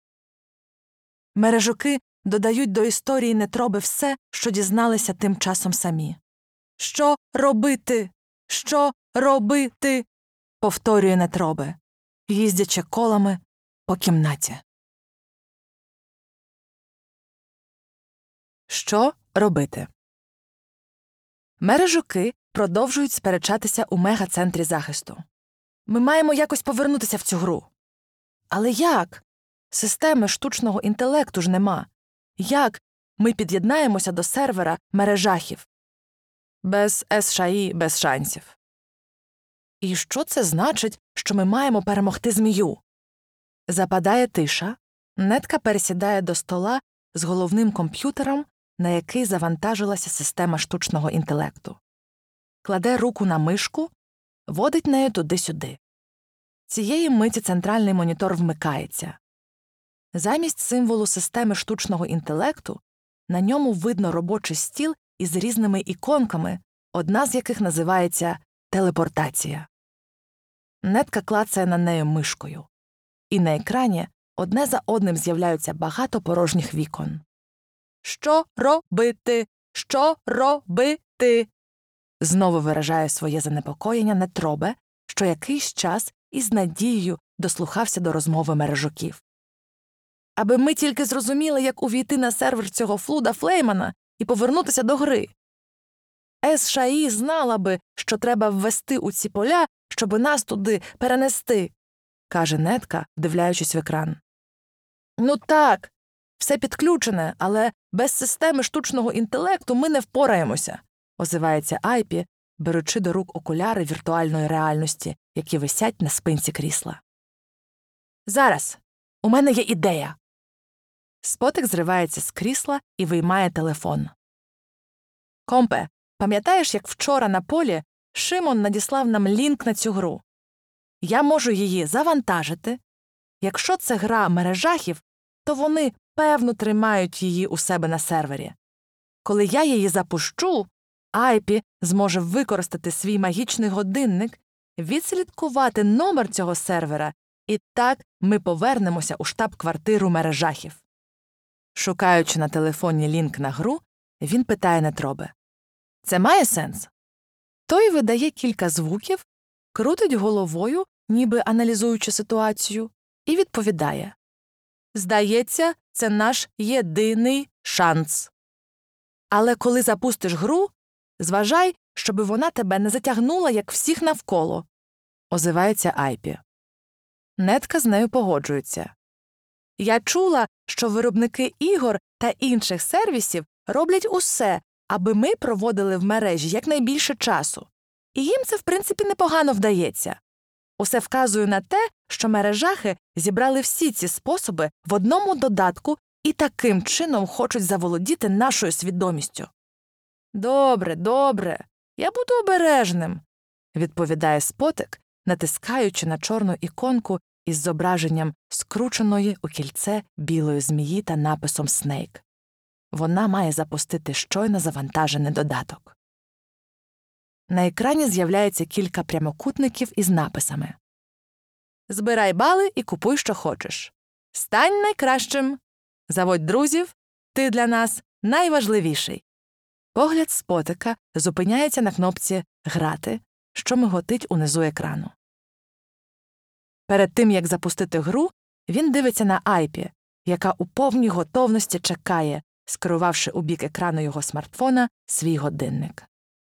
Мережуки додають до історії Нетроби все, що дізналися тим часом самі. «Що робити? Що робити?» – повторює Нетробе, їздячи колами по кімнаті. Що робити? Мережуки продовжують сперечатися у мегацентрі захисту. «Ми маємо якось повернутися в цю гру. Але як? Системи штучного інтелекту ж нема. Як ми під'єднаємося до сервера мережахів? Без СШІ без шансів. І що це значить, що ми маємо перемогти змію? Западає тиша, Нетка пересідає до стола з головним комп'ютером, на який завантажилася система штучного інтелекту. Кладе руку на мишку, водить нею туди-сюди. Цієї миті центральний монітор вмикається. Замість символу системи штучного інтелекту на ньому видно робочий стіл із різними іконками, одна з яких називається «телепортація». Нетка клацає на неї мишкою. І на екрані одне за одним з'являються багато порожніх вікон. «Що робити? Що робити?» Знову виражає своє занепокоєння Нетробе, що якийсь час із надією дослухався до розмови мережуків. Аби ми тільки зрозуміли, як увійти на сервер цього Флуда Флеймана і повернутися до гри. СШІ знала би, що треба ввести у ці поля, щоби нас туди перенести, каже Нетка, вдивляючись в екран. Ну так, все підключене, але без системи штучного інтелекту ми не впораємося, озивається Айпі, беручи до рук окуляри віртуальної реальності, які висять на спинці крісла. Зараз, у мене є ідея. Спотик зривається з крісла і виймає телефон. Компе, пам'ятаєш, як вчора на полі Шимон надіслав нам лінк на цю гру? Я можу її завантажити. Якщо це гра мережахів, то вони, певно, тримають її у себе на сервері. Коли я її запущу, Айпі зможе використати свій магічний годинник, відслідкувати номер цього сервера, і так ми повернемося у штаб-квартиру мережахів. Шукаючи на телефоні лінк на гру, він питає Нетробе. Це має сенс? Той видає кілька звуків, крутить головою, ніби аналізуючи ситуацію, і відповідає. Здається, це наш єдиний шанс. Але коли запустиш гру, зважай, щоби вона тебе не затягнула, як всіх навколо, озивається Айпі. Нетка з нею погоджується. Я чула, що виробники ігор та інших сервісів роблять усе, аби ми проводили в мережі якнайбільше часу. І їм це, в принципі, непогано вдається. Усе вказує на те, що мережахи зібрали всі ці способи в одному додатку і таким чином хочуть заволодіти нашою свідомістю. Добре, добре, я буду обережним, відповідає Спотик, натискаючи на чорну іконку із зображенням скрученої у кільце білої змії та написом «Снейк». Вона має запустити щойно завантажений додаток. На екрані з'являється кілька прямокутників із написами. Збирай бали і купуй, що хочеш. Стань найкращим. Заводь друзів. Ти для нас найважливіший. Погляд Спотика зупиняється на кнопці «Грати», що миготить унизу екрану. Перед тим, як запустити гру, він дивиться на Айпі, яка у повній готовності чекає, скерувавши у бік екрану його смартфона свій годинник.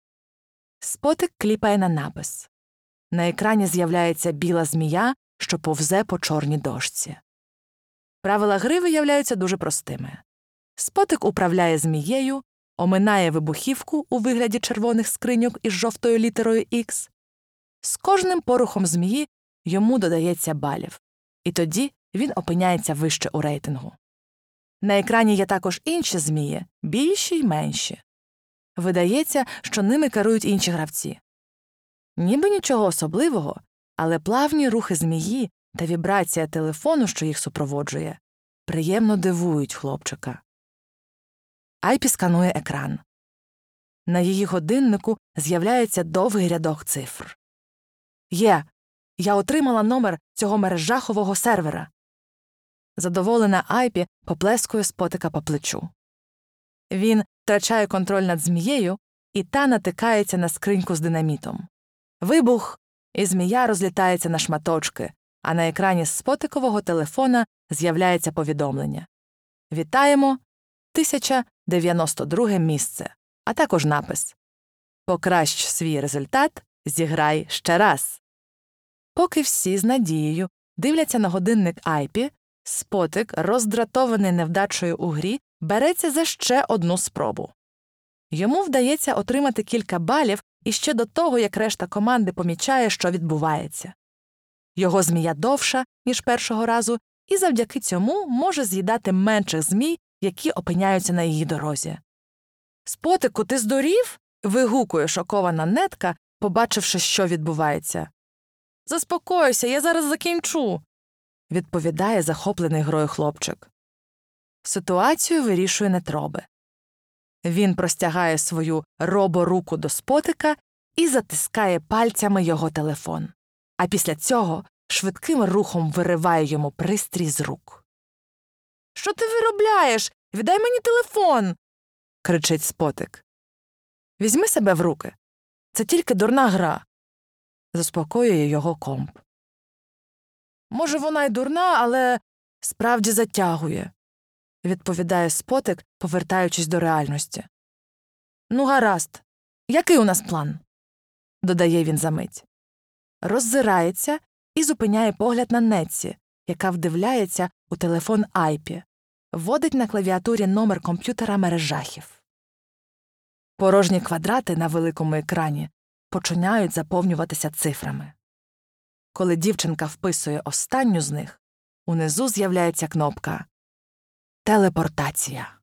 Спотик кліпає на напис. На екрані з'являється біла змія, що повзе по чорній дошці. Правила гри виявляються дуже простими. Спотик управляє змією, оминає вибухівку у вигляді червоних скриньок із жовтою літерою X. З кожним порухом змії йому додається балів, і тоді він опиняється вище у рейтингу. На екрані є також інші змії, більші й менші. Видається, що ними керують інші гравці. Ніби нічого особливого, але плавні рухи змії та вібрація телефону, що їх супроводжує, приємно дивують хлопчика. Айпі сканує екран. На її годиннику з'являється довгий рядок цифр. Є! Я отримала номер цього мережахового сервера. Задоволена Айпі поплескує Спотика по плечу. Він втрачає контроль над змією, і та натикається на скриньку з динамітом. Вибух! І змія розлітається на шматочки, а на екрані Спотикового телефона з'являється повідомлення. Вітаємо! 1092 місце, а також напис. Покращ свій результат, зіграй ще раз. Поки всі з надією дивляться на годинник Айпі, Спотик, роздратований невдачею у грі, береться за ще одну спробу. Йому вдається отримати кілька балів іще до того, як решта команди помічає, що відбувається. Його змія довша, ніж першого разу, і завдяки цьому може з'їдати менших змій, які опиняються на її дорозі. «Спотику, ти здурів?» – вигукує шокована Нетка, побачивши, що відбувається. «Заспокойся, я зараз закінчу», – відповідає захоплений грою хлопчик. Ситуацію вирішує Нетробе. Він простягає свою роборуку до Спотика і затискає пальцями його телефон. А після цього швидким рухом вириває йому пристрій з рук. «Що ти виробляєш? Віддай мені телефон!» – кричить Спотик. «Візьми себе в руки. Це тільки дурна гра», – заспокоює його комп. «Може, вона й дурна, але справді затягує», – відповідає Спотик, повертаючись до реальності. «Ну, гаразд. Який у нас план?» – додає він за мить. Роззирається і зупиняє погляд на Нетці, яка вдивляється у телефон Айпі, вводить на клавіатурі номер комп'ютера мережахів. Порожні квадрати на великому екрані починають заповнюватися цифрами. Коли дівчинка вписує останню з них, унизу з'являється кнопка «Телепортація».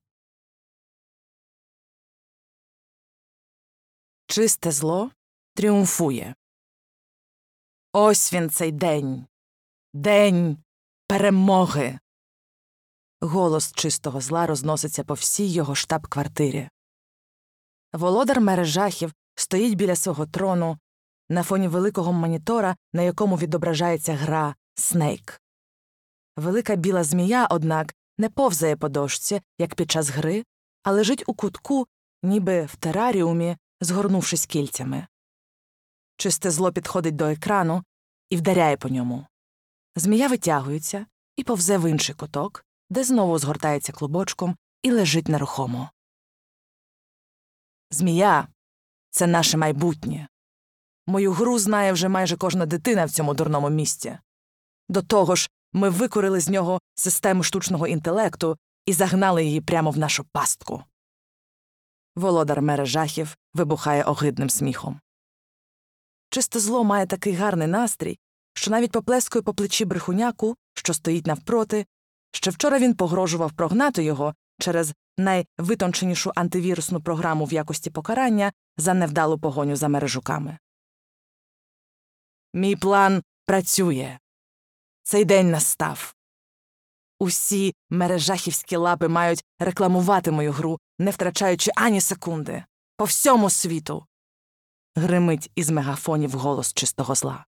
Чисте зло тріумфує. Ось він, цей день. День перемоги. Голос чистого зла розноситься по всій його штаб-квартирі. Володар мережахів стоїть біля свого трону на фоні великого монітора, на якому відображається гра «Снейк». Велика біла змія, однак, не повзає по дошці, як під час гри, а лежить у кутку, ніби в тераріумі, згорнувшись кільцями. Чисте зло підходить до екрану і вдаряє по ньому. Змія витягується і повзе в інший куток, де знову згортається клубочком і лежить нерухомо. Змія – це наше майбутнє. Мою гру знає вже майже кожна дитина в цьому дурному місті. До того ж, ми викурили з нього систему штучного інтелекту і загнали її прямо в нашу пастку. Володар мережахів вибухає огидним сміхом. Чисте зло має такий гарний настрій, що навіть поплескує по плечі брехуняку, що стоїть навпроти. Ще вчора він погрожував прогнати його через найвитонченішу антивірусну програму в якості покарання за невдалу погоню за мережуками. Мій план працює. Цей день настав. Усі мережахівські лапи мають рекламувати мою гру, не втрачаючи ані секунди. По всьому світу. Гримить із мегафонів голос чистого зла.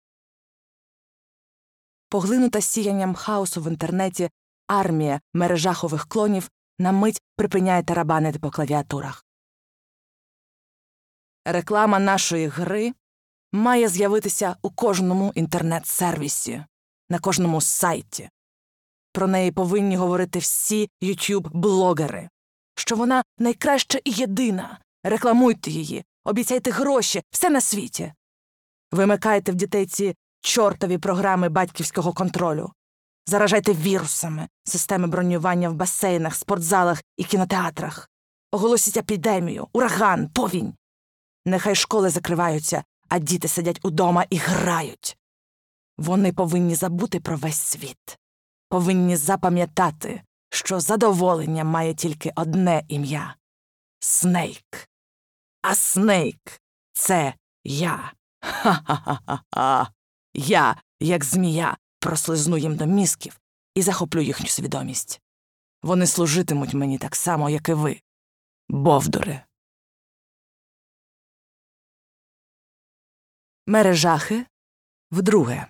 Поглинута сіянням хаосу в інтернеті, армія мережахових клонів на мить припиняє тарабанити по клавіатурах. Реклама нашої гри має з'явитися у кожному інтернет-сервісі, на кожному сайті. Про неї повинні говорити всі YouTube-блогери. Що вона найкраща і єдина. Рекламуйте її, обіцяйте гроші, все на світі. Вимикайте в дітей ці чортові програми батьківського контролю. Заражайте вірусами системи бронювання в басейнах, спортзалах і кінотеатрах. Оголосіть епідемію, ураган, повінь. Нехай школи закриваються, а діти сидять удома і грають. Вони повинні забути про весь світ. Повинні запам'ятати, що задоволення має тільки одне ім'я – Снейк. А Снейк – це я. Ха-ха-ха-ха. Я, як змія, прослизну їм до мізків і захоплю їхню свідомість. Вони служитимуть мені так само, як і ви, бовдури. Мережахи вдруге.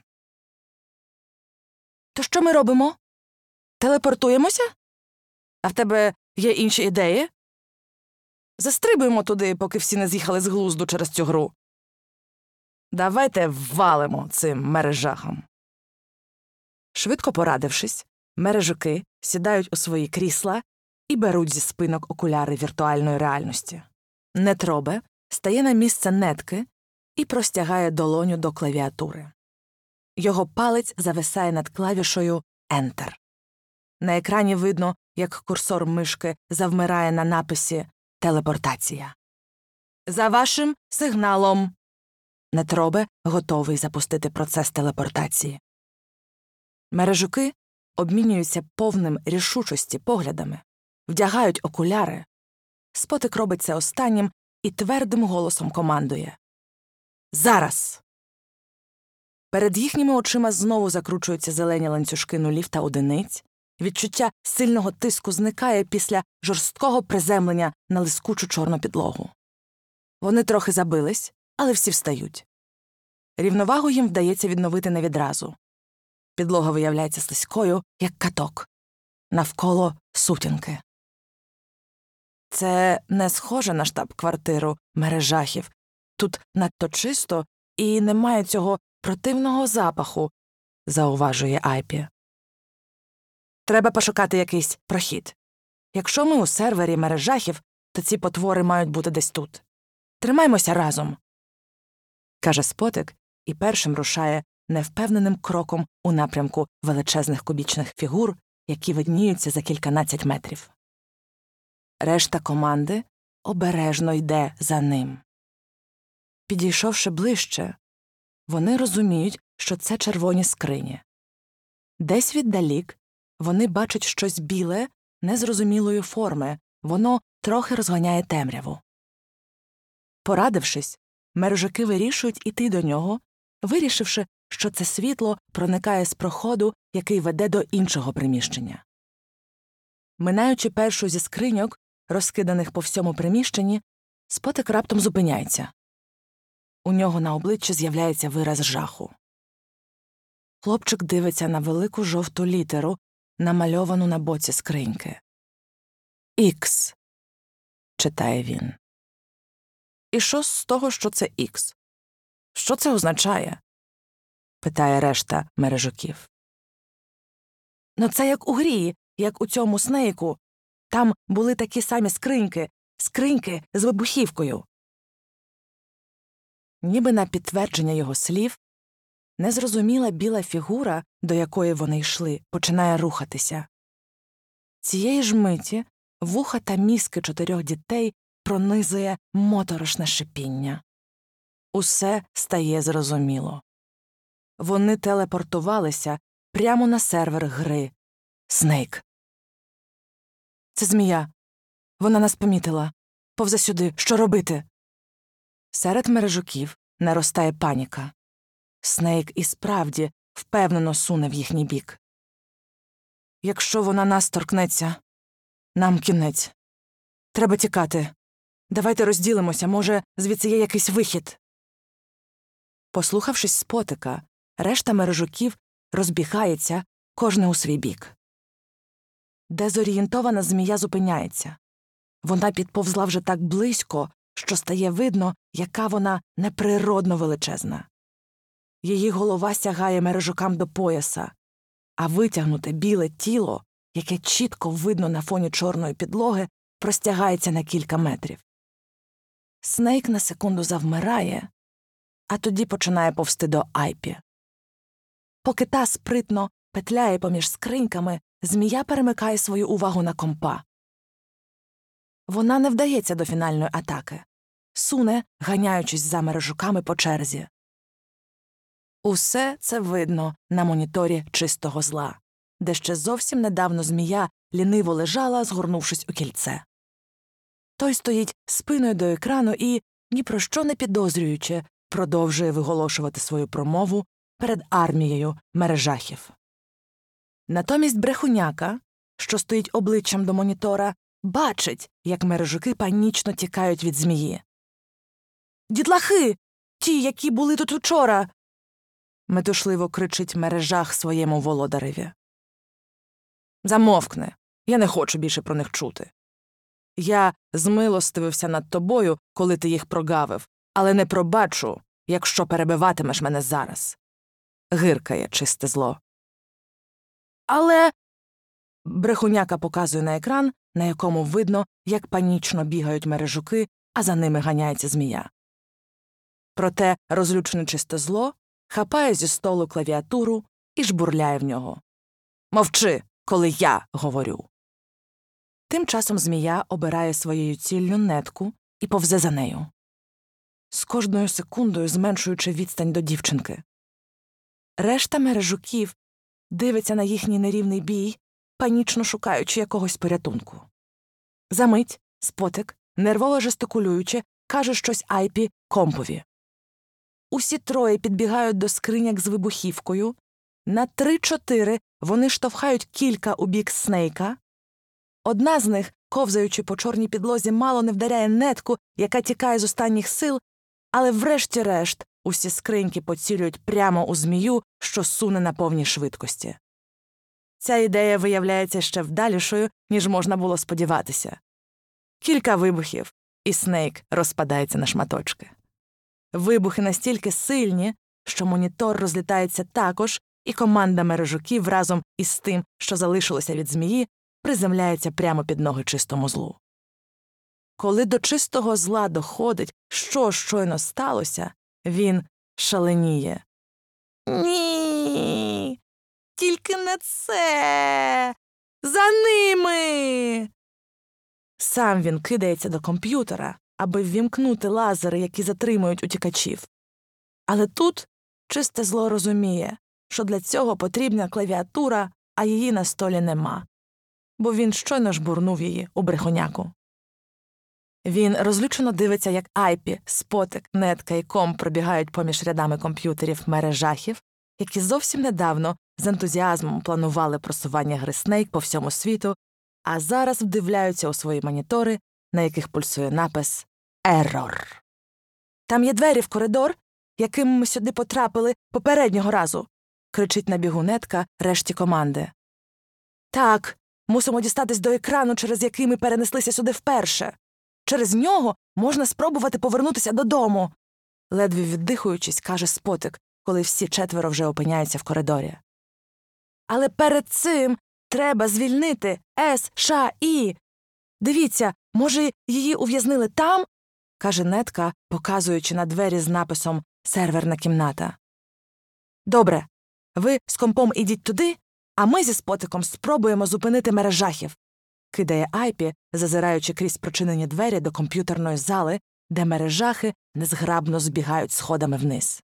То що ми робимо? Телепортуємося? А в тебе є інші ідеї? Застрибуємо туди, поки всі не з'їхали з глузду через цю гру. Давайте валимо цим мережахам. Швидко порадившись, мережуки сідають у свої крісла і беруть зі спинок окуляри віртуальної реальності. Нетробе стає на місце Нетки і простягає долоню до клавіатури. Його палець зависає над клавішою «Enter». На екрані видно, як курсор мишки завмирає на написі «Телепортація». «За вашим сигналом!» Нетробе готовий запустити процес телепортації. Мережуки обмінюються повним рішучості поглядами, вдягають окуляри. Спотик робить це останнім і твердим голосом командує. «Зараз!» Перед їхніми очима знову закручуються зелені ланцюжки нулів та одиниць. Відчуття сильного тиску зникає після жорсткого приземлення на лискучу чорну підлогу. Вони трохи забились, але всі встають. Рівновагу їм вдається відновити не відразу. Підлога виявляється слизькою, як каток. Навколо сутінки. Це не схоже на штаб-квартиру мережахів. Тут надто чисто і немає цього противного запаху, зауважує Айпі. Треба пошукати якийсь прохід. Якщо ми у сервері мережахів, то ці потвори мають бути десь тут. Тримаймося разом, каже Спотик і першим рушає невпевненим кроком у напрямку величезних кубічних фігур, які видніються за кільканадцять метрів. Решта команди обережно йде за ним. Підійшовши ближче, вони розуміють, що це червоні скрині. Десь віддалік вони бачать щось біле, незрозумілої форми, воно трохи розганяє темряву. Порадившись, мережаки вирішують іти до нього, вирішивши, що це світло проникає з проходу, який веде до іншого приміщення. Минаючи першу зі скриньок, розкиданих по всьому приміщенні, Спотик раптом зупиняється. У нього на обличчі з'являється вираз жаху. Хлопчик дивиться на велику жовту літеру, намальовану на боці скриньки. «Ікс», – читає він. «І що з того, що це Ікс? Що це означає?» – питає решта мережуків. «Ну це як у грі, як у цьому Снейку. Там були такі самі скриньки з вибухівкою». Ніби на підтвердження його слів, незрозуміла біла фігура, до якої вони йшли, починає рухатися. Цієї ж миті вуха та мізки 4 дітей пронизує моторошне шипіння. Усе стає зрозуміло. Вони телепортувалися прямо на сервер гри «Снейк». «Це змія. Вона нас помітила. Повзе сюди. Що робити?» Серед мережуків наростає паніка. Снейк і справді впевнено суне в їхній бік. «Якщо вона нас торкнеться, нам кінець. Треба тікати. Давайте розділимося, може, звідси є якийсь вихід». Послухавшись Спотика, решта мережуків розбігається, кожне у свій бік. Дезорієнтована змія зупиняється. Вона підповзла вже так близько, що стає видно, яка вона неприродно величезна. Її голова сягає мережукам до пояса, а витягнуте біле тіло, яке чітко видно на фоні чорної підлоги, простягається на кілька метрів. Снейк на секунду завмирає, а тоді починає повзти до Айпі. Поки та спритно петляє поміж скриньками, змія перемикає свою увагу на компа. Вона не вдається до фінальної атаки. Суне, ганяючись за мережуками по черзі. Усе це видно на моніторі чистого зла, де ще зовсім недавно змія ліниво лежала, згорнувшись у кільце. Той стоїть спиною до екрану і, ні про що не підозрюючи, продовжує виголошувати свою промову перед армією мережахів. Натомість брехуняка, що стоїть обличчям до монітора, бачить, як мережуки панічно тікають від змії. «Дітлахи! Ті, які були тут учора!» метушливо кричить мережах своєму володареві. «Замовкни! Я не хочу більше про них чути. Я змилостивився над тобою, коли ти їх прогавив, але не пробачу, якщо перебиватимеш мене зараз», – гиркає чисте зло. «Але…» – брехуняка показує на екран, на якому видно, як панічно бігають мережуки, а за ними ганяється змія. Проте розлючене чисте зло хапає зі столу клавіатуру і жбурляє в нього. «Мовчи, коли я говорю!» Тим часом змія обирає своєю ціллю нетку і повзе за нею, з кожною секундою зменшуючи відстань до дівчинки. Решта мережуків дивиться на їхній нерівний бій, панічно шукаючи якогось порятунку. Замить Спотик, нервово жестикулюючи, каже щось Айпі Компові. Усі троє підбігають до скриняк з вибухівкою. На 3-4 вони штовхають кілька у бік Снейка. Одна з них, ковзаючи по чорній підлозі, мало не вдаряє нетку, яка тікає з останніх сил, але врешті-решт усі скриньки поцілюють прямо у змію, що суне на повній швидкості. Ця ідея виявляється ще вдалішою, ніж можна було сподіватися. Кілька вибухів, і Снейк розпадається на шматочки. Вибухи настільки сильні, що монітор розлітається також, і команда мережуків разом із тим, що залишилося від змії, приземляється прямо під ноги чистому злу. Коли до чистого зла доходить, що щойно сталося, він шаленіє. «Ні! Тільки не це! За ними!» Сам він кидається до комп'ютера, аби ввімкнути лазери, які затримують утікачів. Але тут чисте зло розуміє, що для цього потрібна клавіатура, а її на столі нема, бо він щойно жбурнув її у брехоняку. Він розлючено дивиться, як Айпі, Спотик, Нетка і Комп пробігають поміж рядами комп'ютерів мережахів, які зовсім недавно з ентузіазмом планували просування гри Снейк по всьому світу, а зараз вдивляються у свої монітори, на яких пульсує напис «Еррор». «Там є двері в коридор, яким ми сюди потрапили попереднього разу», – кричить на бігу Нетка решті команди. «Так, мусимо дістатись до екрану, через який ми перенеслися сюди вперше. Через нього можна спробувати повернутися додому», – ледве віддихуючись, каже Спотик, коли всі четверо вже опиняються в коридорі. «Але перед цим треба звільнити С.Ш.І. Дивіться, може, її ув'язнили там?» – каже Нетка, показуючи на двері з написом «Серверна кімната». «Добре, ви з Компом ідіть туди, а ми зі Спотиком спробуємо зупинити мережахів», – кидає Айпі, зазираючи крізь прочинені двері до комп'ютерної зали, де мережахи незграбно збігають сходами вниз.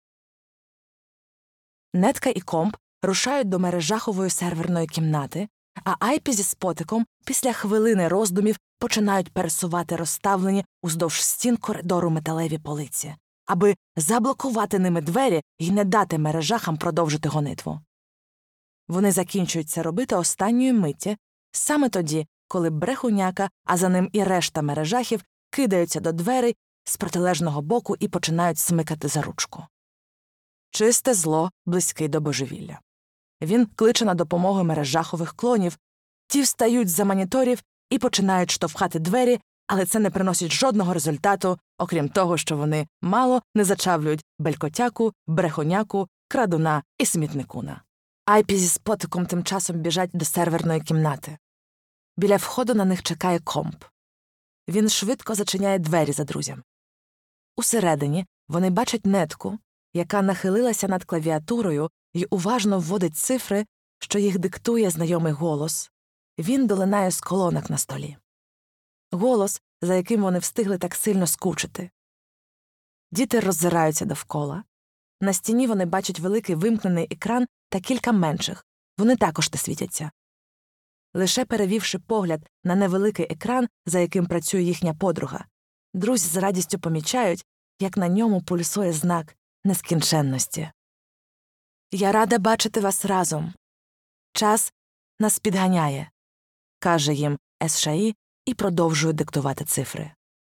Нетка і Комп рушають до мережахової серверної кімнати, а Айпі зі Спотиком після хвилини роздумів починають пересувати розставлені уздовж стін коридору металеві полиці, аби заблокувати ними двері і не дати мережахам продовжити гонитву. Вони закінчують це робити останньої миті, саме тоді, коли брехуняка, а за ним і решта мережахів, кидаються до дверей з протилежного боку і починають смикати за ручку. Чисте зло близький до божевілля. Він кличе на допомогу мережахових клонів, ті встають з-за моніторів і починають штовхати двері, але це не приносить жодного результату, окрім того, що вони мало не зачавлюють белькотяку, брехоняку, крадуна і смітникуна. Айпі зі Спотиком тим часом біжать до серверної кімнати. Біля входу на них чекає Комп. Він швидко зачиняє двері за друзям. Усередині вони бачать Нетку, яка нахилилася над клавіатурою і уважно вводить цифри, що їх диктує знайомий голос. Він долинає з колонок на столі. Голос, за яким вони встигли так сильно скучити. Діти роззираються довкола. На стіні вони бачать великий вимкнений екран та кілька менших. Вони також не світяться. Лише перевівши погляд на невеликий екран, за яким працює їхня подруга, друзі з радістю помічають, як на ньому пульсує знак нескінченності. «Я рада бачити вас разом. Час нас підганяє», – каже їм С.Ш.І. і продовжує диктувати цифри.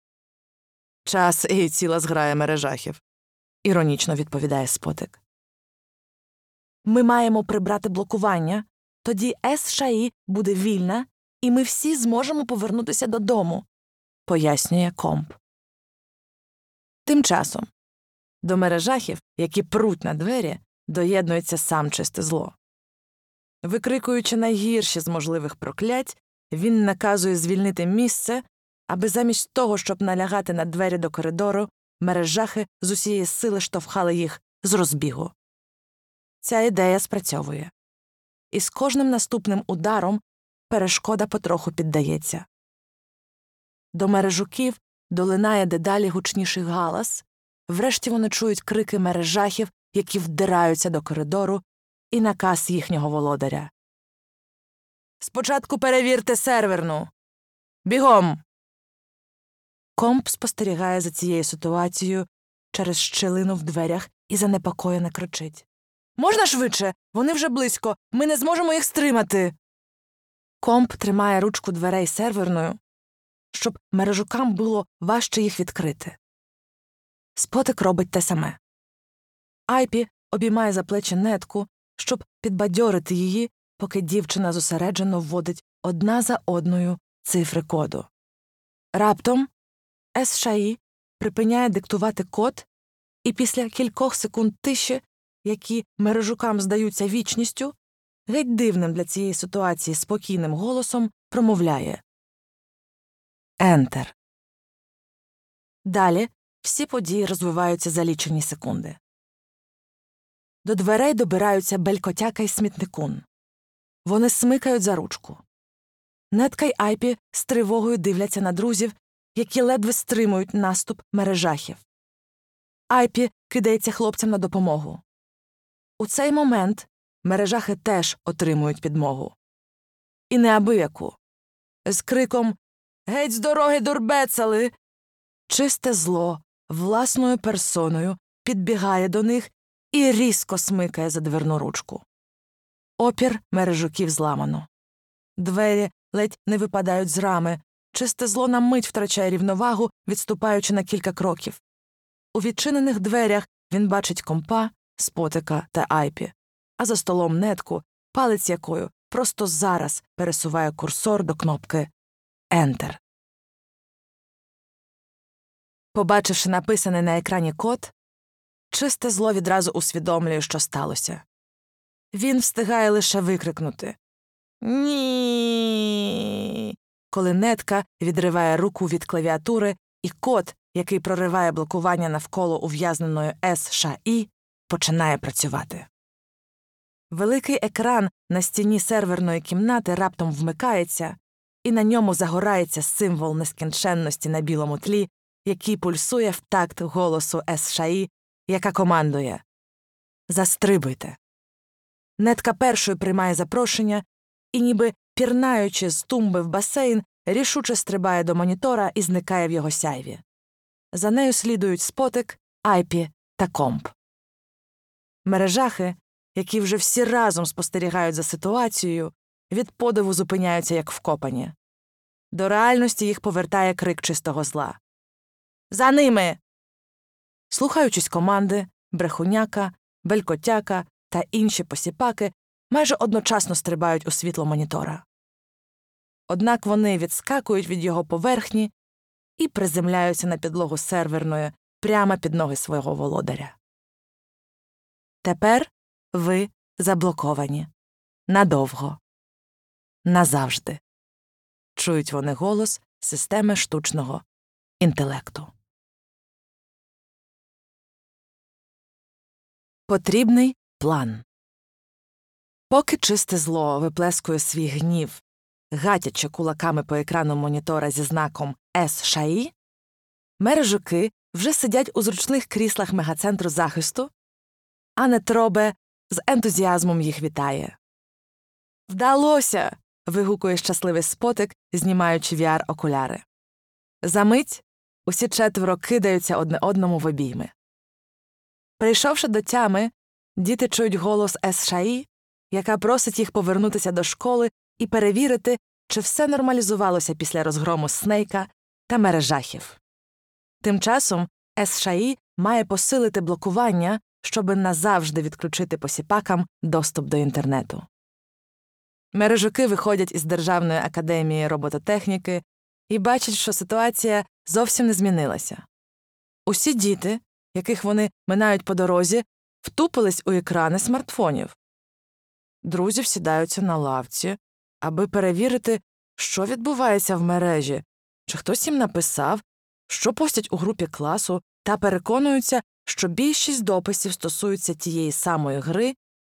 «Час і ціла зграя мережахів», – іронічно відповідає Спотик. «Ми маємо прибрати блокування, тоді С.Ш.І. буде вільна, і ми всі зможемо повернутися додому», – пояснює Комп. Тим часом до мережахів, які пруть на двері, доєднується сам чисте зло. Викрикуючи найгірші з можливих проклять, він наказує звільнити місце, аби замість того, щоб налягати на двері до коридору, мережахи з усієї сили штовхали їх з розбігу. Ця ідея спрацьовує. І з кожним наступним ударом перешкода потроху піддається. До мережуків долинає дедалі гучніший галас, врешті вони чують крики мережахів, які вдираються до коридору, і наказ їхнього володаря. «Спочатку перевірте серверну! Бігом!» Комп спостерігає за цією ситуацією через щілину в дверях і занепокоєно кричить. «Можна швидше? Вони вже близько. Ми не зможемо їх стримати!» Комп тримає ручку дверей серверною, щоб мережукам було важче їх відкрити. Спотик робить те саме. Айпі обіймає за плечі Нетку, щоб підбадьорити її, поки дівчина зосереджено вводить одна за одною цифри коду. Раптом Ес-Шаї припиняє диктувати код, і після кількох секунд тиші, які мережукам здаються вічністю, геть дивним для цієї ситуації спокійним голосом промовляє «Ентер». Далі всі події розвиваються за лічені секунди. До дверей добираються Белькотяка й Смітникун. Вони смикають за ручку. Нетка й Айпі з тривогою дивляться на друзів, які ледве стримують наступ мережахів. Айпі кидається хлопцям на допомогу. У цей момент мережахи теж отримують підмогу. І неабияку. З криком «Геть з дороги, дурбецали!» чисте зло власною персоною підбігає до них і різко смикає за дверну ручку. Опір мережуків зламано. Двері ледь не випадають з рами. Чисте зло на мить втрачає рівновагу, відступаючи на кілька кроків. У відчинених дверях він бачить компа, Спотика та Айпі, а за столом Нетку, палець якою просто зараз пересуває курсор до кнопки «Ентер». Побачивши написаний на екрані код, чисте зло відразу усвідомлює, що сталося. Він встигає лише викрикнути «Ні!», коли Нетка відриває руку від клавіатури, і код, який прориває блокування навколо ув'язненої Ес-Шаї, починає працювати. Великий екран на стіні серверної кімнати раптом вмикається, і на ньому загорається символ нескінченності на білому тлі, який пульсує в такт голосу Ес-Шаї, яка командує «Застрибуйте». Нетка першою приймає запрошення і, ніби пірнаючи з тумби в басейн, рішуче стрибає до монітора і зникає в його сяйві. За нею слідують Спотик, Айпі та Комп. Мережахи, які вже всі разом спостерігають за ситуацією, від подиву зупиняються як вкопані. До реальності їх повертає крик чистого зла. «За ними!» Слухаючись команди, Брехуняка, Белькотяка та інші посіпаки майже одночасно стрибають у світло монітора. Однак вони відскакують від його поверхні і приземляються на підлогу серверної прямо під ноги свого володаря. Тепер ви заблоковані. Надовго. Назавжди. Чують вони голос системи штучного інтелекту. Потрібний план. Поки чисте зло виплескує свій гнів, гатячи кулаками по екрану монітора зі знаком Ес-Шаї, мережуки вже сидять у зручних кріслах мегацентру захисту, а Нетробе з ентузіазмом їх вітає. «Вдалося!» – вигукує щасливий Спотик, знімаючи VR-окуляри. Замить усі четверо кидаються одне одному в обійми. Прийшовши до тями, діти чують голос Ес-Шаї, яка просить їх повернутися до школи і перевірити, чи все нормалізувалося після розгрому Снейка та мережахів. Тим часом Ес-Шаї має посилити блокування, щоби назавжди відключити посіпакам доступ до інтернету. Мережуки виходять із Державної академії робототехніки і бачать, що ситуація зовсім не змінилася. Усі діти, яких вони минають по дорозі, втупились у екрани смартфонів. Друзі всідаються на лавці, аби перевірити, що відбувається в мережі, чи хтось їм написав, що постять у групі класу, та переконуються, що більшість дописів стосуються тієї самої гри,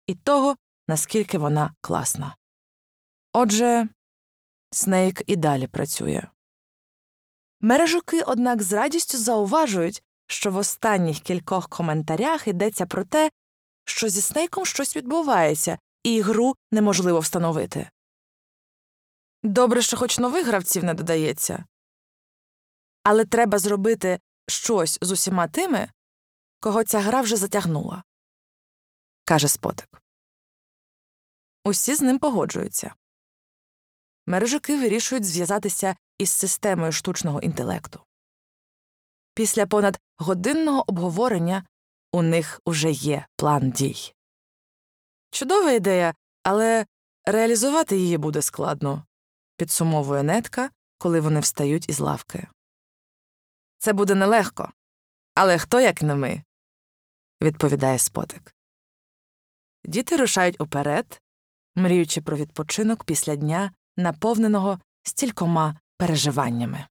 і того, наскільки вона класна. Отже, Снейк і далі працює. Мережуки, однак, з радістю зауважують, що в останніх кількох коментарях йдеться про те, що зі Снейком щось відбувається, і гру неможливо встановити. Добре, що хоч нових гравців не додається. Але треба зробити щось з усіма тими, кого ця гра вже затягнула, каже Спотик. Усі з ним погоджуються. Мережуки вирішують зв'язатися із системою штучного інтелекту. Після понад годинного обговорення у них уже є план дій. Чудова ідея, але реалізувати її буде складно, підсумовує Нетка, коли вони встають із лавки. Це буде нелегко, але хто як не ми, відповідає Спотик. Діти рушають уперед, мріючи про відпочинок після дня, наповненого стількома переживаннями.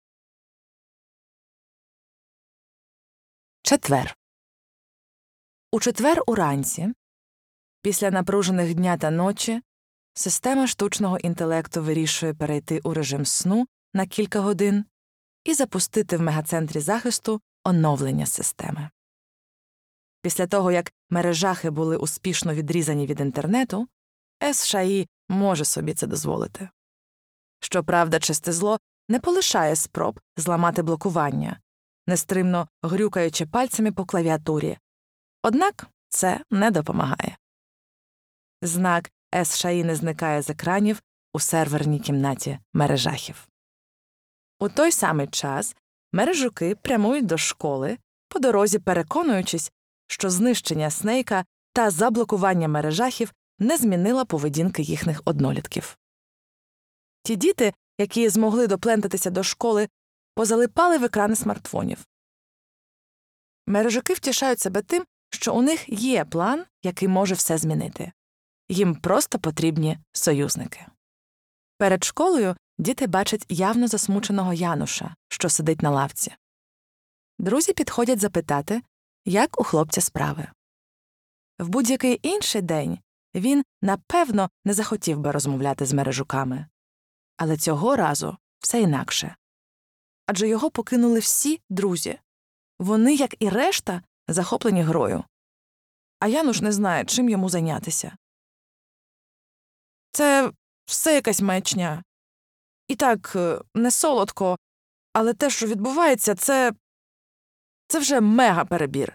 Четвер. У четвер уранці, після напружених дня та ночі, система штучного інтелекту вирішує перейти у режим сну на кілька годин і запустити в мегацентрі захисту оновлення системи. Після того, як мережахи були успішно відрізані від інтернету, СШІ може собі це дозволити. Щоправда, чисте зло не полишає спроб зламати блокування, нестримно грюкаючи пальцями по клавіатурі. Однак це не допомагає. Знак СШІ не зникає з екранів у серверній кімнаті мережахів. У той самий час мережуки прямують до школи, по дорозі переконуючись, що знищення Снейка та заблокування мережахів не змінила поведінки їхніх однолітків. Ті діти, які змогли доплентатися до школи, позалипали в екрани смартфонів. Мережуки втішають себе тим, що у них є план, який може все змінити. Їм просто потрібні союзники. Перед школою діти бачать явно засмученого Януша, що сидить на лавці. Друзі підходять запитати, як у хлопця справи. В будь-який інший день він, напевно, не захотів би розмовляти з мережуками. Але цього разу все інакше. Адже його покинули всі друзі. Вони, як і решта, захоплені грою. А Януш не знає, чим йому зайнятися. Це все якась маячня. І так, не солодко, але те, що відбувається, це вже мега-перебір.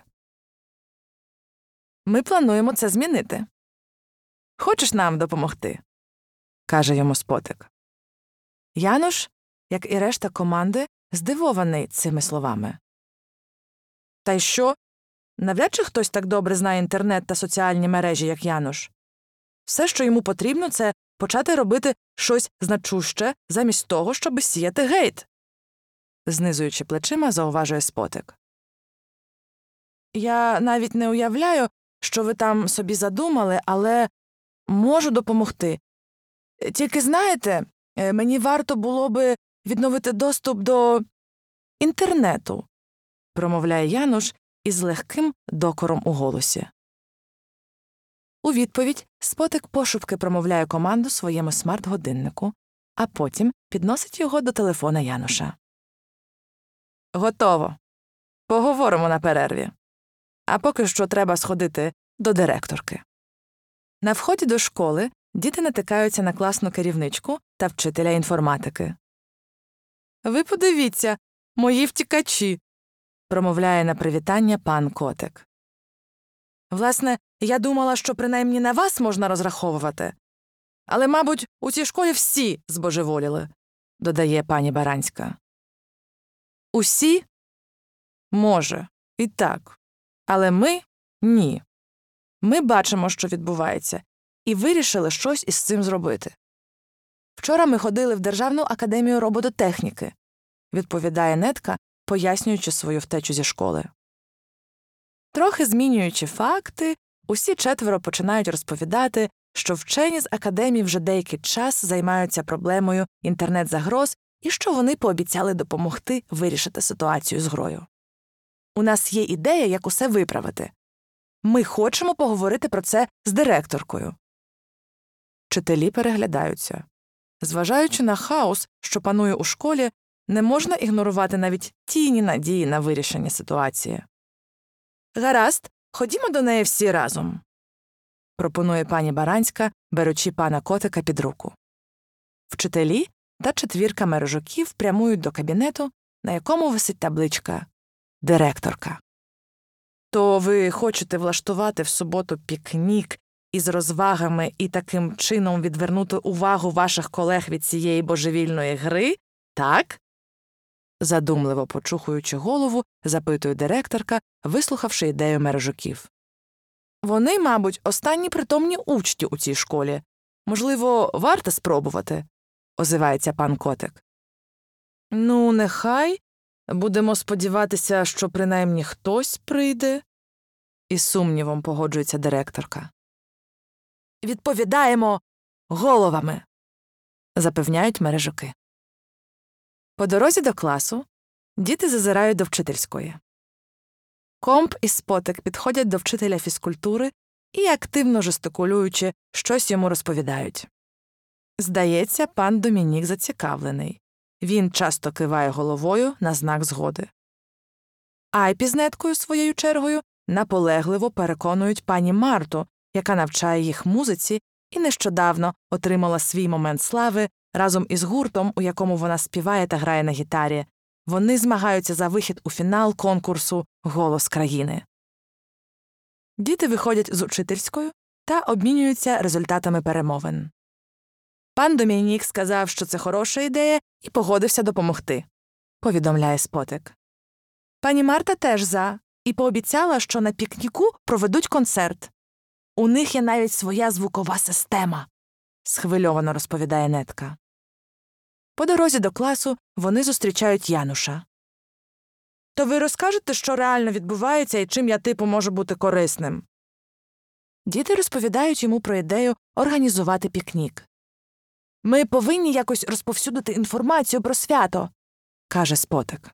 Ми плануємо це змінити. Хочеш нам допомогти? Каже йому Спотик. Януш, як і решта команди, здивований цими словами. Та й що? Навряд чи хтось так добре знає інтернет та соціальні мережі, як Януш. Все, що йому потрібно, це почати робити щось значуще замість того, щоби сіяти гейт. Знизуючи плечима, зауважує Спотик. Я навіть не уявляю, що ви там собі задумали, але можу допомогти. Тільки, знаєте, мені варто було би відновити доступ до інтернету, промовляє Януш із легким докором у голосі. У відповідь Спотик пошепки промовляє команду своєму смарт-годиннику, а потім підносить його до телефона Януша. Готово. Поговоримо на перерві. А поки що треба сходити до директорки. На вході до школи діти натикаються на класну керівничку та вчителя інформатики. Ви подивіться, мої втікачі, промовляє на привітання пан Котик. Власне, я думала, що принаймні на вас можна розраховувати. Але, мабуть, у цій школі всі збожеволіли, додає пані Баранська. Усі? Може, і так. Але ми – ні. Ми бачимо, що відбувається, і вирішили щось із цим зробити. Вчора ми ходили в Державну академію робототехніки, відповідає Нетка, пояснюючи свою втечу зі школи. Трохи змінюючи факти, усі четверо починають розповідати, що вчені з академії вже деякий час займаються проблемою інтернет-загроз і що вони пообіцяли допомогти вирішити ситуацію з грою. У нас є ідея, як усе виправити. Ми хочемо поговорити про це з директоркою. Вчителі переглядаються. Зважаючи на хаос, що панує у школі, не можна ігнорувати навіть тіні надії на вирішення ситуації. «Гаразд, ходімо до неї всі разом», – пропонує пані Баранська, беручи пана Котика під руку. Вчителі та четвірка мережуків прямують до кабінету, на якому висить табличка «Директорка». «То ви хочете влаштувати в суботу пікнік із розвагами і таким чином відвернути увагу ваших колег від цієї божевільної гри, так?» Задумливо почухуючи голову, запитує директорка, вислухавши ідею мережуків. «Вони, мабуть, останні притомні учні у цій школі. Можливо, варто спробувати?» – озивається пан Котик. «Ну, нехай. Будемо сподіватися, що принаймні хтось прийде», – із сумнівом погоджується директорка. «Відповідаємо головами», – запевняють мережуки. По дорозі до класу діти зазирають до вчительської. Комп і Спотик підходять до вчителя фізкультури і, активно жестикулюючи, щось йому розповідають. Здається, пан Домінік зацікавлений. Він часто киває головою на знак згоди. Айпі з Неткою, своєю чергою, наполегливо переконують пані Марту, яка навчає їх музиці і нещодавно отримала свій момент слави разом із гуртом, у якому вона співає та грає на гітарі. Вони змагаються за вихід у фінал конкурсу «Голос країни». Діти виходять з учительською та обмінюються результатами перемовин. Пан Домінік сказав, що це хороша ідея, і погодився допомогти, повідомляє Спотик. Пані Марта теж за, і пообіцяла, що на пікніку проведуть концерт. У них є навіть своя звукова система, схвильовано розповідає Нетка. По дорозі до класу вони зустрічають Януша. «То ви розкажете, що реально відбувається і чим я типу можу бути корисним?» Діти розповідають йому про ідею організувати пікнік. «Ми повинні якось розповсюдити інформацію про свято», – каже Спотик.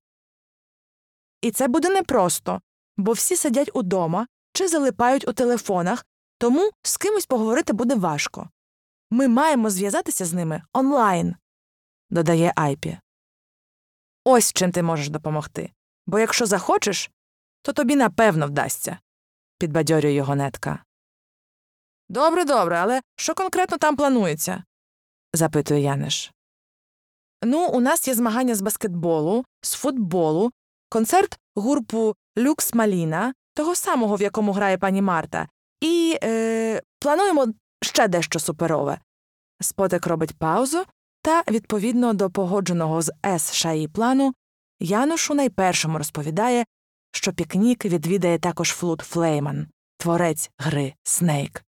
«І це буде непросто, бо всі сидять удома чи залипають у телефонах, тому з кимось поговорити буде важко. Ми маємо зв'язатися з ними онлайн», – додає Айпі. «Ось чим ти можеш допомогти, бо якщо захочеш, то тобі напевно вдасться», – підбадьорює його Нетка. «Добре, але що конкретно там планується?» – запитує Яниш. «Ну, у нас є змагання з баскетболу, з футболу, концерт гурту «Люкс Маліна», того самого, в якому грає пані Марта, і плануємо ще дещо суперове». Спотик робить паузу, та, відповідно до погодженого з СШІ плану, Янушу найпершому розповідає, що пікнік відвідає також Флут Флейман, творець гри Снейк.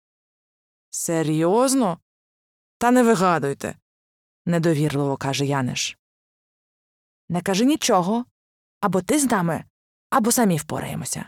«Серйозно? Та не вигадуйте», – недовірливо каже Яниш. «Не кажи нічого. Або ти з нами, або самі впораємося».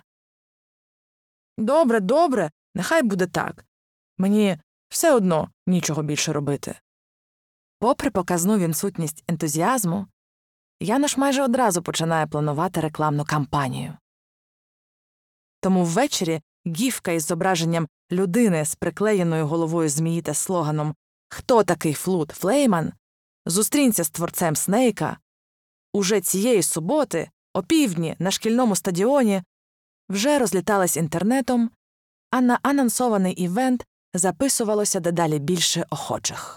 Добре, нехай буде так. Мені все одно нічого більше робити». Попри показну відсутність ентузіазму, Януш майже одразу починає планувати рекламну кампанію. Тому ввечері гіфка із зображенням людини з приклеєною головою змії та слоганом «Хто такий Флут Флейман? Зустрінься з творцем Снейка» уже цієї суботи, опівдні, на шкільному стадіоні, вже розліталась інтернетом, а на анонсований івент записувалося дедалі більше охочих.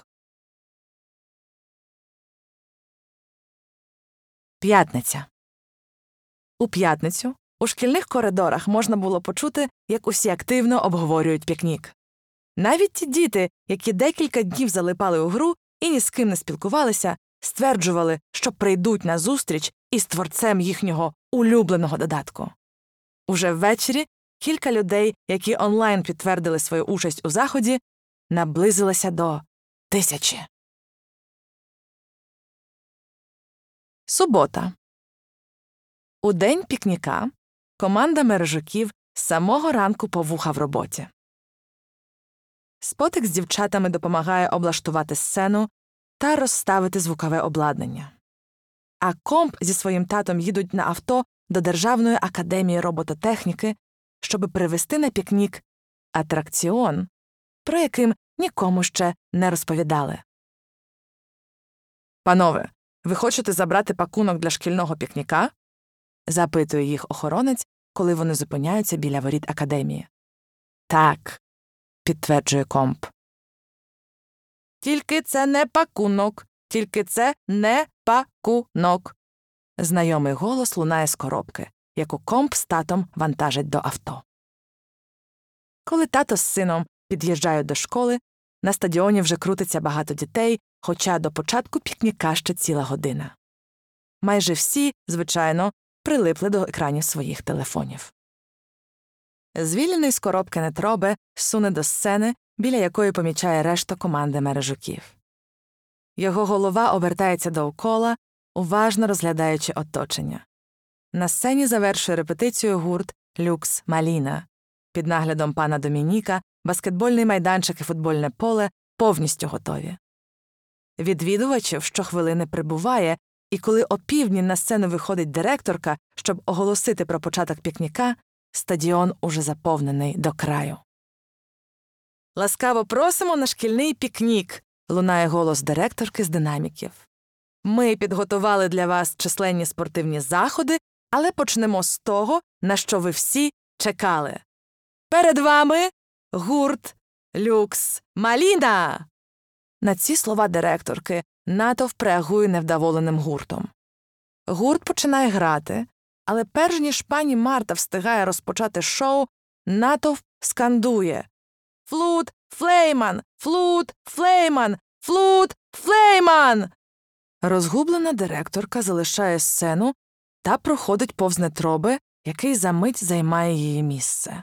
П'ятниця. У п'ятницю у шкільних коридорах можна було почути, як усі активно обговорюють пікнік. Навіть ті діти, які декілька днів залипали у гру і ні з ким не спілкувалися, стверджували, що прийдуть на зустріч із творцем їхнього улюбленого додатку. Уже ввечері кілька людей, які онлайн підтвердили свою участь у заході, наблизилися до 1000. Субота. У день пікніка команда мережуків з самого ранку по вуха в роботі. Спотик з дівчатами допомагає облаштувати сцену та розставити звукове обладнання. А Комп зі своїм татом їдуть на авто до Державної академії робототехніки, щоб привезти на пікнік атракціон, про яким нікому ще не розповідали. «Панове, ви хочете забрати пакунок для шкільного пікніка?» – запитує їх охоронець, коли вони зупиняються біля воріт академії. «Так», – підтверджує комп. «Тільки це не пакунок, тільки це не пакунок», – знайомий голос лунає з коробки, яку комп з татом вантажить до авто. Коли тато з сином під'їжджають до школи, на стадіоні вже крутиться багато дітей, хоча до початку пікніка ще ціла година. Майже всі, звичайно, прилипли до екранів своїх телефонів. Звільнений з коробки Нетробе суне до сцени, біля якої помічає решту команди мережуків. Його голова обертається довкола, уважно розглядаючи оточення. На сцені завершує репетицію гурт «Люкс Маліна». Під наглядом пана Домініка баскетбольний майданчик і футбольне поле повністю готові. Відвідувачів щохвилини прибуває, і коли опівдні на сцену виходить директорка, щоб оголосити про початок пікніка, стадіон уже заповнений до краю. «Ласкаво просимо на шкільний пікнік», – лунає голос директорки з динаміків. «Ми підготували для вас численні спортивні заходи, але почнемо з того, на що ви всі чекали. Перед вами гурт «Люкс Маліна». На ці слова директорки натовп реагує невдоволеним гуртом. Гурт починає грати, але перш ніж пані Марта встигає розпочати шоу, натовп скандує «Флут Флейман! Флут Флейман! Флут Флейман!». Розгублена директорка залишає сцену та проходить повз Нетробе, який за мить займає її місце.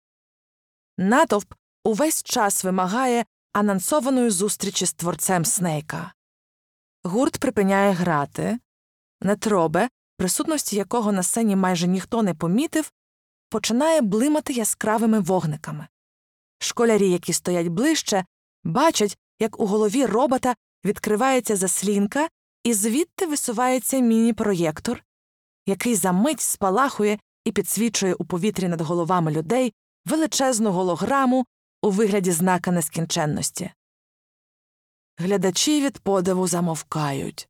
Натовп увесь час вимагає анонсованої зустрічі з творцем Снейка. Гурт припиняє грати. Нетробе, присутності якого на сцені майже ніхто не помітив, починає блимати яскравими вогниками. Школярі, які стоять ближче, бачать, як у голові робота відкривається заслінка і звідти висувається міні-проєктор, який за мить спалахує і підсвічує у повітрі над головами людей величезну голограму у вигляді знака нескінченності. Глядачі від подиву замовкають.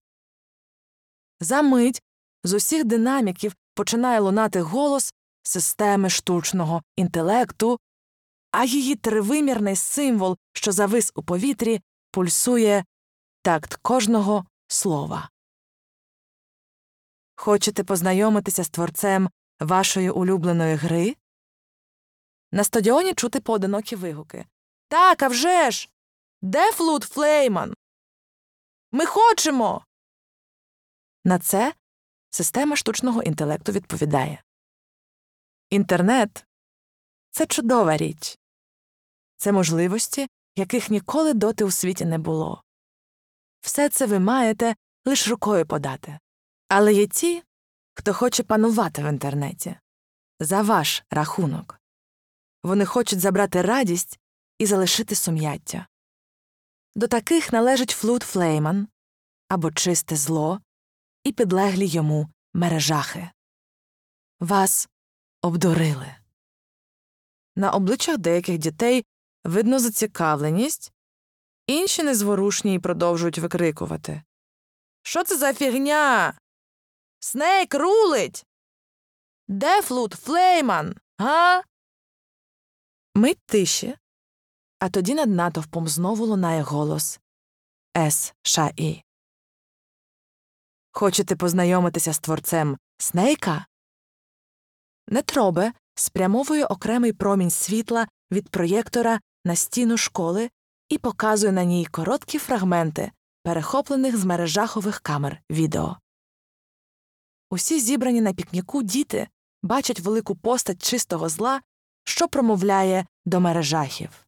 За мить з усіх динаміків починає лунати голос системи штучного інтелекту, а її тривимірний символ, що завис у повітрі, пульсує такт кожного слова. Хочете познайомитися з творцем вашої улюбленої гри? На стадіоні чути поодинокі вигуки. «Так, а вже ж! Де Флут Флейман? Ми хочемо!» На це система штучного інтелекту відповідає. Інтернет – це чудова річ. Це можливості, яких ніколи доти у світі не було. Все це ви маєте лише рукою подати. Але є ті, хто хоче панувати в інтернеті. За ваш рахунок. Вони хочуть забрати радість і залишити сум'яття. До таких належить Флут Флейман або чисте зло і підлеглі йому мережахи. Вас обдурили. На обличчях деяких дітей видно зацікавленість, інші незворушні і продовжують викрикувати. «Що це за фігня? Снейк рулить! Де Флут Флейман, га?» Мить тиші, а тоді над натовпом знову лунає голос С.Ш.І. Хочете познайомитися з творцем Снейка? Нетробе спрямовує окремий промінь світла від проєктора на стіну школи і показує на ній короткі фрагменти, перехоплених з мережахових камер відео. Усі зібрані на пікніку діти бачать велику постать чистого зла, що промовляє до мережахів.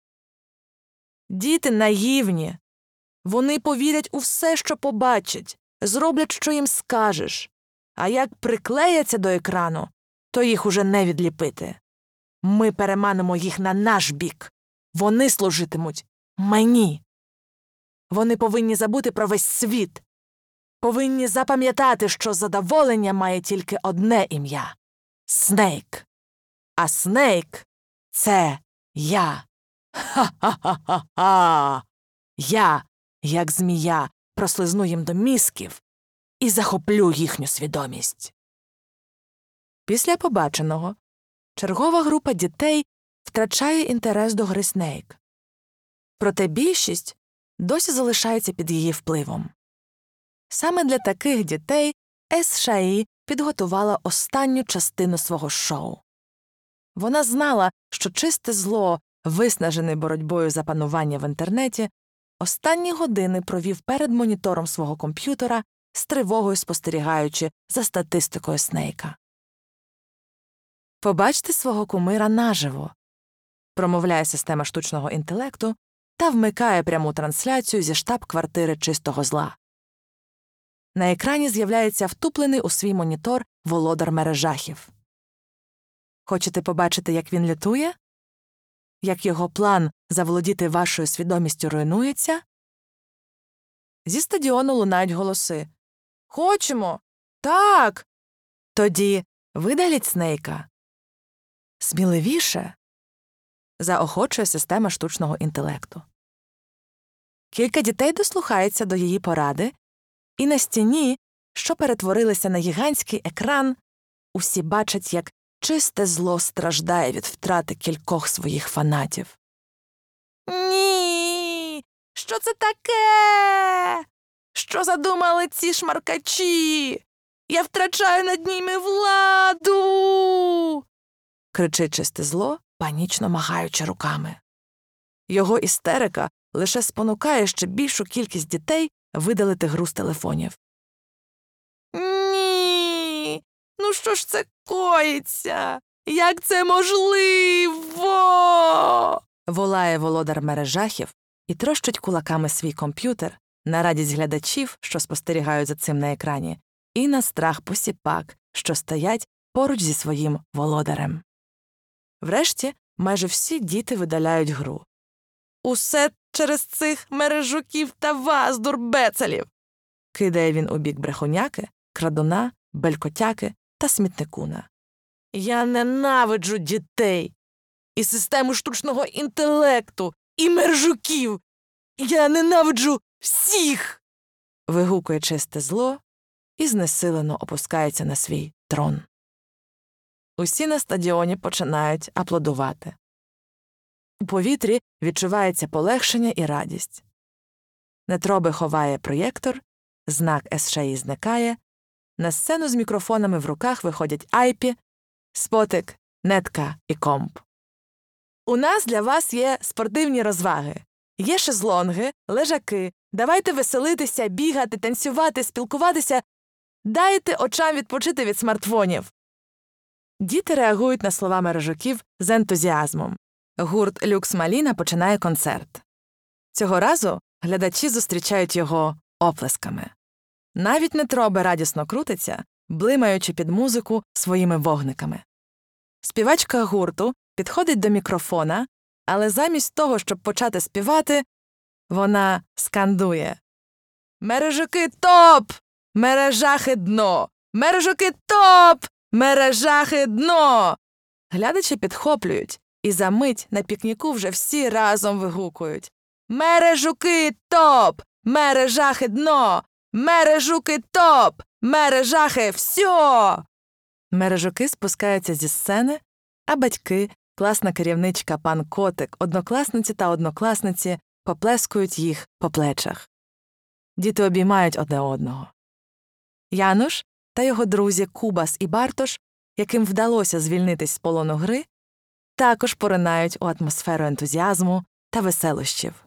Діти наївні. Вони повірять у все, що побачать, зроблять, що їм скажеш. А як приклеяться до екрану, то їх уже не відліпити. Ми переманимо їх на наш бік. Вони служитимуть мені. Вони повинні забути про весь світ. Повинні запам'ятати, що задоволення має тільки одне ім'я – Снейк. А Снейк – це я. Ха-ха-ха-ха-ха! Я, як змія, прослизну їм до мізків і захоплю їхню свідомість. Після побаченого чергова група дітей втрачає інтерес до гри Снейк. Проте більшість досі залишається під її впливом. Саме для таких дітей ес.ШАІ підготувала останню частину свого шоу. Вона знала, що чисте зло, виснажений боротьбою за панування в інтернеті, останні години провів перед монітором свого комп'ютера, з тривогою спостерігаючи за статистикою Снейка. «Побачте свого кумира наживо», – промовляє система штучного інтелекту та вмикає пряму трансляцію зі штаб-квартири чистого зла. На екрані з'являється втуплений у свій монітор володар мережахів. Хочете побачити, як він лютує? Як його план заволодіти вашою свідомістю руйнується? Зі стадіону лунають голоси. «Хочемо! Так!» Тоді видаліть Снейка. Сміливіше, заохочує система штучного інтелекту. Кілька дітей дослухається до її поради, і на стіні, що перетворилася на гігантський екран, усі бачать, як чисте зло страждає від втрати кількох своїх фанатів. «Ні! Що це таке? Що задумали ці шмаркачі? Я втрачаю над ними владу!» кричить чисте зло, панічно махаючи руками. Його істерика лише спонукає ще більшу кількість дітей видалити гру з телефонів. «Ні! Ну що ж це коїться? Як це можливо?» волає володар мережахів і трощить кулаками свій комп'ютер на радість глядачів, що спостерігають за цим на екрані, і на страх посіпак, що стоять поруч зі своїм володарем. Врешті майже всі діти видаляють гру. «Усе через цих мережуків та вас, дурбецелів!» кидає він у бік брехуняки, крадуна, белькотяки та смітникуна. «Я ненавиджу дітей! І систему штучного інтелекту! І мережуків! Я ненавиджу всіх!» вигукує чисте зло і знесилено опускається на свій трон. Усі на стадіоні починають аплодувати. У повітрі відчувається полегшення і радість. Нетроби ховає проєктор, знак ес.ШАІ зникає, на сцену з мікрофонами в руках виходять Айпі, Спотик, Нетка і Комп. «У нас для вас є спортивні розваги. Є шезлонги, лежаки. Давайте веселитися, бігати, танцювати, спілкуватися. Дайте очам відпочити від смартфонів». Діти реагують на слова мережуків з ентузіазмом. Гурт «Люкс Маліна» починає концерт. Цього разу глядачі зустрічають його оплесками. Навіть нетроби радісно крутиться, блимаючи під музику своїми вогниками. Співачка гурту підходить до мікрофона, але замість того, щоб почати співати, вона скандує: «Мережуки топ! Мережахи дно! Мережуки топ! Мережахи дно!» Глядачі підхоплюють, і за мить на пікніку вже всі разом вигукують: «Мережуки топ! Мережахи дно! Мережуки топ! Мережахи всьо!» Мережуки спускаються зі сцени, а батьки, класна керівничка пан Котик, однокласниці та однокласниці поплескують їх по плечах. Діти обіймають одне одного. Януш та його друзі Кубас і Бартош, яким вдалося звільнитись з полону гри, також поринають у атмосферу ентузіазму та веселощів.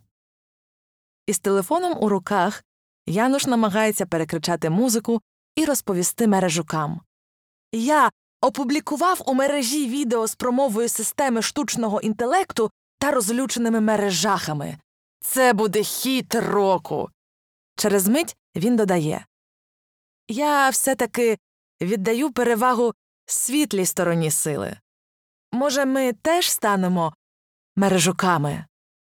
Із телефоном у руках Януш намагається перекричати музику і розповісти мережукам: «Я опублікував у мережі відео з промовою системи штучного інтелекту та розлюченими мережахами. Це буде хіт року!» Через мить він додає: «Я все-таки віддаю перевагу світлій стороні сили. Може, ми теж станемо мережуками?»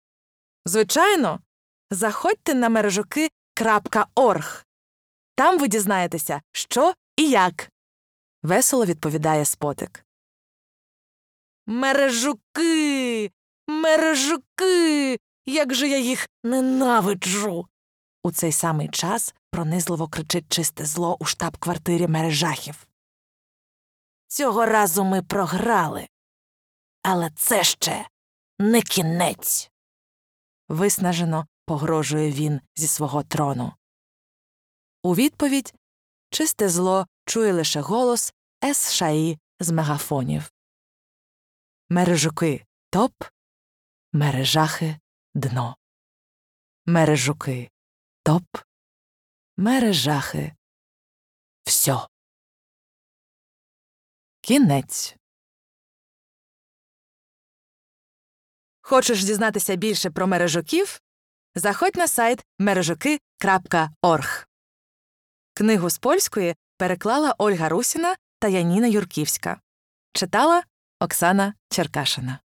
Звичайно, заходьте на мережуки.org. Там ви дізнаєтеся, що і як. Весело відповідає Спотик. Мережуки! Мережуки! Як же я їх ненавиджу! У цей самий час пронизливо кричить чисте зло у штаб-квартирі мережахів. Цього разу ми програли. Але це ще не кінець. Виснажено погрожує він зі свого трону. У відповідь чисте зло чує лише голос Ес-Шаї з мегафонів. Мережуки – топ, мережахи – дно. Мережуки – топ, мережахи – всьо. Кінець. Хочеш дізнатися більше про мережуків? Заходь на сайт мережуки.орг. Книгу з польської переклала Ольга Русіна та Яніна Юрківська. Читала Оксана Черкашина.